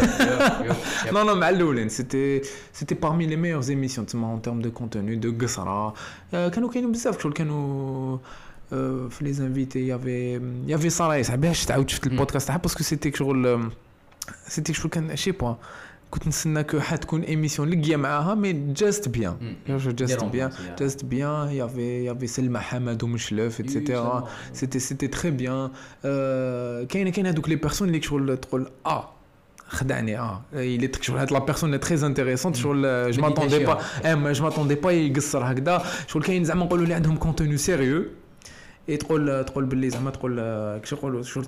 نو مع الاولين سيتي بارمي لي ميور ايميسيون تما اون تيرم دو كونتوني دو قصره كانوا كاينين بزاف شغل كانوا في لي انفيتي يافي صراي باش تعاود شفت البودكاست تاعها باسكو سيتي شغل سيتي شو كان شي بوان كنت نستنى كو حتكون ايميسيون لقيه معاها مي جاست بيان جاست بيان يافي سلمى حمد ومشلف ايتترا سيتي تري بيان كاين هذوك لي بيرسون اللي شغل تقول خدعني اللي شغل هاد لا بيرسون تري انتريسونت شغل جو ماتوندي با يقصر هكذا شغل كاين زعما نقولوا اللي عندهم كونتوني سيريو تقول باللي زعما تقول كيش يقولوا شغل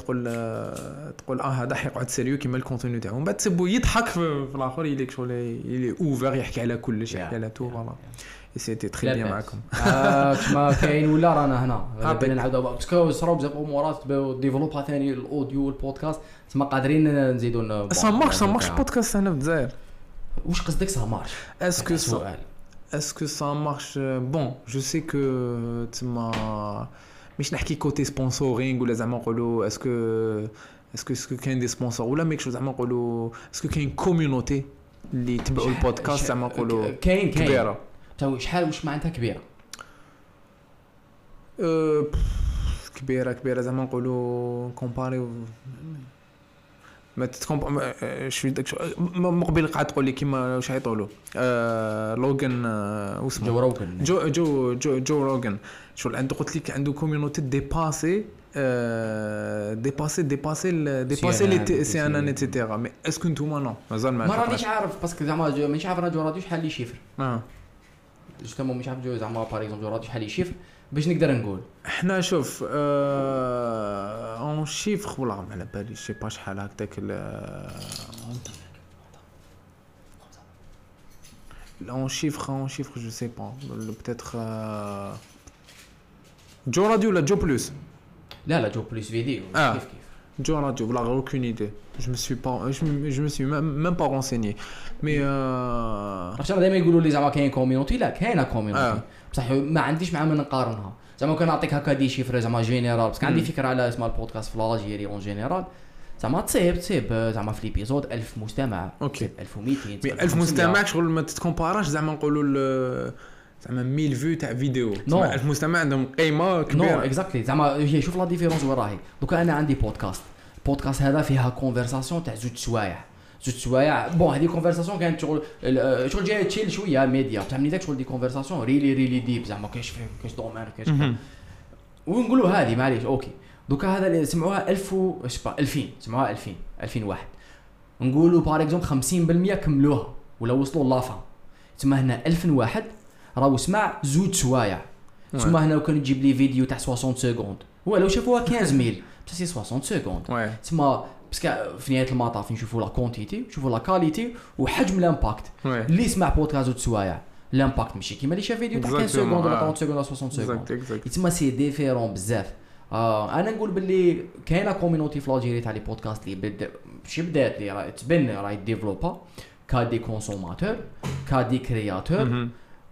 تقول هذا حيقعد سيريو كيما الكونتوني تاعو من بعد تسبو يضحك في الاخر يليك شغل يلي اوفر يحكي على كلش يحكي على تو فوالا سيتي تري بيان معكم كما كاين ولا رانا هنا بين نعاودوا باسكو صراو بزاف امورات ديفلوبا ثاني الاوديو والبودكاست تما قادرين نزيدوا سامارش بودكاست هنا في الجزائر واش قصدك سامارش Est-ce que ça marche bon je sais que تما مش نحكي كوتي سبونسورينغ ولا زعما نقولوا اسكو كاين دي سبونسور ولا ميك زعما نقولوا اسكو كاين كوميونيتي اللي يتبعوا البودكاست زعما نقولوا كاين كبيره تو شحال واش معناتها كبيره كبيره زعما نقولوا كومباري ما تتكم شوي داك مقبل قاعد تقول لي كيما واش يطولوا لوغان واسمه جو روغان شغل عنده قلت لك عنده كوميونيتي ديباسي لي سي ان ايتترا مي اسكو نتوما نو مازال ما رانيش عارف باسكو زعما مانيش عارف انا جو راديو شحال لي شيفر جوستومون مانيش عارف جو زعما باغ اكزومبل جو راديو شحال لي شيفر باش نقدر نقول احنا شوف اون شيفر ولا على بالي شي با شحال هكذاك اون شيفر جو سي با peut-être جو راديو ولا جو بلس لا جو بلس فيديو كيف جو راديو ولا aucune idée je me suis même pas renseigné mais عرفت دائما يقولوا لي زعما كاين كوميونيتي لا كاينه كوميونيتي بصح ما عنديش مع من نقارنها زعما كان نعطيك هكا دي شيفر زعما جينيرال باسكو عندي فكره على اسم البودكاست في لاجيري اون جينيرال زعما تصيب زعما في ليبيزود 1000 مستمع اوكي 1200 1000 مستمع شغل ما تتكومباراش زعما نقولوا زعما 1000 فيو تاع فيديو 1000 مستمع عندهم قيمه كبيره نو اكزاكتلي زعما هي شوف لا ديفيرونس وين راهي دوكا انا عندي بودكاست هذا فيها كونفرساسيون تاع زوج سوايع بون هذه كونفرساسيون كانت شغل جايه تشيل شويه ميديا فهمني داك شغل دي كونفرساسيون ريلي ديب زعما كاش دومين كاش ونقولوا هذه معليش اوكي دوكا هذا اللي سمعوها 1000 2000 سمعوها 2001 نقولوا باغ اكزومبل 50% كملوها ولا وصلوا لافا تما هنا 2001 راهو سمع زوج سوايع تما هنا كان تجيب لي فيديو تاع 60 سكوند ولو شافوها 15000 بس 60 سكوند تما باسكو في نهايه المطاف نشوفوا لا كونتيتي نشوفوا لا كاليتي وحجم الامباكت اللي يسمع بودكاست سوايع الامباكت ماشي كيما اللي شاف فيديو تاع 15 سكوند ولا 30 سكوند ولا 60 سكوند تما سي ديفيرون بزاف انا نقول باللي كاينه كوميونيتي في لاجيري تاع لي بودكاست اللي بدات اللي راه تبنى راه ديفلوبا كا دي كونسوماتور كا دي كرياتور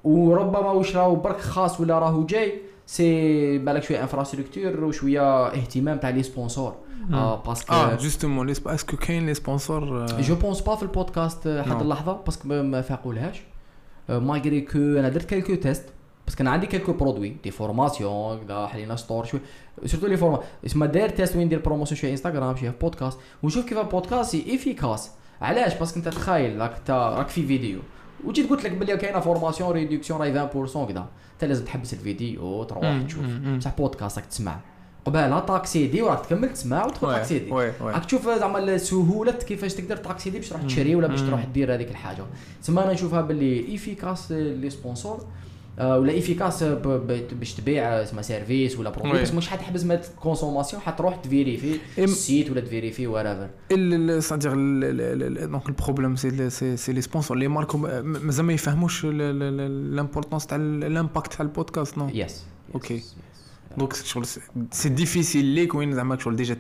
وربما واش راهو برك خاص ولا راهو جاي سي بالك شويه انفراستركتور وشويه اهتمام تاع لي سبونسور باسكو جوستومون اسكو كاين لي سبونسور جو بونس با في البودكاست حد اللحظه باسكو ما فاقولهاش ماغري كو انا درت كالكو تيست باسكو انا عندي كالكو برودوي دي فورماسيون كذا حلينا ستور شويه سورتو لي فورما اسمها داير تيست وين ندير بروموسيون شويه انستغرام شويه بودكاست ونشوف كيف البودكاست ايفيكاس علاش باسكو انت تخيل راك في فيديو وجيت قلت لك بلي كاينه فورماسيون ريدكسيون راهي 20% كذا انت لازم تحبس الفيديو تروح تشوف بصح بودكاست راك تسمع قبالها تاكسيدي وراك تكمل تسمع وتدخل تاكسيدي راك تشوف زعما سهوله كيفاش تقدر تاكسيدي باش تروح تشري ولا باش تروح دير هذيك الحاجه تسمى انا نشوفها باللي ايفيكاس لي سبونسور ولا ايفيكاس باش تبيع اسمها سيرفيس ولا برودوي بس مش حتحبس ما كونسوماسيون حتروح تفيريفي السيت ولا تفيريفي ورايفر c'est-à-dire donc le problème c'est les sponsors les marques مازال ما يفهموش l'importance تاع l'impact تاع البودكاست نو يس اوكي دونك سي ديفيسيل ليك وين زعما شغل ديجا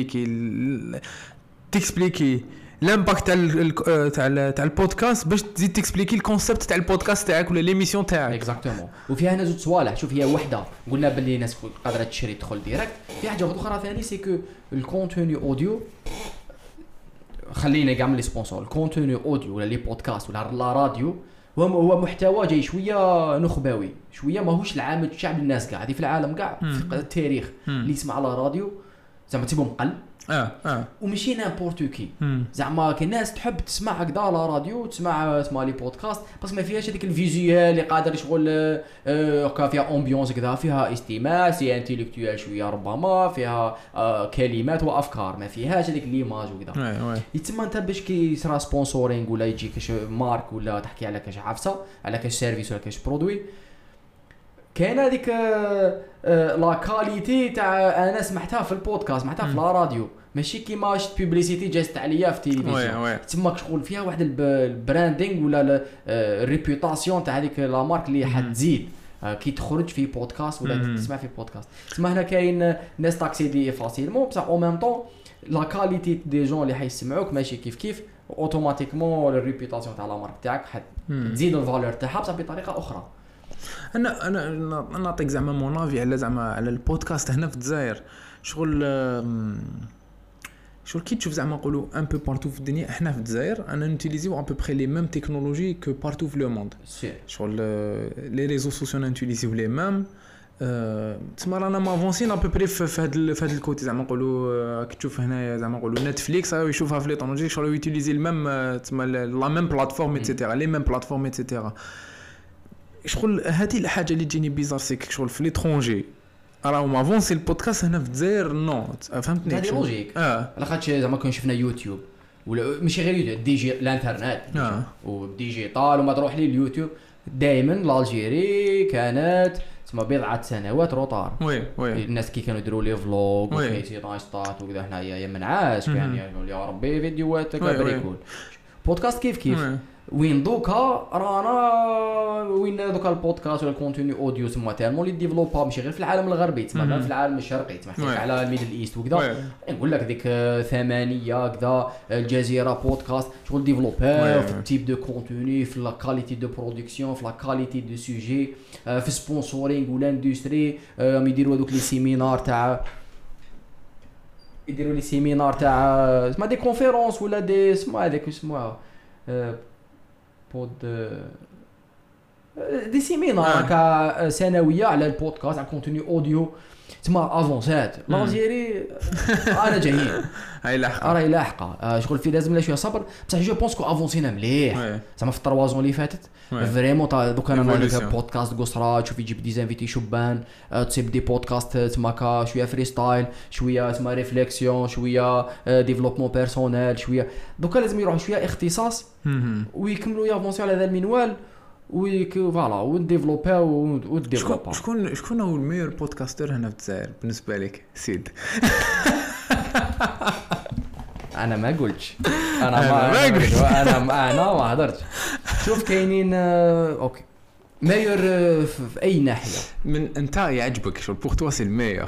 تكسبليكي لامباكت تاع البودكاست باش تزيد تكسبليكي الكونسيبت تاع البودكاست تاعك ولا ليميسيون تاعك اكزاكتومون وفيها هنا زوج صوالح شوف هي وحده قلنا باللي الناس قادره تشري تدخل ديريكت في حاجه اخرى ثاني سي كو الكونتوني اوديو خلينا كاع من لي سبونسور الكونتوني اوديو ولا لي بودكاست ولا لا راديو هو محتوى جاي شويه نخبوي شويه ماهوش العام الشعب الناس كاع هذه في العالم كاع في التاريخ اللي يسمع على راديو زعما تيبو مقل ومشي نامبورت كي زعما كاين ناس تحب تسمع هكذا على راديو تسمع لي بودكاست بس ما فيهاش هذيك الفيزيوال اللي قادر شغل فيها امبيونس كذا فيها استماع سي انتيليكتوال شويه ربما فيها كلمات وافكار ما فيهاش هذيك ليماج وكذا يتسمى انت باش كي يصرا سبونسورينغ ولا يجي كاش مارك ولا تحكي على كاش عفسه على كاش سيرفيس ولا كاش برودوي كاين هذيك لا كاليتي تاع انا سمعتها في البودكاست سمعتها في لا راديو ماشي كيما شفت بوبليسيتي جات عليا في التلفزيون تما شغل فيها واحد البراندينغ ولا الريبيوتاسيون تاع هذيك لا مارك اللي حتزيد كي تخرج في بودكاست ولا تسمع في بودكاست تسمى هنا كاين ناس تاكسيدي فاسيلمون بصح او ميم طون لا كاليتي دي جون اللي حيسمعوك ماشي كيف اوتوماتيكمون الريبيوتاسيون تاع لا مارك تاعك حتزيد الفالور تاعها بصح بطريقه اخرى انا نعطيك زعما مونافي على زعما على البودكاست هنا في الجزائر شغل كي تشوف زعما نقولوا ان بو بارتو في الدنيا احنا في الجزائر انا نوتيليزيو ان بو بري لي ميم تكنولوجي كو بارتو في لو موند شغل لي ريزو سوسيو نوتيليزيو لي ميم تسمى رانا مافونسين ا بو بري في هذا الكوتي زعما نقولوا كي تشوف هنايا زعما نقولوا نتفليكس يشوفها في لي طونجي شغل يوتيليزي الميم تسمى لا ميم بلاتفورم ايتترا لي ميم بلاتفورم ايتترا شغل هذه الحاجه اللي تجيني بيزار سيك شغل في ليترونجي راهو مافونسي البودكاست هنا في الجزائر نو فهمتني هذه لوجيك على خاطر زعما كون شفنا يوتيوب ولا ماشي غير يوتيوب ديجي الانترنت وديجيتال وما تروح لي اليوتيوب دائما الجيري كانت تسمى بضعه سنوات روطار وي الناس كي كانوا يديروا لي فلوغ وكيسي نايستات وكذا حنايا يا منعاش كان يقول يا ربي فيديوهات كبريكول بودكاست كيف وين دوكا رانا وين دوكا البودكاست ولا الكونتوني اوديو تما تالمون لي ديفلوبا ماشي غير في العالم الغربي تما في العالم الشرقي تما على الميدل ايست وكذا نقول لك ديك 8 كذا الجزيره بودكاست شغل ديفلوبر في التيب دو كونتوني في لا كاليتي دو برودكسيون في لا كاليتي دو سوجي في سبونسورينغ ولا اندستري يديروا هذوك لي سيمينار تاع يديروا لي سيمينار تاع اسمها دي كونفيرونس ولا دي اسمها هذاك اسمها دي سيمينار سنويه على البودكاست على كونتوني اوديو تما افونسات لالجيري انا جايين راهي لاحقه شغل في لازم لا شويه صبر بصح جو بونس كو افونسينا مليح زعما في 3 زون اللي فاتت فريمون دوكا انا بودكاست قصرى تشوف يجيب دي زانفيتي شبان تصيب دي بودكاست تما شويه فري ستايل شويه تما ريفليكسيون شويه ديفلوبمون بيرسونيل شويه دوكا لازم يروحوا شويه اختصاص ويكملوا يافونسيو على هذا المنوال فوالا ونديفلوبا وديفلوبا شكون هو الميور بودكاستر هنا في الجزائر بالنسبه لك سيد انا ما قلتش انا ما هضرتش شوف كاينين اوكي ميور في اي ناحيه من انت يعجبك شو بور توا سي الميور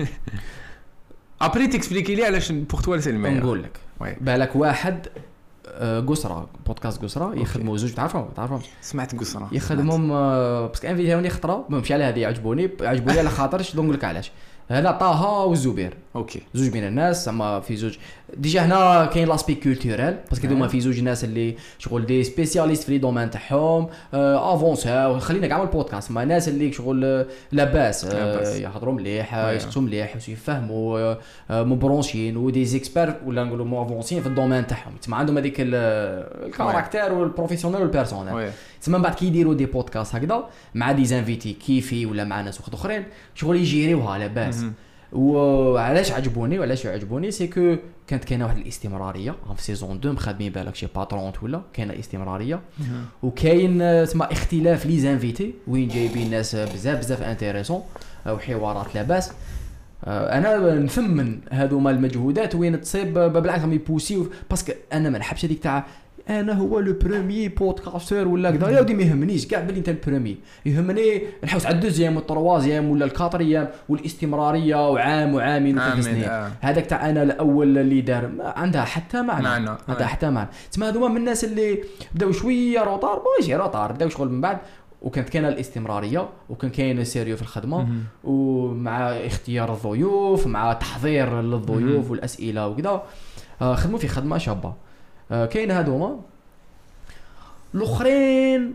ابري تكسبليكي لي علاش بور توا سي الميور نقول لك بالك واحد قسرة بودكاست قسرة يخدموا زوج تعرفهم سمعت قصرة يخدمهم باسكو انفيتيوني خطره ماشي على هذه عجبوني على خاطرش نقول لك علاش هذا طه والزبير اوكي زوج من الناس زعما في زوج ديجا هنا كاين لاسبي كولتورال باسكو دوما في زوج ناس اللي شغل دي سبيسياليست في لي دومين تاعهم افونسا خلينا كاع البودكاست مع ناس اللي شغل لاباس يهضروا مليح يسقسوا مليح يفهموا مبرونشين ودي زيكسبير ولا نقولوا مو افونسين في الدومين تاعهم تما عندهم هذيك الكاركتير والبروفيسيونيل والبيرسونيل تما من بعد كي يديروا دي بودكاست هكذا مع دي زانفيتي كيفي ولا مع ناس اخرين شغل يجيريوها لاباس وعلاش عجبوني سي كو كانت كاينه واحد الاستمراريه في سيزون 2 مخدمين بالك شي باترون ولا كاينه استمراريه وكاين تسمى اختلاف لي زانفيتي وين جايبين ناس بزاف انتريسون وحوارات لاباس انا نثمن هذوما المجهودات وين تصيب بالعكس هم يبوسيو باسكو انا ما نحبش هذيك تاع انا هو لو بروميي بودكاستور ولا كذا يا ودي ما يهمنيش كاع بلي انت البروميي يهمني نحوس على الدوزيام والتروازيام ولا الكاتريام والاستمراريه وعام وعامين وثلاث سنين هذاك تاع انا الاول اللي دار عندها حتى معنى تسمى هذوما من الناس اللي بداو شويه روطار ماشي روطار بداو شغل من بعد وكانت كاينه الاستمراريه وكان كاين السيريو في الخدمه ومع اختيار الضيوف مع تحضير للضيوف والاسئله وكذا خدموا في خدمه شابه كاين هذوما الاخرين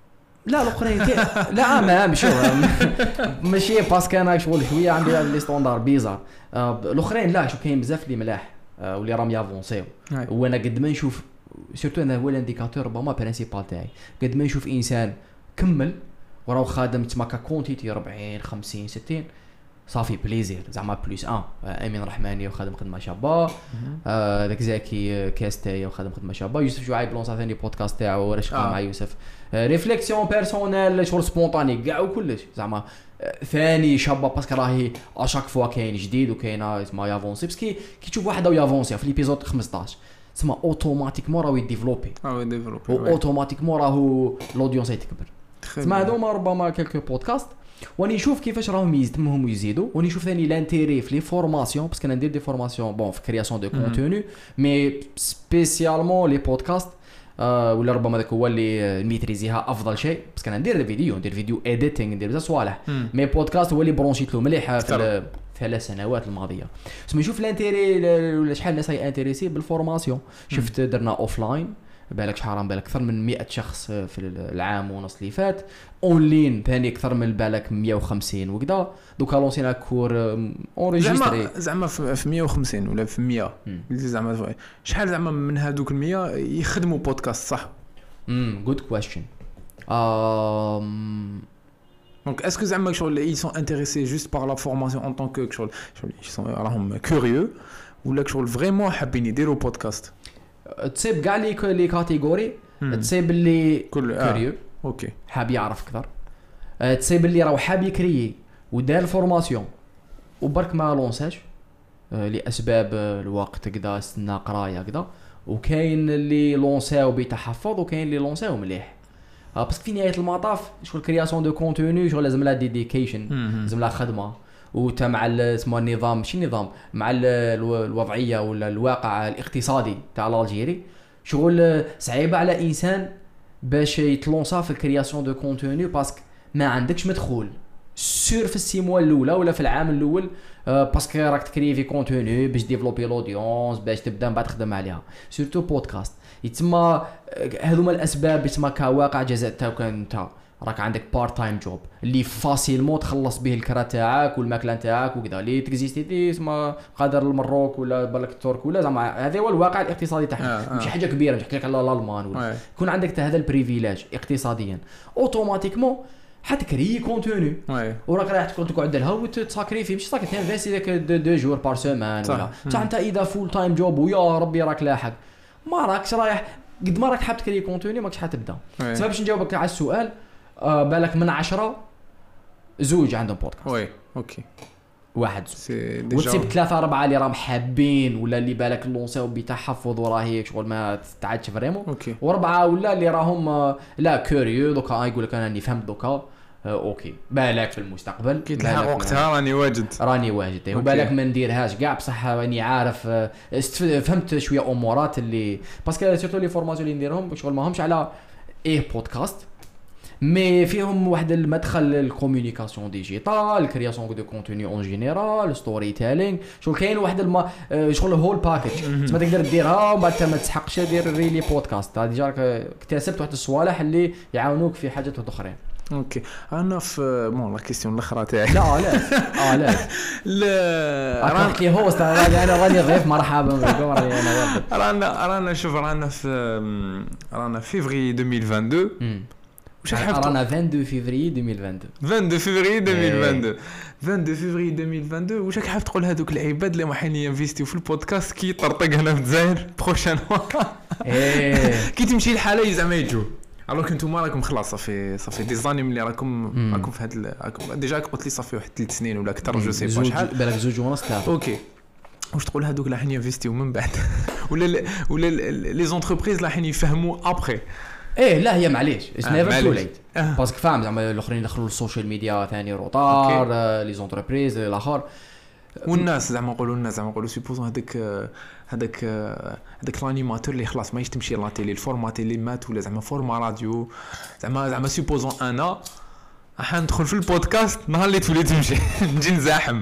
لا ما ماشي باسكو انا شغل شويه عندي لي ستاندار بيزار الاخرين لا شو كاين بزاف اللي ملاح واللي راهم يافونسيو وانا قد ما نشوف سورتو انا هو الانديكاتور ربما برينسيبال تاعي قد ما نشوف انسان كمل وراه خادم تما كونتيتي 40 50 60 صافي بليزير زعما بلوس امين رحماني وخادم خدمه شابه داك زكي كاستاي وخادم خدمه شابه يوسف شعيب لونسا ثاني بودكاست تاعو رشقه مع يوسف ريفليكسيون بيرسونيل شغل سبونطاني كاع وكلش زعما ثاني شابه باسكو راهي اشاك فوا كاين جديد وكاينه اسمها يافونسي باسكو كي تشوف واحد يافونسي في ليبيزود 15 تسمى اوتوماتيكمون راهو يديفلوبي اوتوماتيكمون راهو لودونس يتكبر تسمى هذوما ربما كلكو بودكاست واني نشوف كيفاش راهم يتمهم يزيدوا وني نشوف ثاني لانتيري في لي فورماسيون باسكو انا ندير دي فورماسيون بون في كرياسيون دو كونتوني مي سبيسيالمون لي بودكاست ولا ربما ذاك هو اللي ميتريزيها افضل شيء باسكو انا ندير فيديو اديتينغ ندير بزاف صوالح مي بودكاست هو اللي برونشيت له مليح في 3 سنوات الماضيه سما نشوف لانتيري ولا شحال الناس هي انتريسي بالفورماسيون شفت درنا اوفلاين بالك شحال بالك اكثر من 100 شخص في العام ونص اللي فات اونلاين ثاني اكثر من بالك 150 وكذا دوكا لونسينا كور اونريجستري زعما في 150 ولا في 100 زعما شحال زعما من هذوك ال 100 يخدموا بودكاست صح جود كويستشن Donc est-ce que زعما شغل ils sont intéressés juste par la formation en tant que شغل ils sont راهم curieux ولا شغل فريمون حابين يديروا بودكاست تصيب كاع لي كاتيجوري تصيب اللي كوريو اوكي حاب يعرف اكثر تصيب اللي راه حاب يكري ودار الفورماسيون وبرك ما لونساش لاسباب الوقت كذا استنى قرايه كذا وكاين اللي لونساو بتحفظ وكاين اللي لونساو مليح باسكو في نهايه المطاف شغل كرياسيون دو كونتوني شغل لازم لها ديديكيشن لازم لها خدمه وتا مع اسمه النظام ماشي النظام مع الوضعيه ولا الواقع الاقتصادي تاع الجيري شغل صعيبه على انسان باش يتلونسا في الكرياسيون دو كونتوني باسكو ما عندكش مدخول سور في السيموا الاولى ولا في العام الاول باسكو راك تكري في كونتوني باش ديفلوبي لودونس باش تبدا من بعد تخدم عليها سورتو بودكاست يتسمى هذوما الاسباب يتسمى كواقع جزاء تاعك انت راك عندك بارت تايم جوب اللي فاسيلمون تخلص به الكرا تاعك والماكله تاعك وكذا اللي تكزيستي اسمها قادر المروك ولا بالك الترك ولا زعما هذا هو الواقع الاقتصادي تاعهم ماشي حاجه كبيره نحكي لك على الالمان ولا يكون عندك هذا البريفيليج اقتصاديا اوتوماتيكمون حتكري كونتوني وراك رايح تقعد لها وتساكريفي ماشي ساكت تنفيسي داك 2 جور بار سيمان ولا حتى انت اذا فول تايم جوب ويا ربي راك لاحق ما راكش رايح قد ما راك حاب تكري كونتوني ماكش حتبدا سبب باش نجاوبك على السؤال بالك من 10 زوج عندهم بودكاست وي اوكي واحد وتسيب 3 4 اللي راهم حابين ولا اللي بالك لونساو بتحفظ وراهي شغل ما تعادش فريمون اوكي واربعه ولا اللي راهم لا كوريو دوكا يقول لك انا راني فهمت دوكا اوكي بالك في المستقبل كي تلحق وقتها راني واجد وبالك ما نديرهاش كاع بصح راني عارف فهمت شويه امورات اللي باسكو سيرتو لي فورماسيون اللي نديرهم شغل ماهمش على بودكاست مي فيهم واحد المدخل للكومونيكاسيون ديجيتال الكرياسيون دو كونتوني اون جينيرال ستوري تيلينغ شغل كاين واحد شغل هول باكيج تما تقدر ديرها ومن بعد ما تسحقش دير ريلي بودكاست هذه جاك اكتسبت واحد الصوالح اللي يعاونوك في حاجات اخرين اوكي انا في بون لا كيسيون الاخرى تاعي لا لا راك لي هوست انا راني ضيف مرحبا بكم رانا شوف رانا فيفري 2022 رانا 22 فيفري 2022 واش راك حاب تقول هذوك العباد اللي رايحين ينفيستيو في البودكاست كي طرطق هنا في الجزائر بروشان كي تمشي الحاله زعما يجوا alors كنتو راكم خلاص صافي دي زاني ملي راكم في هاد ديجا قلت لي صافي واحد 3 سنين ولا اكثر جو سي با شحال بالك 2 ونص 3 اوكي واش تقول هذوك اللي رايحين ينفيستيو من بعد ولا لي زونتربريز اللي رايحين يفهموا ابري لا هي معليش نيفر تو ليت باسكو فاهم زعما الاخرين يدخلوا للسوشيال ميديا ثاني روطار لي زونتربريز الاخر والناس زعما نقولوا سيبوزون هذاك الانيماتور اللي خلاص ما يشتمشي لا تيلي الفورمات اللي مات ولا زعما فورما راديو زعما سيبوزون انا راح ندخل في البودكاست نهار اللي تولي تمشي نجي نزاحم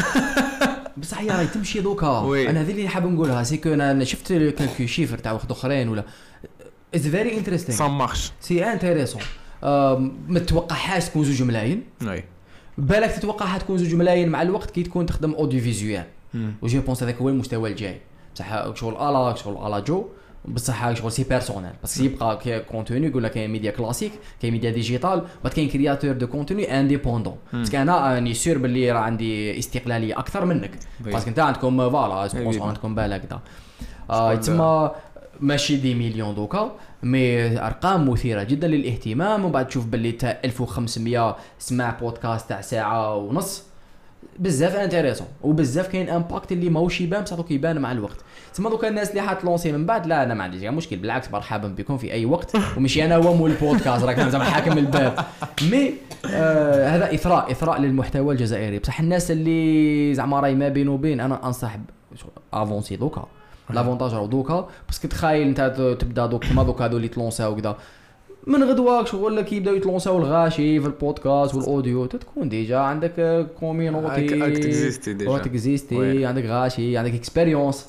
بصح هي راهي تمشي دوكا انا هذه اللي حاب نقولها سي كو انا شفت كالكو شيفر تاع واحد اخرين ولا It's very interesting. Ça marche. C'est intéressant. ما تتوقعهاش تكون 2 ملايين. وي. بالك تتوقعها تكون 2 ملايين مع الوقت كي تكون تخدم اوديو فيزيوال. وجي بونس هذاك هو المستوى الجاي. بصح شغل على جو بصح شغل سي بيرسونيل بس يبقى كونتوني يقول لك كاين ميديا كلاسيك كاين ميديا ديجيتال بعد كاين كرياتور دو كونتوني انديبوندون باسكو انا راني سير باللي راه عندي استقلاليه اكثر منك باسكو انت عندكم فوالا سبونسور عندكم بالك دا تما ماشي دي مليون دوكا مي ارقام مثيره جدا للاهتمام وبعد تشوف باللي تا 1500 سمع بودكاست تاع ساعه ونص بزاف انتريسون وبزاف كاين امباكت اللي ماهوش يبان بصح دوك يبان مع الوقت تما دوك الناس اللي حتلونسي من بعد لا انا ما عنديش مشكل بالعكس مرحبا بكم في اي وقت ومشي انا هو مول البودكاست راك زعما حاكم الباب مي هذا اثراء للمحتوى الجزائري بصح الناس اللي زعما راهي ما بين وبين انا انصح افونسي دوكا لافونتاج راه دوكا باسكو تخايل انت تبدا دوك ما دوك هذو اللي تلونساو كذا من غدواك شغل كي يبداو يتلونساو الغاشي في البودكاست والاوديو تكون ديجا عندك كوميونيتي اكزيستي عندك غاشي عندك اكسبيريونس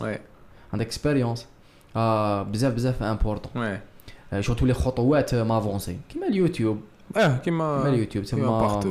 بزاف امبورطون شو تولي خطوات مافونسي كيما اليوتيوب كيما اليوتيوب تما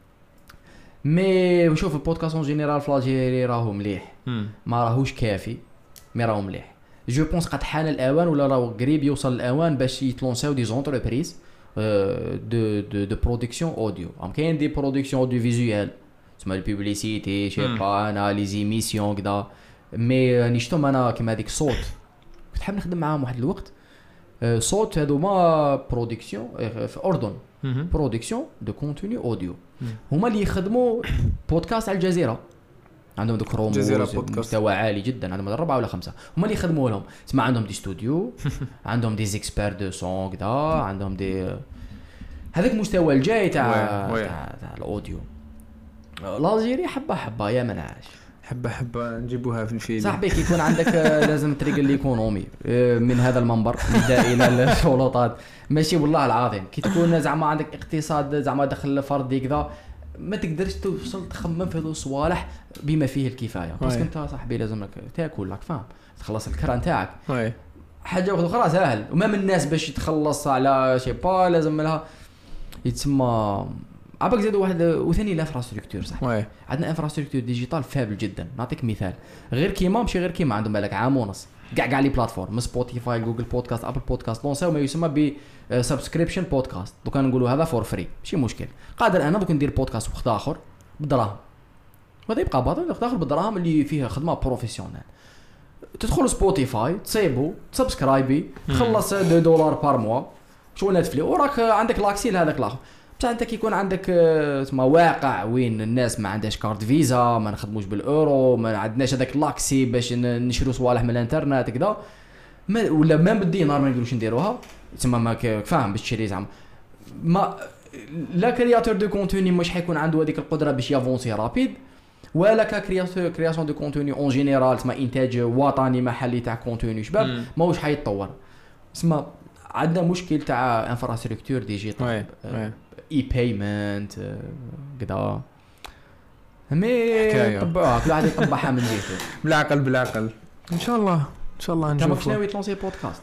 مي نشوف البودكاست اون جينيرال فلاجيري راهو مليح ما راهوش كافي مي راهو مليح جو بونس قد حان الاوان ولا راهو قريب يوصل الاوان باش يتلونساو دي زونتربريز دو برودكسيون اوديو كاين دي برودكسيون اوديو فيزيوال تسمى البوبليسيتي شي با انا لي زيميسيون كذا مي نشتم انا كيما هذيك صوت كنت حاب نخدم معاهم واحد الوقت صوت هادو ما برودكسيون في اردن برودكسيون دو كونتوني اوديو هما اللي يخدموا بودكاست على الجزيره عندهم دوك روموز مستوى عالي جدا عندهم 4 ولا 5 هما اللي يخدموا لهم تسمع عندهم دي استوديو عندهم دي زيكسبير دو سون كذا عندهم دي هذاك المستوى الجاي تاع الاوديو الجزائري حبه يا منعش حبه نجيبوها في الفيلم صاحبي كي يكون عندك لازم تريق الايكونومي من هذا المنبر نبدا الى السلطات ماشي والله العظيم كي تكون زعما عندك اقتصاد زعما دخل فردي كذا ما تقدرش توصل تخمم في هذو الصوالح بما فيه الكفايه باسكو انت صاحبي لازمك تاكل لك فاهم تخلص الكرا نتاعك حاجه اخرى سهل وما من الناس باش يتخلص على شي با لازم لها يتسمى عباك زادوا واحد وثاني الانفراستركتور صح عندنا انفراستركتور ديجيتال فابل جدا نعطيك مثال غير كيما ماشي غير كيما عندهم بالك عام ونص كاع لي بلاتفورم سبوتيفاي جوجل بودكاست ابل بودكاست لونساو ما يسمى ب سبسكريبشن بودكاست دوك نقولوا هذا فور فري ماشي مشكل قادر انا دوك ندير بودكاست وقت اخر بالدراهم وهذا يبقى باطل وقت اخر بالدراهم اللي فيها خدمه بروفيسيونيل تدخل سبوتيفاي تصيبو تسبسكرايبي تخلص $2 بار موا شو نتفلي وراك عندك لاكسي لهذاك الاخر بصح انت كيكون عندك اسمه واقع وين الناس ما عندهاش كارت فيزا ما نخدموش بالاورو ما عندناش هذاك لاكسي باش نشرو صوالح من الانترنت كذا ولا ما بالدينار ما نقدروش نديروها تسمى ما فاهم باش تشري زعما ما لا كرياتور دو كونتوني مش حيكون عنده هذيك القدره باش يافونسي رابيد، ولا كرياسيون دو كونتوني اون جينيرال تسمى انتاج وطني محلي تاع كونتوني شباب ماهوش حيتطور. تسمى عندنا مشكل تاع انفراستركتور ديجيتال اي بايمنت كذا مي طبعوها كل واحد يطبعها من جهته بالعقل ان شاء الله انت نشوف. ماكش ناوي تلونسي بودكاست؟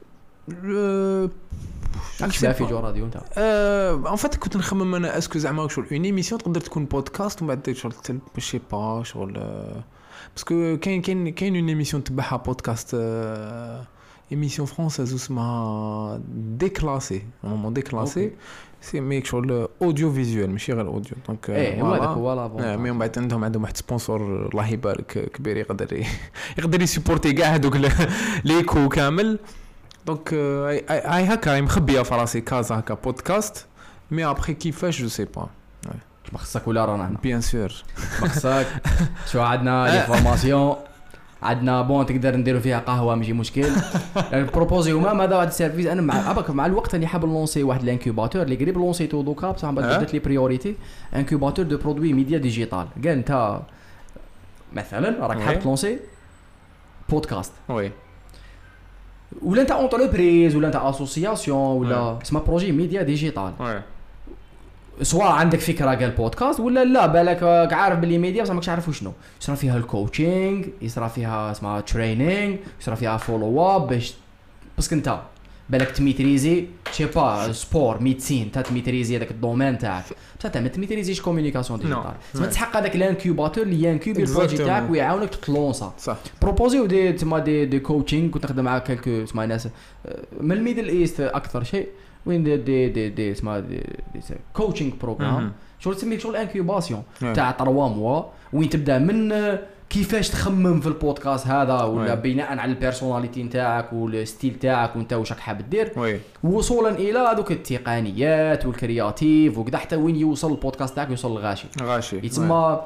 راكش في جو راديو انت؟ ان فات كنت نخمم انا اسكو زعما شغل اون ايميسيون تقدر تكون بودكاست ومن بعد شغل ماشي با شغل باسكو كاين اون ايميسيون تبعها بودكاست ايميسيون فرونساز اسمها ديكلاسي نورمالمون ديكلاسي سي ميك شغل اوديو فيزيوال ماشي غير اوديو دونك هو هذاك هو لا مي من بعد عندهم واحد سبونسور الله يبارك كبير يقدر يسيبورتي كاع هذوك ليكو كامل. دونك هاي هكا مخبيه في راسي كازا هكا بودكاست مي ابري كيفاش جو سي با ما خصك ولا رانا هنا بيان سور ما خصك. شو عندنا لي فورماسيون عندنا بون تقدر نديروا فيها قهوه ماشي مشكل. البروبوزي هما هذا واحد السيرفيس انا مع الوقت اللي حاب نلونسي واحد الانكوباتور اللي قريب لونسيتو دوكا بصح بدات لي بريوريتي انكوباتور دو برودوي ميديا ديجيتال. قال انت مثلا راك حاب تلونسي بودكاست وي ولا انت اونتربريز ولا انت اسوسياسيون ولا اسمها بروجي ميديا ديجيتال سواء عندك فكره قال بودكاست ولا لا بالك عارف باللي ميديا بصح ماكش عارف وشنو يصرا فيها الكوتشينغ يصرا فيها اسمها ترينينغ يصرا فيها فولو اب باش باسكو انت بالك تميتريزي شي با سبور ميديسين تميتريزي هذاك الدومين تاعك بصح انت ما تميتريزيش كومونيكاسيون ديجيتال تسمى تحقق هذاك الانكوباتور اللي ينكوبي البروجي تاعك ويعاونك تلونسا صح بروبوزيو دي كوتشينغ كنت نخدم مع كلكو اسمها ناس من الميدل ايست اكثر شيء وين دي اسمها دي كوتشينغ بروغرام شغل تسميه شغل انكوباسيون تاع 3 موا وين تبدا من كيفاش تخمم في البودكاست هذا ولا بناء على البيرسوناليتي نتاعك والستيل تاعك وانت واش راك حاب دير وصولا الى هذوك التقنيات والكرياتيف وكذا حتى وين يوصل البودكاست تاعك يوصل الغاشي يتسمى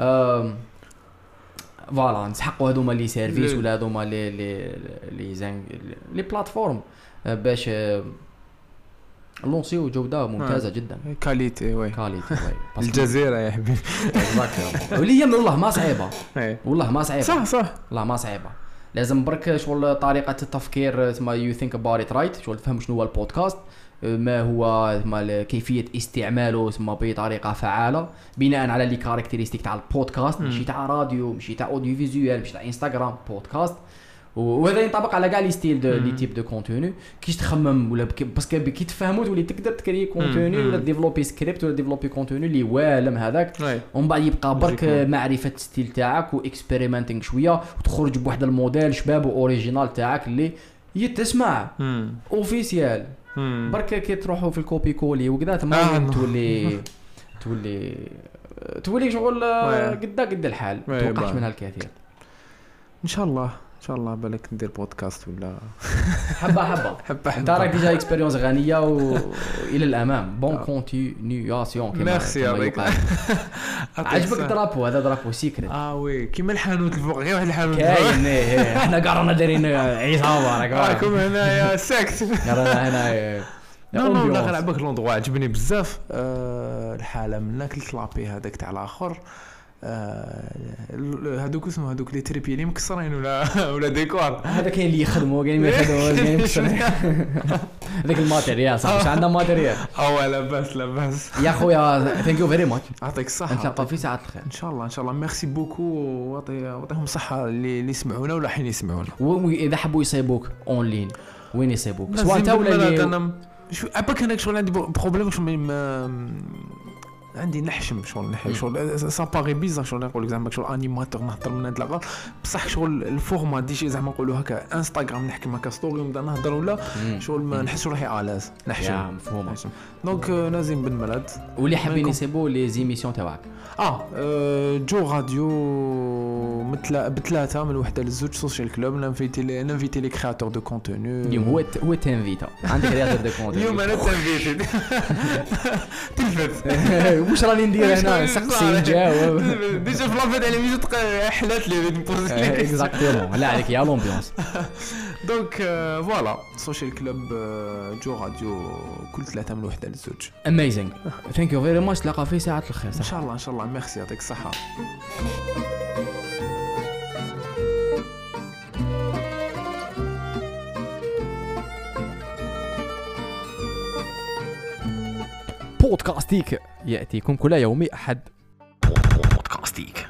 فوالا نسحقوا هذوما لي سيرفيس ولا هذوما لي بلاتفورم باش لونسيو جوده ممتازه جدا كاليتي كاليتي الجزيره يا حبيبي واللي هي والله ما صعيبه والله ما صعيبه صح والله ما صعيبه لازم برك شغل طريقه التفكير اسمها يو ثينك اباوت ات رايت شغل تفهم شنو هو البودكاست ما هو كيفيه استعماله اسمها بطريقه فعاله بناء على لي كاركتيرستيك تاع البودكاست ماشي تاع راديو ماشي تاع اوديو فيزيوال ماشي تاع انستغرام بودكاست وهذا ينطبق على كاع لي ستيل دو لي تيب دو كونتوني كيش تخمم ولا باسكو كي تفهموا تولي تقدر تكري كونتوني ولا ديفلوبي سكريبت ولا ديفلوبي كونتوني اللي والم هذاك ومن بعد يبقى برك معرفه الستيل تاعك واكسبيريمنتينغ شويه وتخرج بواحد الموديل شباب اوريجينال تاعك اللي يتسمع اوفيسيال برك كي تروحوا في الكوبي كولي وكذا تما تولي شغل قد الحال توقعش منها الكثير ان شاء الله ان شاء الله بالك ندير بودكاست ولا حبه انت راك ديجا اكسبيريونس غنيه والى الامام بون كونتينياسيون كيما ميرسي يعطيك عجبك درابو هذا درابو سيكريت وي كيما الحانوت الفوق غير واحد الحانوت كاين احنا كاع رانا دايرين عصابه راكم هنايا ساكت رانا هنا لا غير عباك لوندغوا عجبني بزاف الحاله من كلت لابي هذاك تاع الاخر هذوك اسمه هذوك لي تريبي اللي مكسرين ولا ديكور هذا كاين اللي يخدموا كاين ما يخدموا كاين مكسرين هذاك الماتيريال صح واش عندنا ماتيريال لا باس يا خويا ثانك يو فيري ماتش يعطيك الصحه نتلاقاو في ساعه الخير ان شاء الله ميرسي بوكو واعطيهم صحه اللي يسمعونا ولا حين يسمعونا واذا حبوا يصيبوك اون لين وين يصيبوك سواء انت ولا انا شو اباك انا شغل عندي بروبليم عندي نحشم شغل سا باغي بيزار شغل نقول لك زعما شغل انيماتور نهضر من هاد لاغا بصح شغل الفورما ديجي زعما نقولوا هكا انستغرام نحكي هكا ستوري ونبدا نهضر ولا شغل ما نحس روحي الاز نحشم مفهوم دونك نازم بن ملاد واللي حابين يسيبوا لي زيميسيون تاعك جو راديو بثلاثه من وحده للزوج سوشيال كلوب نانفيتي لي كرياتور دو كونتوني اليوم هو تنفيتا عندك كرياتور دو كونتوني اليوم انا تنفيتي تلفت واش راني ندير هنا سقسي نجاوب ديجا في لافيت على ميجي حلات لي نبوز اكزاكتومون لا عليك يا لومبيونس دونك فوالا سوشيال كلوب جو راديو كل 3 من 1 ل2. اميزينغ ثانك يو فيري ماتش. تلاقى في ساعه الخير ان شاء الله ان شاء الله. ميرسي يعطيك الصحه. بودكاستيك ياتيكم كل يوم احد. بودكاستيك.